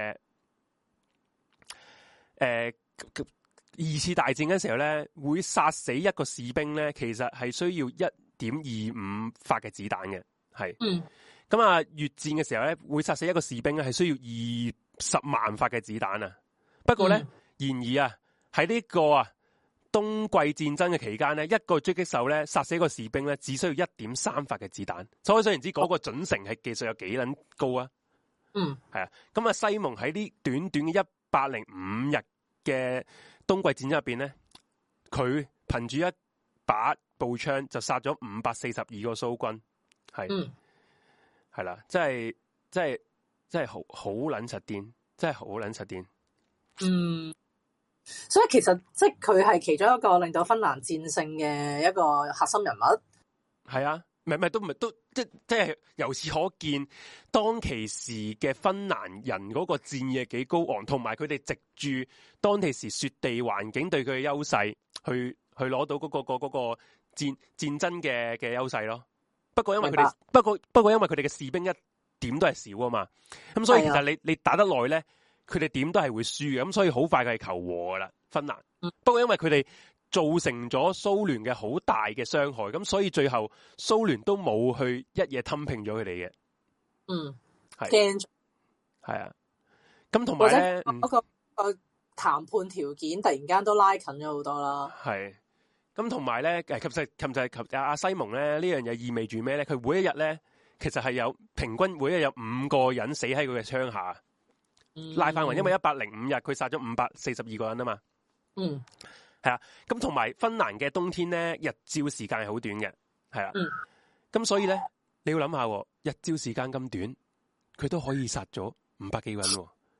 二次大戰嘅時候咧，會殺死一個士兵咧，其實係需要1.25發嘅子彈嘅，係。咁啊，越戰嘅時候咧，會殺死一個士兵咧，係需要20萬發嘅子彈啊。不過咧，然而啊。喺呢個冬季戰爭嘅期間咧，一個狙擊手咧殺死一個士兵咧，只需要1.3發嘅子彈。所以想而知嗰個準繩係技術有幾撚高啊？係啊。咁啊，西蒙喺呢短短嘅105日嘅冬季戰爭入邊咧，佢憑住一把步槍就殺咗542個蘇軍，係啦，真係好撚實癲，真係好撚實癲。 所以其實即係佢係其中一個令到芬蘭戰勝嘅一個核心人物。係啊，都即係由此可見，當其時嘅芬蘭人嗰個戰意幾高昂，同埋佢哋藉住當其時雪地環境對佢嘅優勢，去攞到嗰個戰爭嘅優勢咯。不過因為佢哋不過因為佢哋嘅士兵一點都係少啊嘛，咁所以其實你打得耐咧。佢哋點都係會輸嘅，咁所以好快佢係求和噶啦，芬蘭。不過因為佢哋造成咗蘇聯嘅好大嘅傷害，咁所以最後蘇聯都冇去一夜吞併咗佢哋嘅。係啊。咁同埋咧， 嗰個談判條件突然間都拉近咗好多啦。 係。咁同埋咧，其實阿西蒙咧呢樣嘢意味住咩咧？佢每一日咧，其實係有平均每一日有5個人死喺佢嘅槍下。拉翻勻，因為105日佢殺咗542個人啊嘛。係啊。咁同埋芬蘭嘅冬天咧，日照時間係好短嘅，係啊。咁所以咧，你要諗下，日照時間咁短，佢都可以殺咗500幾個人。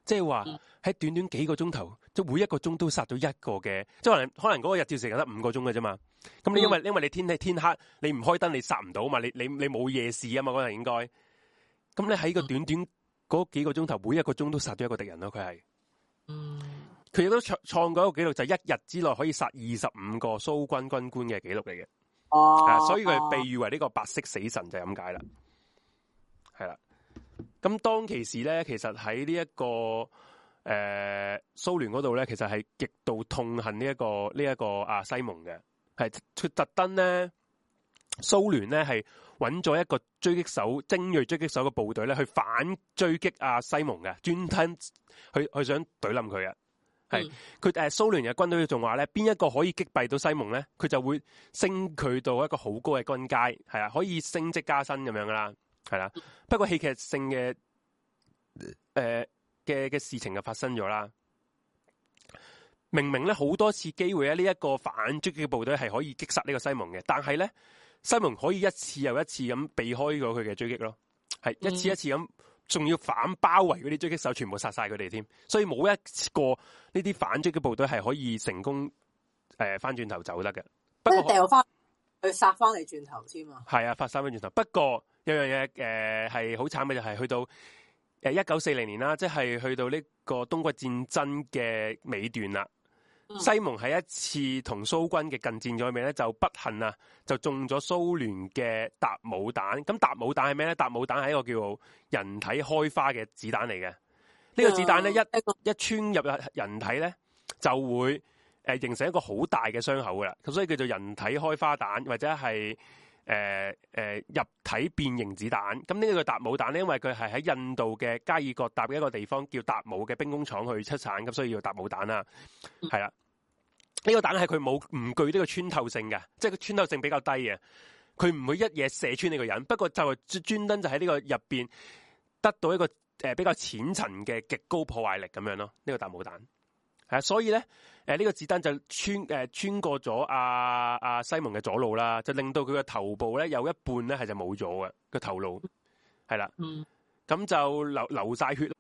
即係話喺短短幾個鐘頭，即係每一個鐘都殺咗一個嘅，即係可能嗰個日照時間得5個鐘嘅啫嘛。咁你因為你天黑，你唔開燈你殺唔到嘛，你冇夜視啊嘛嗰陣應該。咁你喺個短短嗰幾個鐘頭，每一個鐘都殺咗一個敵人咯，佢係。佢亦都創過一個紀錄，就係1日之內可以殺25個蘇軍軍官嘅紀錄嚟嘅。所以佢被譽為呢個白色死神就係咁解啦。係啦。咁當其時咧，其實喺呢一個蘇聯嗰度咧，其實係極度痛恨呢一個西蒙嘅，係佢特登咧，蘇聯咧係揾咗一個狙擊手精銳狙擊手嘅部隊咧，去反追擊西蒙嘅，專登去想懟冧佢嘅。係佢蘇聯嘅軍隊仲話咧，邊一個可以擊敗到西蒙咧，佢就會升佢到一個好高嘅軍階，係啊，可以升職加薪咁樣噶啦，係啦。不過戲劇性嘅嘅事情就發生咗啦。明明咧好多次機會咧，呢一個反擊嘅部隊係可以擊殺呢個西蒙嘅，但係咧西蒙可以一次又一次咁避開咗佢嘅追擊咯，係一次一次咁。仲要反包圍嗰啲狙擊手，全部殺晒佢哋添，所以冇一個呢啲反擊嘅部隊係可以成功翻轉頭走得嘅。不過掉翻去殺翻嚟轉頭添啊！ 係啊，殺翻轉頭。不過有樣嘢係好慘嘅，就係去到1940年啦，即係去到呢個冬季戰爭嘅尾段啦。西蒙喺一次同蘇軍嘅近戰咗面咧，就不幸啊，就中咗蘇聯嘅達姆彈。咁達姆彈係咩咧？達姆彈係一個叫做人體開花嘅子彈嚟嘅。呢個子彈咧一穿入人體咧，就會形成一個好大嘅傷口噶啦。咁所以叫做人體開花彈，或者係入體變形子彈。咁呢個達姆彈咧，因為佢係喺印度嘅加爾各答嘅一個地方叫達姆嘅兵工廠去出產，咁所以要達姆彈啦，係啦。呢個彈係佢唔具呢個穿透性嘅，即係個穿透性比較低嘅，佢唔會一嘢射穿你個人。不過就係專登就喺呢個入邊得到一個比較淺層嘅極高破壞力咁樣咯。呢個達姆彈係啊，所以咧呢個子彈就穿過咗阿西蒙嘅左腦啦，就令到佢嘅頭部咧有一半咧係就冇咗嘅個頭顱，係啦，咁就流晒血。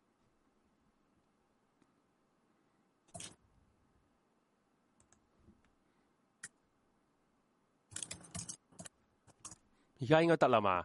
而家應該得啦嘛，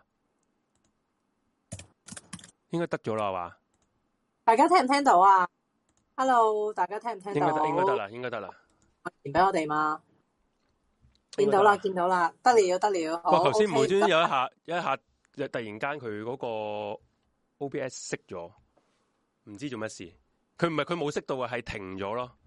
應該得咗啦嘛。 大家聽唔聽到啊 ？Hello， 大家聽唔聽到？ 應該得啦，應該得啦。 傳俾我哋嘛？見到啦，見到啦，得了得了。 哇！頭先無端有一下， 突然間佢嗰個 OBS 熄咗，唔知做乜事。佢唔係佢冇熄到啊，係停咗咯。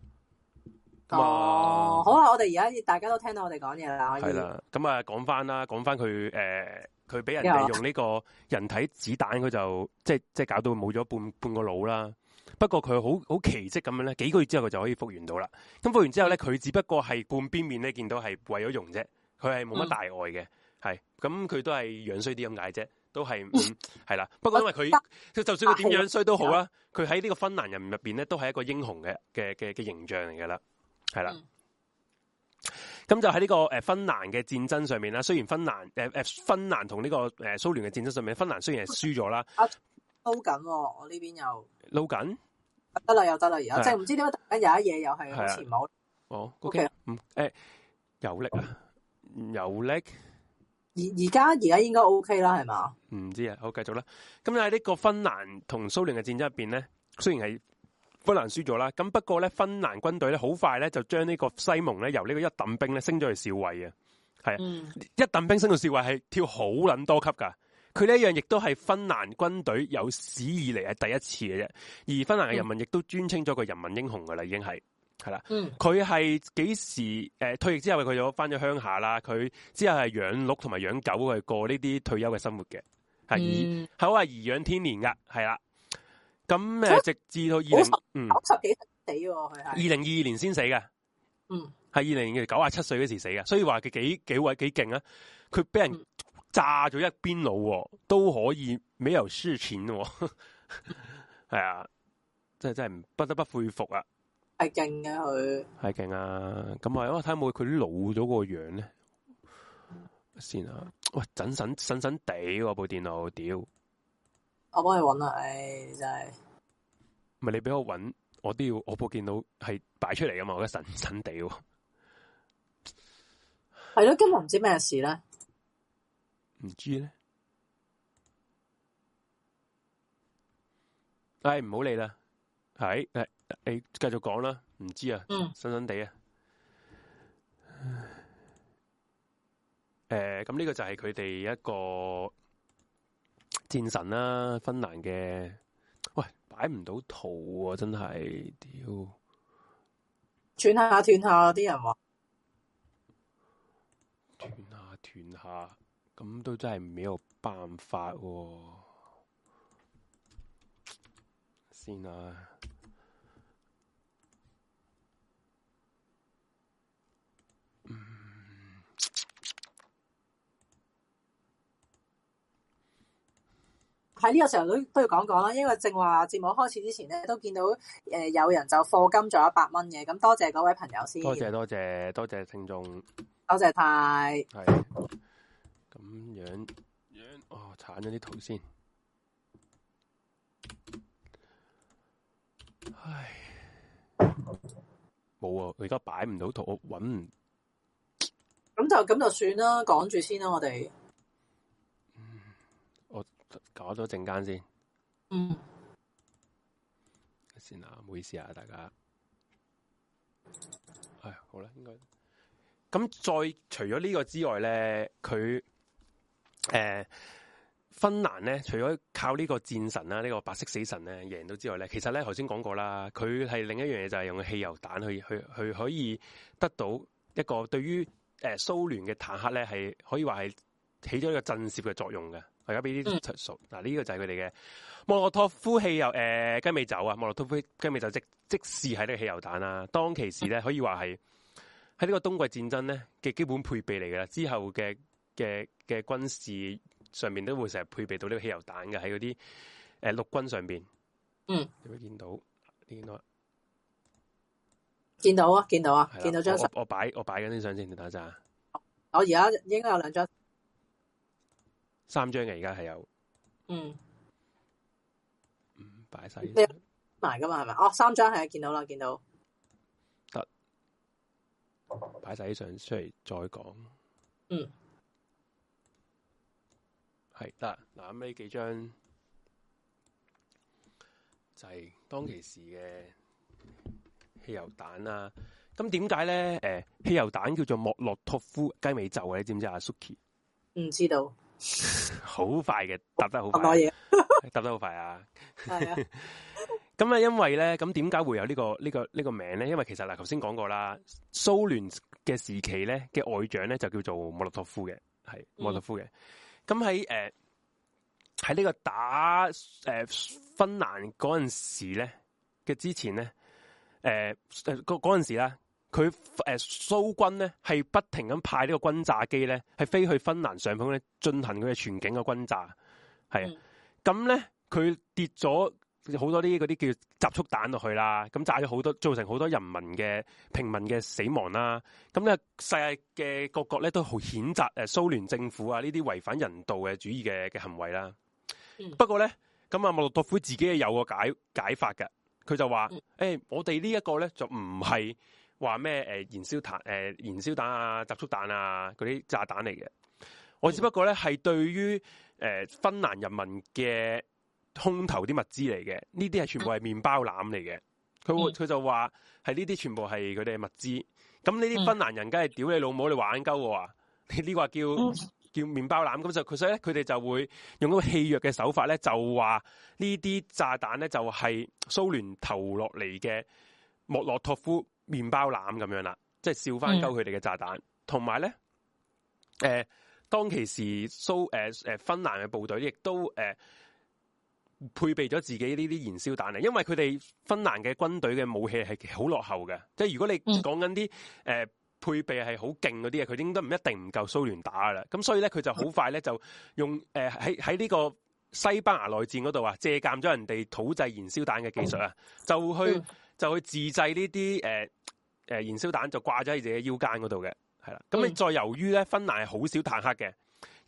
好啦，我哋而家大家都聽到我哋講嘢啦，可以。 係啦，咁啊講翻佢佢俾人哋用呢個人體子彈，佢就即係搞到冇咗半個腦啦。不過佢好奇蹟咁樣咧，幾個月之後佢就可以復原到啦。咁復完之後咧，佢只不過係半邊面咧見到係為咗用啫，佢係冇乜大礙嘅，係咁佢都係樣衰啲咁解啫，都係係啦。不過因為佢就算佢點樣衰都好啦，佢喺呢個芬蘭人入邊咧都係一個英雄嘅形象嚟噶啦。係啦，咁就喺呢個芬蘭嘅戰爭上面啦。雖然芬蘭同呢個蘇聯嘅戰爭上面，芬蘭雖然係輸咗啦， 撈緊我呢邊又撈緊， 得啦又得啦，而家即係唔知點解突然間有一嘢又係好似冇哦 ，OK，有力啊，有力， 而家應該 OK 啦，係嘛？ 唔知啊，好繼續啦。咁喺呢個芬蘭同蘇聯嘅戰爭入邊咧，雖然係芬蘭輸咗啦，咁不過咧，芬蘭軍隊咧好快咧就將呢個西蒙咧由呢個一等兵咧升咗去少尉嘅，係一等兵升到少尉係跳好撚多級噶。佢呢一樣亦都係芬蘭軍隊有史以嚟係第一次嘅啫。而芬蘭嘅人民亦都尊稱咗個人民英雄噶啦，已經係啦。佢係幾時退役之後，佢就翻咗鄉下啦。佢之後係養鹿同埋養狗去過呢啲退休嘅生活嘅，係好係頤養天年噶，係啦。咁直至到90幾死喎，佢係2022年先死嘅，係97歲嗰時死嘅，所以話佢幾勁啊！佢俾人炸咗一邊腦，都可以沒有輸錢喎，係啊，真係不得不佩服啊！ 係勁嘅佢，係勁啊！咁啊，我睇下冇佢啲老咗個樣咧，先啊！喂，神地喎部電腦，屌！ 我幫你搵啦，真係唔係你俾我搵，我都要我部電腦係擺出嚟噶嘛，我覺得神神地喎。 係咯，今日唔知咩事咧， 唔知咧。唉，唔好理啦，係你繼續講啦，唔知啊，神神地啊。咁呢個就係佢哋一個戰神啦，芬蘭嘅。喂，擺唔到圖喎，真係屌！ 斷下斷下，啲人話斷下，咁都真係沒有辦法喎。先啊！ 喺呢個時候都要講講啦，因為正話節目開始之前咧，都見到有人就課金咗100蚊嘅，咁多謝嗰位朋友先。多謝聽眾，多謝太。 係咁樣，哦，鏟咗啲圖先。唉，冇啊！我而家擺唔到圖，我搵唔。 咁就算啦，講住先啦，我哋。 我搞咗陣間先。先啊，唔好意思啊，大家。唉，好啦，應該。咁再除咗呢個之外咧，佢芬蘭咧，除咗靠呢個戰神啦，呢個白色死神咧贏到之外咧，其實咧頭先講過啦，佢係另一樣嘢就係用汽油彈去可以得到一個對於蘇聯嘅坦克咧係可以話係起咗一個震懾嘅作用嘅。我而家俾啲述述嗱，呢個就係佢哋嘅莫洛托夫汽油雞尾酒啊，莫洛托夫雞尾酒即試喺呢個汽油彈啦。當其時咧可以話係喺呢個冬季戰爭咧嘅基本配備嚟嘅啦，之後嘅軍事上面都會成日配備到呢個汽油彈嘅喺嗰啲陸軍上邊。有冇見到？見到啊！見到張相。我擺緊啲相先，你等一陣。 我而家應該有2張。 3張嘅而家係有。擺晒。 埋噶嘛係咪？哦，3張係見到啦，見到。 得。擺晒啲相出嚟再講。係得嗱，咁呢幾張就係當其時嘅汽油彈啦。咁點解咧？汽油彈叫做莫洛托夫雞尾酒啊？你知唔知阿 Suki？ 唔知道。 好快嘅，答得好快。 多嘢， 答得好快啊！ 係啊。 咁啊，因為咧，咁點解會有呢個名咧？因為其實嗱，頭先講過啦，蘇聯嘅時期咧嘅外長咧就叫做莫洛托夫嘅，係莫洛托夫嘅。咁喺呢個打芬蘭嗰陣時咧嘅之前咧，嗰陣時啦，佢蘇軍咧係不停咁派呢個轟炸機咧係飛去芬蘭上空咧進行佢嘅全境嘅轟炸，係啊。咁咧佢跌咗好多啲嗰啲叫集束彈落去啦，咁炸咗好多，造成好多人民嘅平民嘅死亡啦。咁咧世界嘅各國咧都好譴責蘇聯政府啊呢啲違反人道嘅主義嘅行為啦。不過咧，咁啊莫洛托夫自己有個解法嘅，佢就話：我哋呢一個咧就唔係話咩燃燒彈啊、集束彈啊嗰啲炸彈嚟嘅。我只不過咧係對於芬蘭人民嘅空投啲物資嚟嘅，呢啲係全部係麵包籃嚟嘅。佢就話係呢啲全部係佢哋嘅物資。咁呢啲芬蘭人梗係屌你老母，你玩鳩我啊！你呢個叫麵包籃，咁就所以咧，佢哋就會用嗰個戲謔嘅手法咧，就話呢啲炸彈咧就係蘇聯投落嚟嘅莫洛托夫麵包籃咁樣啦，即係笑翻鳩佢哋嘅炸彈。同埋咧，當其時芬蘭嘅部隊亦都配備咗自己呢啲燃燒彈啊，因為佢哋芬蘭嘅軍隊嘅武器係好落後嘅，即係如果你講緊啲配備係好勁嗰啲嘢，佢應該唔一定唔夠蘇聯打噶啦。咁所以咧，佢就好快咧就用喺呢個西班牙內戰嗰度啊，借鑑咗人哋土製燃燒彈嘅技術啊，就去自製呢啲燃燒彈，就掛咗喺自己腰間嗰度嘅，係啦。咁你再由於咧芬蘭係好少坦克嘅，而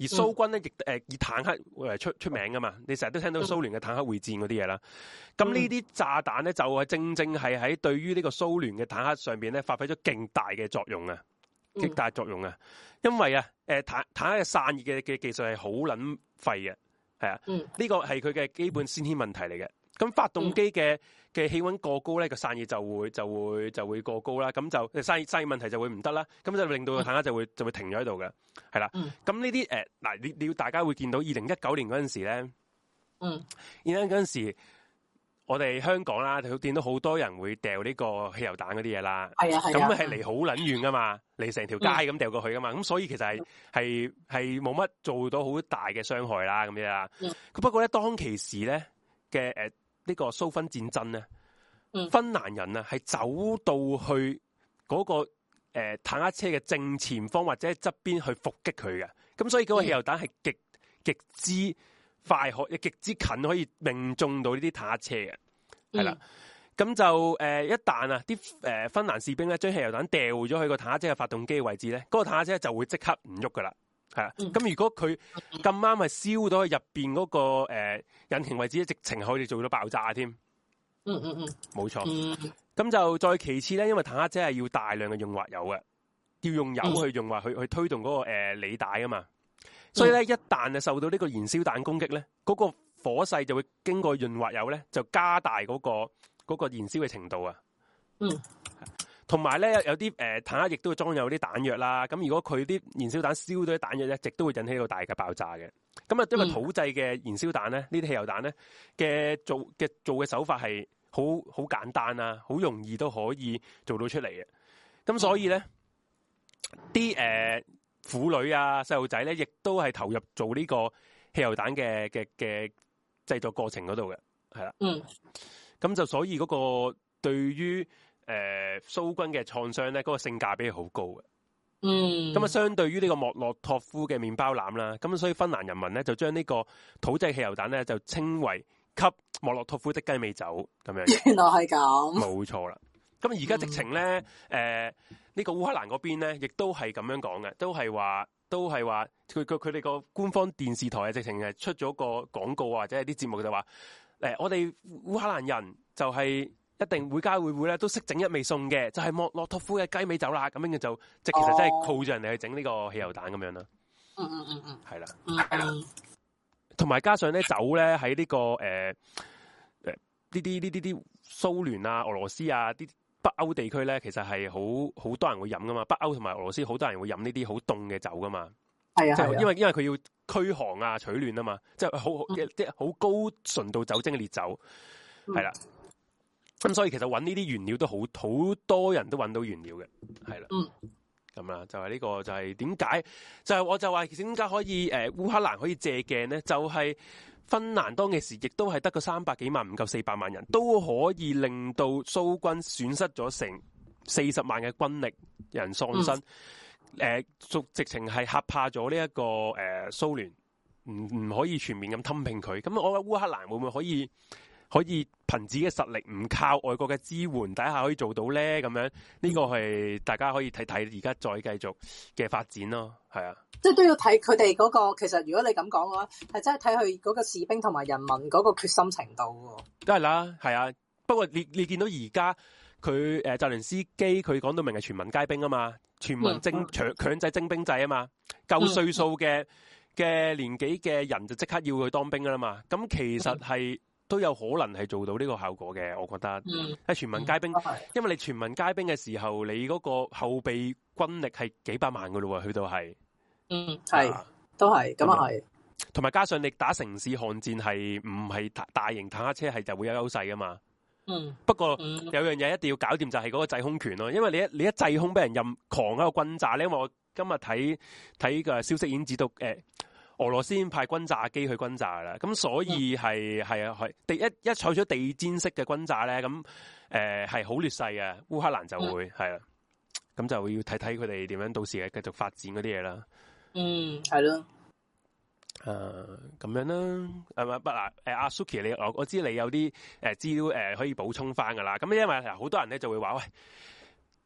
而蘇軍咧亦以坦克出名噶嘛，你成日都聽到蘇聯嘅坦克會戰嗰啲嘢啦。咁呢啲炸彈咧就係正正係喺對於呢個蘇聯嘅坦克上邊咧發揮咗勁大嘅作用啊，極大作用啊！因為啊坦克嘅散熱嘅技術係好撚廢嘅，係啊，呢個係佢嘅基本先天問題嚟嘅。咁發動機嘅氣溫過高咧，個散熱就會過高啦，咁就散熱問題就會唔得啦，咁就令到個坦克就會停咗喺度嘅，係啦。咁呢啲嗱，你要大家會見到2019年嗰陣時咧，而家嗰陣時我哋香港啦，就見到好多人會掉呢個汽油彈嗰啲嘢啦，係啊，咁係離好撚遠噶嘛，離成條街咁掉過去噶嘛，咁所以其實係冇乜做到好大嘅傷害啦，咁樣啦。不過咧，當其時咧嘅呢個蘇芬戰爭咧，芬蘭人啊係走到去嗰個坦克車嘅正前方或者側邊去伏擊佢嘅，咁所以嗰個汽油彈係極之快極之近可以命中到呢啲坦克車嘅，係啦。咁就一旦啊啲芬蘭士兵咧將汽油彈掉咗去個坦克車嘅發動機嘅位置咧，嗰個坦克車就會即刻唔喐噶啦。係啊，咁如果佢咁啱係燒到去入邊嗰個引擎位置，直情可以做到爆炸添。冇錯。咁就再其次咧，因為坦克車係要大量嘅用滑油嘅，要用油去用滑去推動嗰個履帶啊嘛。所以咧，一旦受到呢個燃燒彈攻擊咧，嗰個火勢就會經過潤滑油咧，就加大嗰個燃燒嘅程度啊。同埋咧，有啲坦克亦都會裝有啲彈藥啦。咁如果佢啲燃燒彈燒到啲彈藥咧，亦都會引起到大嘅爆炸嘅。咁啊，因為土製嘅燃燒彈咧，呢啲汽油彈咧嘅做嘅手法係好簡單啊，好容易都可以做到出嚟嘅。咁所以咧，啲婦女啊、細路仔咧，亦都係投入做呢個汽油彈嘅製作過程嗰度嘅，係啦。咁就所以嗰個對於蘇軍嘅創傷咧，嗰個性價比係好高嘅。咁啊，相對於呢個莫洛托夫嘅麵包籃啦，咁所以芬蘭人民咧就將呢個土製汽油彈咧就稱為給莫洛托夫的雞尾酒咁樣。原來係咁，冇錯啦。咁而家直情咧，呢個烏克蘭嗰邊咧，亦都係咁樣講嘅，都係話佢哋個官方電視台啊，直情係出咗個廣告或者係啲節目就話，我哋烏克蘭人就係一定會家會咧都識整一味餸嘅，就係莫洛托夫嘅雞尾酒啦。咁樣就即係其實真係靠住人哋去整呢個汽油彈咁樣啦。係啦。同埋加上咧酒咧喺呢個呢啲蘇聯啊、俄羅斯啊啲北歐地區咧，其實係好多人會飲噶嘛。北歐同埋俄羅斯好多人會飲呢啲好凍嘅酒噶嘛。係啊，即係因為佢要驅寒啊、取暖啊嘛，即係即係好高純度酒精嘅烈酒，係啦。咁所以其實揾呢啲原料都好多人都揾到原料嘅，係啦。咁啦，就係呢個就係點解？就係我就話其實點解可以烏克蘭可以借鏡咧？就係芬蘭當其時亦都係得個300幾萬，唔夠400萬人，都可以令到蘇軍損失咗成40萬嘅軍力，人喪生。直情係嚇怕咗呢一個蘇聯，唔可以全面咁吞併佢。咁我覺得烏克蘭會唔會可以憑自己嘅實力，唔靠外國嘅支援底下可以做到咧？咁樣呢個係大家可以睇睇而家再繼續嘅發展咯。係啊，即係都要睇佢哋嗰個。其實如果你咁講嘅話，係真係睇佢嗰個士兵同埋人民嗰個決心程度喎。都係啦，係啊。不過你見到而家佢澤連斯基佢講到明係全民皆兵啊嘛，全民強制徵兵制啊嘛，夠歲數嘅年紀嘅人就即刻要去當兵噶啦嘛。咁其實係。都有可能係做到呢個效果嘅，我覺得。喺全民皆兵，因為你全民皆兵嘅時候，你嗰個後備軍力係幾百萬噶咯喎，去到係。係，都係，咁啊係。同埋加上你打城市巷戰係唔係大型坦克車係就會有優勢噶嘛。不過有樣嘢一定要搞掂就係嗰個制空權咯，因為你一制空俾人任狂喺度轟炸咧，因為我今日睇個消息已經知道俄羅斯派轟炸機去轟炸啦，咁所以係一採取地毯式嘅轟炸咧，咁係好劣勢嘅，烏克蘭就會係啦，咁就要睇睇佢哋點樣到時繼續發展嗰啲嘢啦。係咯，咁樣啦，係咪不嗱？阿 Suki 我知你有啲資料可以補充翻噶啦，咁因為好多人咧就會話喂。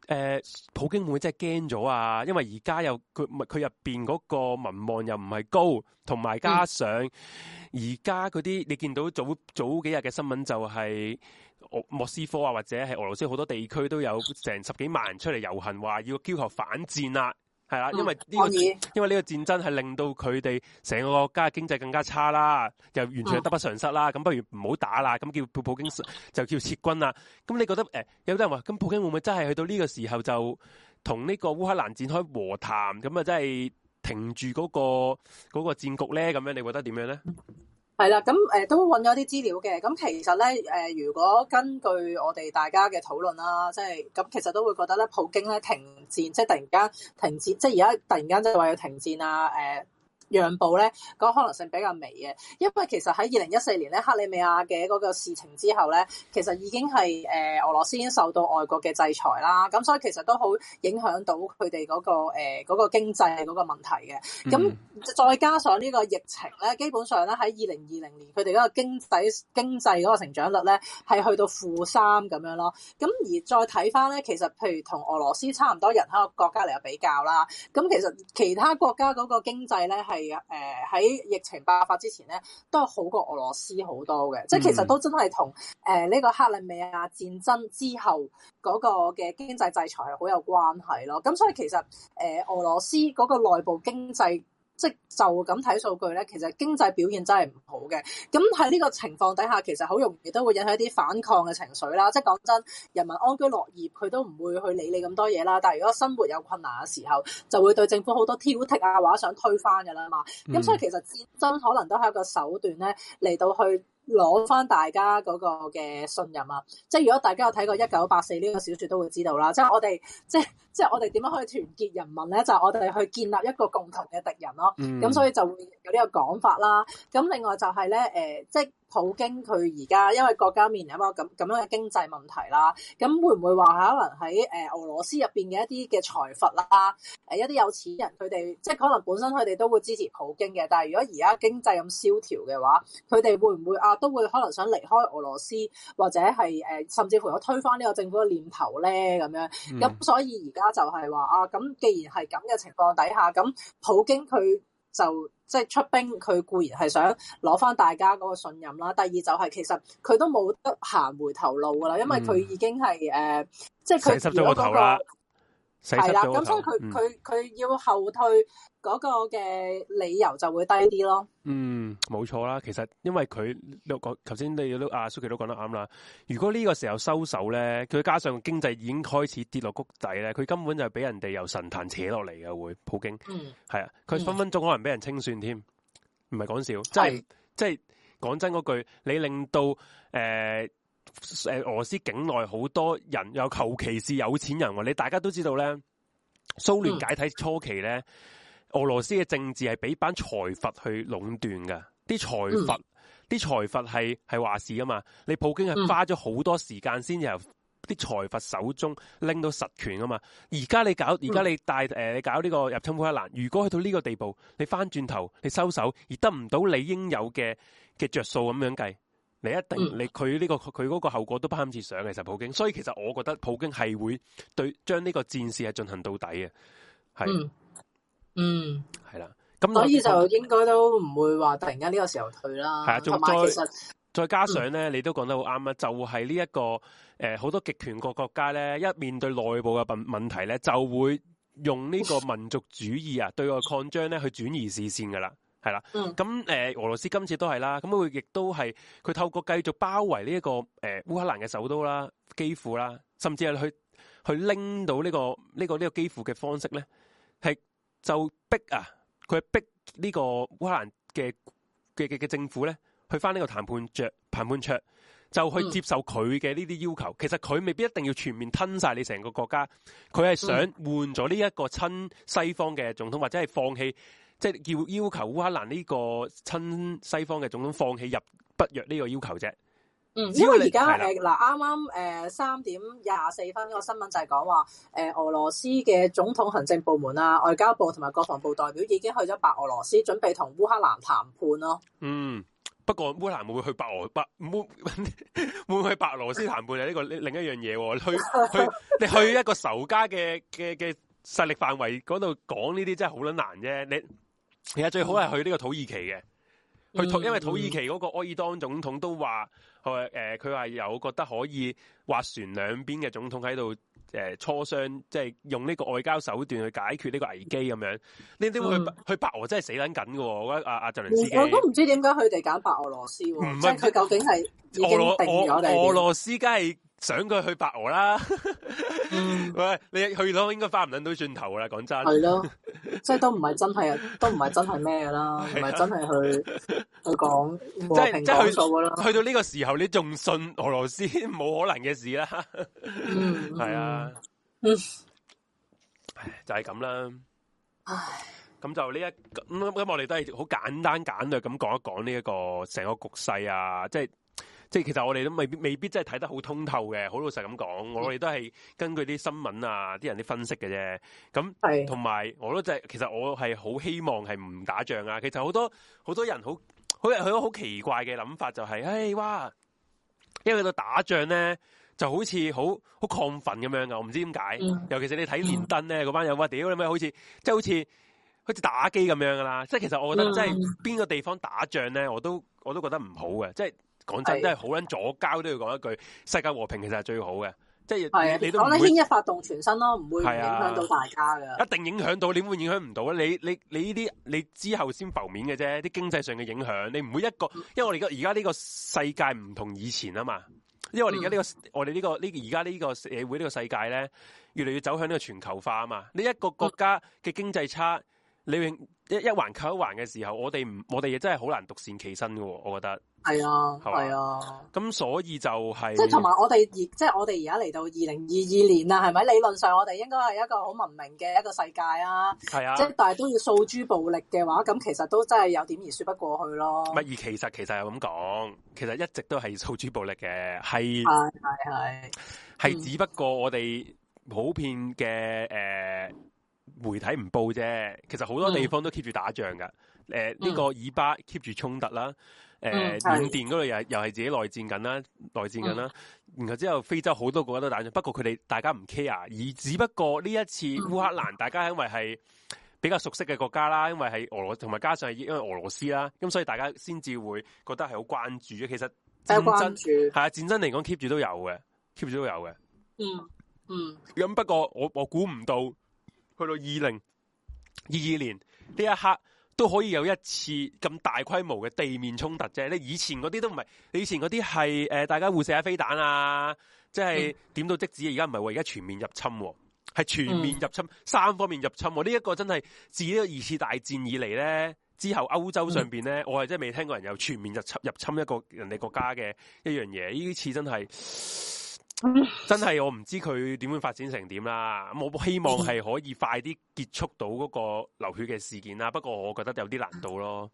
普京會唔會真係驚咗啊？因為而家又佢入邊嗰個民望又唔係高，同埋加上而家嗰啲你見到早幾日嘅新聞就係莫斯科啊，或者係俄羅斯好多地區都有成10幾萬人出嚟遊行，話要要求反戰啦。係啦，因為呢個戰爭係令到佢哋成個國家經濟更加差啦，又完全係得不償失啦。咁不如唔好打啦，咁叫普京就叫撤軍啦。咁你覺得有啲人話，咁普京會唔會真係去到呢個時候就同呢個烏克蘭展開和談，咁啊真係停住嗰個戰局咧？咁樣你覺得點樣咧？ 係啦，咁都揾咗啲資料嘅。咁其實咧如果根據我哋大家嘅討論啦，即係咁，其實都會覺得咧，普京咧停戰，即係突然間停戰，即係而家突然間即係話要停戰啊，讓步咧，嗰個可能性比較微嘅，因為其實喺2014年咧克里米亞嘅嗰個事情之後咧，其實已經係俄羅斯已經受到外國嘅制裁啦，咁所以其實都好影響到佢哋嗰個經濟嗰個問題嘅。咁再加上呢個疫情咧，基本上咧喺2020年佢哋嗰個經濟嗰個成長率咧係去到-3咁樣咯。咁而再睇翻咧，其實譬如同俄羅斯差唔多人口嘅國家嚟比較啦，咁其實其他國家嗰個經濟咧係喺疫情爆發之前咧，都係好過俄羅斯好多嘅，即係其實都真係同呢個克里米亞戰爭之後嗰個嘅經濟制裁係好有關係咯。咁所以其實俄羅斯嗰個內部經濟，即就咁睇數據咧，其實經濟表現真係唔好嘅。咁喺呢個情況底下，其實好容易都會引起一啲反抗嘅情緒啦。即係講真，人民安居樂業，佢都唔會去理你咁多嘢啦。但係如果生活有困難嘅時候，就會對政府好多挑剔啊，或者想推翻㗎啦嘛。咁所以其實戰爭可能都係一個手段咧，嚟到去攞翻大家嗰個嘅信任啊！即係如果大家有睇過1984呢個小說，都會知道啦。即係我哋即係我哋點樣可以團結人民咧？就係我哋去建立一個共同嘅敵人咯。咁所以就會有呢個講法啦。咁另外就係咧，即係普京佢而家因為國家面臨一個咁樣嘅經濟問題啦，咁會唔會話可能喺俄羅斯入邊嘅一啲嘅財閥啦，一啲有錢人佢哋即係可能本身佢哋都會支持普京嘅，但係如果而家經濟咁蕭條嘅話，佢哋會唔會都會可能想離開俄羅斯，或者係甚至乎有推翻呢個政府嘅念頭咧咁樣？咁所以而家就係話咁既然係咁嘅情況底下，咁普京佢就即係出兵，佢固然係想攞翻大家嗰個信任啦。第二就係其實佢都冇得行回頭路噶啦，因為佢已經係即係佢如果嗰個係啦，咁所以佢要後退嗰個嘅理由就會低啲咯。 冇錯啦。其實因為佢頭先你都阿 Suki 都講得啱啦。如果呢個時候收手咧，佢加上經濟已經開始跌落谷底咧，佢根本就係俾人哋由神壇扯落嚟嘅會普京。係啊，佢分分鐘可能俾人清算添，唔係講笑。即係講真嗰句，你令到俄羅斯境內好多人又求其是有錢人喎。你大家都知道咧，蘇聯解體初期咧，俄羅斯嘅政治係俾班財閥去壟斷㗎。啲財閥係話事㗎嘛。你普京係花咗好多時間先由啲財閥手中拎到實權㗎嘛。而家你搞你搞呢個入侵烏克蘭，如果去到呢個地步，你翻轉頭你收手而得唔到你應有嘅着數咁樣計，你一定佢嗰個後果都不堪設想嘅。其實普京，所以其實我覺得普京係會將呢個戰事係進行到底嘅，係係啦。咁所以就應該都唔會話突然間呢個時候退啦。係啊，同埋其實再加上咧，你都講得好啱啊！就係呢一個好多極權國家咧，一面對內部嘅問題咧，就會用呢個民族主義啊，對外擴張咧去轉移視線噶啦。係啦，咁俄羅斯今次都係啦，咁佢亦都係佢透過繼續包圍呢一個烏克蘭嘅首都啦，基輔啦，甚至係去拎到呢個基輔嘅方式咧，係就逼佢逼呢個烏克蘭嘅政府咧，去翻呢個談判桌，就去接受佢嘅呢啲要求。其實佢未必一定要全面吞晒你成個國家，佢係想換咗呢一個親西方嘅總統，或者係放棄。即係要求烏克蘭呢個親西方嘅總統放棄入北約呢個要求啫。 因為而家啱啱3點24分個新聞就係講話俄羅斯嘅總統行政部門啊、外交部同埋國防部代表已經去咗白俄羅斯，準備同烏克蘭談判咯。 不過烏克蘭會唔會去會唔會去白羅斯談判啊？呢個另一樣嘢喎，你去一個仇家嘅勢力範圍嗰度講呢啲真係好撚難啫。你其實最好係去呢個土耳其嘅，因為土耳其嗰個埃爾多安總統都話，佢話有覺得可以斡旋兩邊嘅總統喺度磋商，即係用呢個外交手段去解決呢個危機咁樣。呢啲去白俄真係死撚緊嘅喎，我覺得阿澤連斯基。 我都唔知點解佢哋揀白俄羅斯喎，即係佢究竟係已經定咗定？ 俄羅斯梗係想佢去白俄啦。喂，你去到應該翻唔撚到轉頭啦，講真。係咯， 即係都唔係真係咩㗎啦，唔係真係去講和平講數㗎啦。 去到呢個時候，你仲信俄羅斯冇可能嘅事啦？係啊，就係咁啦。咁就呢咁我哋都係好簡單簡略咁講一講呢一個成個局勢啊，即係其實我哋都未必真係睇得好通透嘅，好老實咁講，我哋都係根據啲新聞啊、啲人啲分析嘅啫。咁同埋我都其實我係好希望係唔打仗啊。其實好多人好奇怪嘅諗法就係，哇！因為到打仗咧，就好似好亢奮咁樣噶，我唔知點解。尤其是你睇連登咧，嗰班人話屌你咩，好似打機咁樣噶啦。即係其實我覺得，即係邊個地方打仗咧，我都覺得唔好嘅。即係講真，真係好撚左膠都要講一句，世界和平其實係最好嘅。即係你都唔會牽一發動全身咯，唔會影響到大家嘅。 一定影響到，你點會影響唔到咧？你呢啲你之後先浮面嘅啫，啲經濟上嘅影響，你唔會因為我哋而家呢個世界唔同以前啊嘛。因為我哋而家而家呢個社會呢個世界咧，越嚟越走向呢個全球化啊嘛。你一個國家嘅經濟差，你一環扣一環嘅時候，我哋亦真係好難獨善其身嘅，我覺得。係啊。咁所以就係即係同埋我哋而家嚟到2022年啦，係咪？理論上我哋應該係一個好文明嘅一個世界啊。係啊。即係但係都要訴諸暴力嘅話，咁其實都真係有點而說不過去咯。 唔係，而其實係咁講，其實一直都係訴諸暴力嘅，係只不過我哋普遍嘅媒體唔報啫。其實好多地方都 keep 住打仗噶。呢個以巴 keep 住衝突啦。緬甸嗰度又係自己內戰緊啦。然後之後非洲好多國家都打仗，不過佢哋大家唔 care，而只不過呢一次烏克蘭大家因為係比較熟悉嘅國家啦，因為係俄羅同埋加上係因為俄羅斯啦，咁所以大家先至會覺得係好關注嘅。其實戰爭嚟講 keep 住都有嘅。咁不過我估唔到去到2022年呢一刻都可以有一次咁大規模嘅地面衝突啫。你以前嗰啲都唔係，你以前嗰啲係大家互射下飛彈啊，即係點到即止。而家唔係喎，而家全面入侵，係全面入侵，三方面入侵。呢一個真係自呢個二次大戰以嚟咧，之後歐洲上邊咧，我係真係未聽過人有全面入侵一個人哋國家嘅一樣嘢。呢次真係我唔知佢點樣發展成點啦。我希望係可以快啲結束到嗰個流血嘅事件啦。不過我覺得有啲難度咯。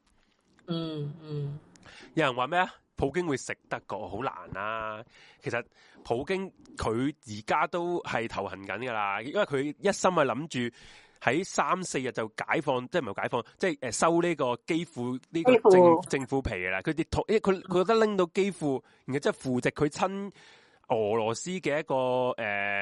有人話咩啊？普京會食得過，好難啊。其實普京佢而家都係頭痕緊噶啦，因為佢一心係諗住喺3-4日就解放，即係唔係解放，即係收呢個基輔呢個政府皮噶啦。佢覺得拎到基輔，然後即係扶植佢親俄羅斯嘅一個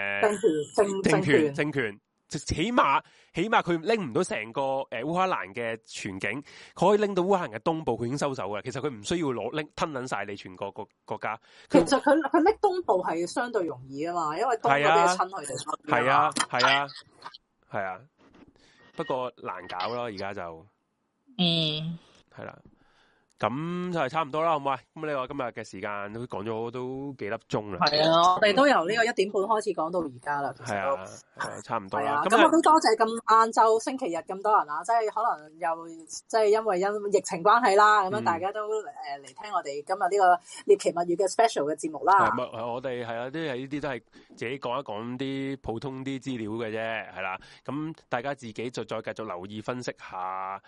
政權，起碼佢拎唔到成個烏克蘭嘅全境，佢可以拎到烏克蘭嘅東部，佢已經收手嘅。其實佢唔需要吞撚晒你全個國家。 其實佢拎東部係相對容易啊嘛，因為東部啲親佢哋。 係啊，不過難搞咯，而家就係啦。咁就係差唔多啦，好唔好啊？咁你話今日嘅時間都講咗都幾粒鐘啦。係啊， 我哋都由呢個1點半開始講到而家啦。 係啊，差唔多啦。 咁我都多謝咁晏晝星期日咁多人啊，即係可能又即係因為疫情關係啦，咁樣大家都嚟聽我哋今日呢個獵奇物語嘅 special 嘅節目啦。 我哋係啊，呢啲都係自己講一講啲普通啲資料嘅啫，係啦。咁大家自己就再繼續留意分析下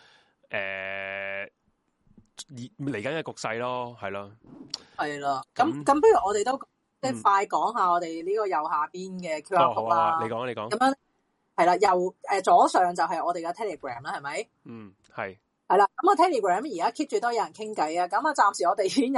嚟緊嘅局勢咯，係咯，係啦。咁不如我哋都即係快講下我哋呢個右下邊嘅 QR code 啦。你講。咁樣係啦，右左上就係我哋嘅 Telegram 啦，係咪？係係啦，咁啊 Telegram 而家 keep 住都有人傾偈啊，咁啊暫時我哋已經有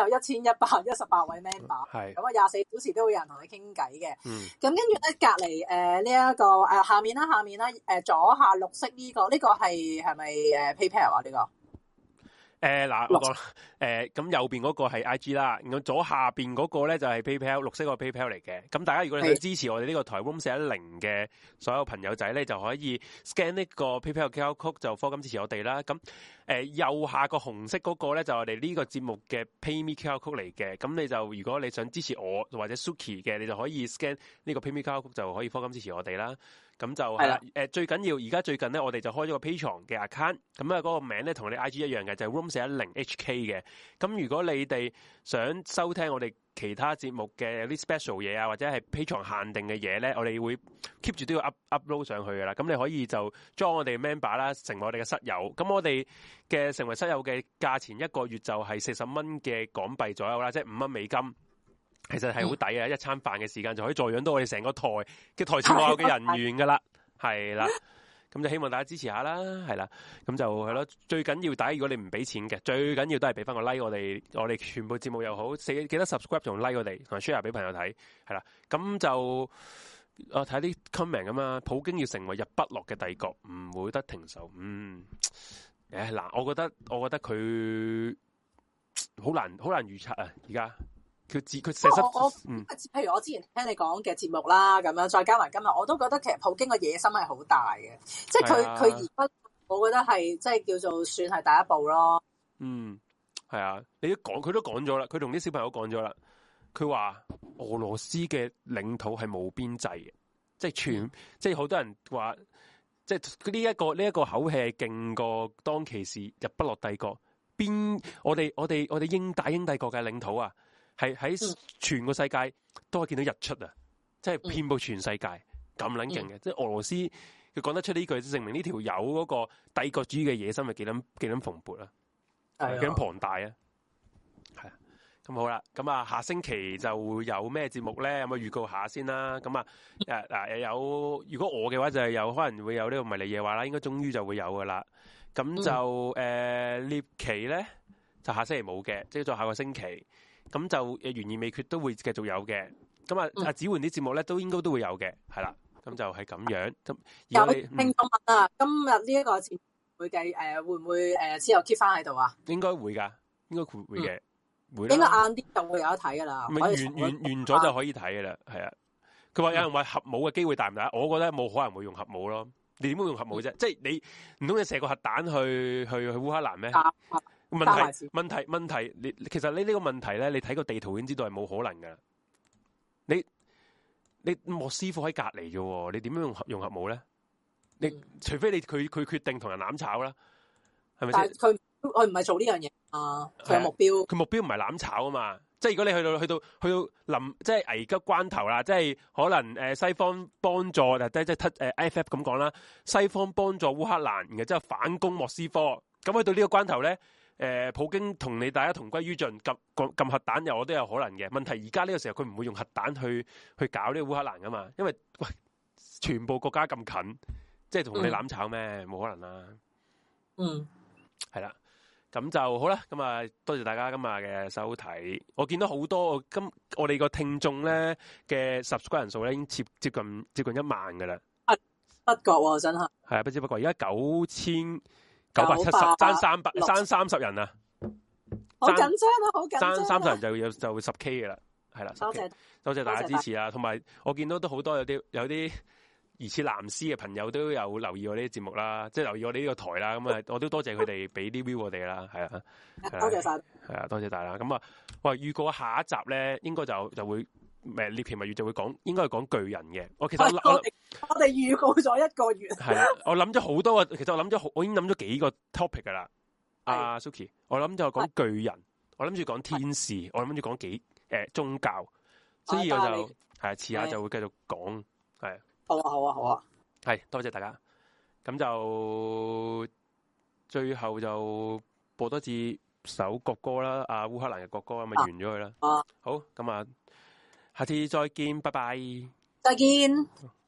1118位 member， 係， 咁啊24小時都會有人同你傾偈嘅。咁跟住咧隔離呢一個下面啦左下綠色呢個係咪PayPal 啊呢個？ 嗱，我講咁右邊嗰個係 IG 啦，咁左下邊嗰個咧就係 PayPal， 綠色個 PayPal 嚟嘅。咁大家如果你想支持我哋呢個台 Room 410嘅所有朋友仔咧，就可以 scan 呢個 PayPal QR code 就課金支持我哋啦。咁右下個紅色嗰個咧就係我哋呢個節目嘅 PayMe QR code 嚟嘅。咁你就如果你想支持我或者 Suki 嘅，你就可以 scan 呢個 PayMe QR code 就可以課金支持我哋啦。咁就係啦，最緊要而家最近咧，我哋就開咗個 Patreon 嘅 account，咁啊嗰個名咧同你 IG 一樣嘅，就係 Room 410 HK 嘅。咁如果你哋想收聽我哋其他節目嘅有啲 special 嘢啊，或者係 Patreon 限定嘅嘢咧，我哋會 keep 住都要 upload 上去噶啦。咁你可以就 join 我哋 member 啦，成為我哋嘅室友。咁我哋嘅成為室友嘅價錢一個月就係40蚊嘅港幣左右啦，即係5蚊美金。其實係好抵啊！一餐飯嘅時間就可以助養到我哋成個台嘅台前幕後嘅人員噶啦，係啦。咁就希望大家支持下啦，係啦。咁就係咯。最緊要大家如果你唔俾錢嘅，最緊要都係俾翻個 like 我哋全部節目又好，記得 subscribe 同 like 我哋，同埋 share 俾朋友睇，係啦。咁就我睇啲 comment 咁啊，普京要成為日不落嘅帝國，唔會得停手。嗱，我覺得佢好難預測啊，而家。佢成日譬如我之前聽你講嘅節目啦，咁樣再加埋今日，我都覺得其實普京嘅野心係好大嘅，即係佢而家，我覺得係即係叫做算係第一步咯。 係啊，佢都講咗啦，佢同啲小朋友講咗啦，佢話俄羅斯嘅領土係冇邊際嘅，即係即係好多人話，即係呢一個口氣係勁過當其時日不落帝國，我哋英帝國嘅領土啊！係喺全個世界都可以見到日出啊！即係遍佈全世界咁撚勁嘅，即係俄羅斯佢講得出呢句，證明呢條友嗰個帝國主義嘅野心係幾撚蓬勃啊，幾撚龐大啊！係啊，咁好啦，咁啊下星期就會有咩節目咧？有冇預告下先啦？咁啊有，如果我嘅話就係有可能會有呢個迷離夜話啦，應該終於就會有噶啦。咁就獵奇咧就下星期冇嘅，即係再下個星期。咁就懸而未決都會繼續有嘅，咁啊子桓啲節目咧都應該都會有嘅，係啦，咁就係咁樣。咁有聽眾問啊，今日呢一個節目會會唔會之後 keep 翻喺度啊？ 應該會㗎，應該會嘅，會。 應該晏啲就會有得睇㗎啦。 完咗就可以睇㗎啦，係啊。佢話有人話核武嘅機會大唔大？我覺得冇可能會用核武咯。你點會用核武啫？即係你唔通你射個核彈去烏克蘭咩？問題，其實呢個問題咧，你睇個地圖已經知道係冇可能噶。你莫斯科喺隔離啫，你點樣用核武咧？你除非佢決定同人攬炒啦，係咪先？ 但係佢唔係做呢樣嘢啊，佢有目標。佢目標唔係攬炒啊嘛，即係如果你去到臨即係危急關頭啦，即係可能西方幫助即係IFF 咁講啦，西方幫助烏克蘭，然後之後反攻莫斯科，咁去到呢個關頭咧。普京同你大家同歸於盡，撳核彈我都有可能嘅。問題而家呢個時候佢唔會用核彈去搞呢個烏克蘭噶嘛，因為喂全部國家咁近，即係同你攬炒咩？冇可能啦。係啦，咁就好啦。咁啊，多謝大家今日嘅收睇。我見到好多我哋個聽眾咧嘅 subscribe 人數咧已經接近1萬噶啦。 不覺喎，真係。係啊，不知不覺，而家9970爭30人啊！ 好緊張啊！好緊張。 爭30人就會10K 嘅啦，係啦。多謝大家支持啊！同埋我見到都好多有啲疑似藍絲嘅朋友都有留意我呢啲節目啦，即係留意我哋呢個台啦。咁啊，我都多謝佢哋俾啲 view 我哋啦，係啊。 多謝晒。 係啊，多謝大家。咁啊，喂，預告下一集咧，應該就會。獵奇物語就會講，應該係講巨人嘅。我其實我哋預告咗1個月。係啦，我諗咗好多個，其實我已經諗咗幾個 topic 噶啦。阿 Suki，我諗就講巨人，我諗住講天使，我諗住講宗教，所以我就係遲下就會繼續講。係。 好啊。 係，多謝大家。咁就最後就播多次首國歌啦，烏克蘭嘅國歌咁咪完咗佢啦。好，咁啊。下次再見，拜拜。 再見。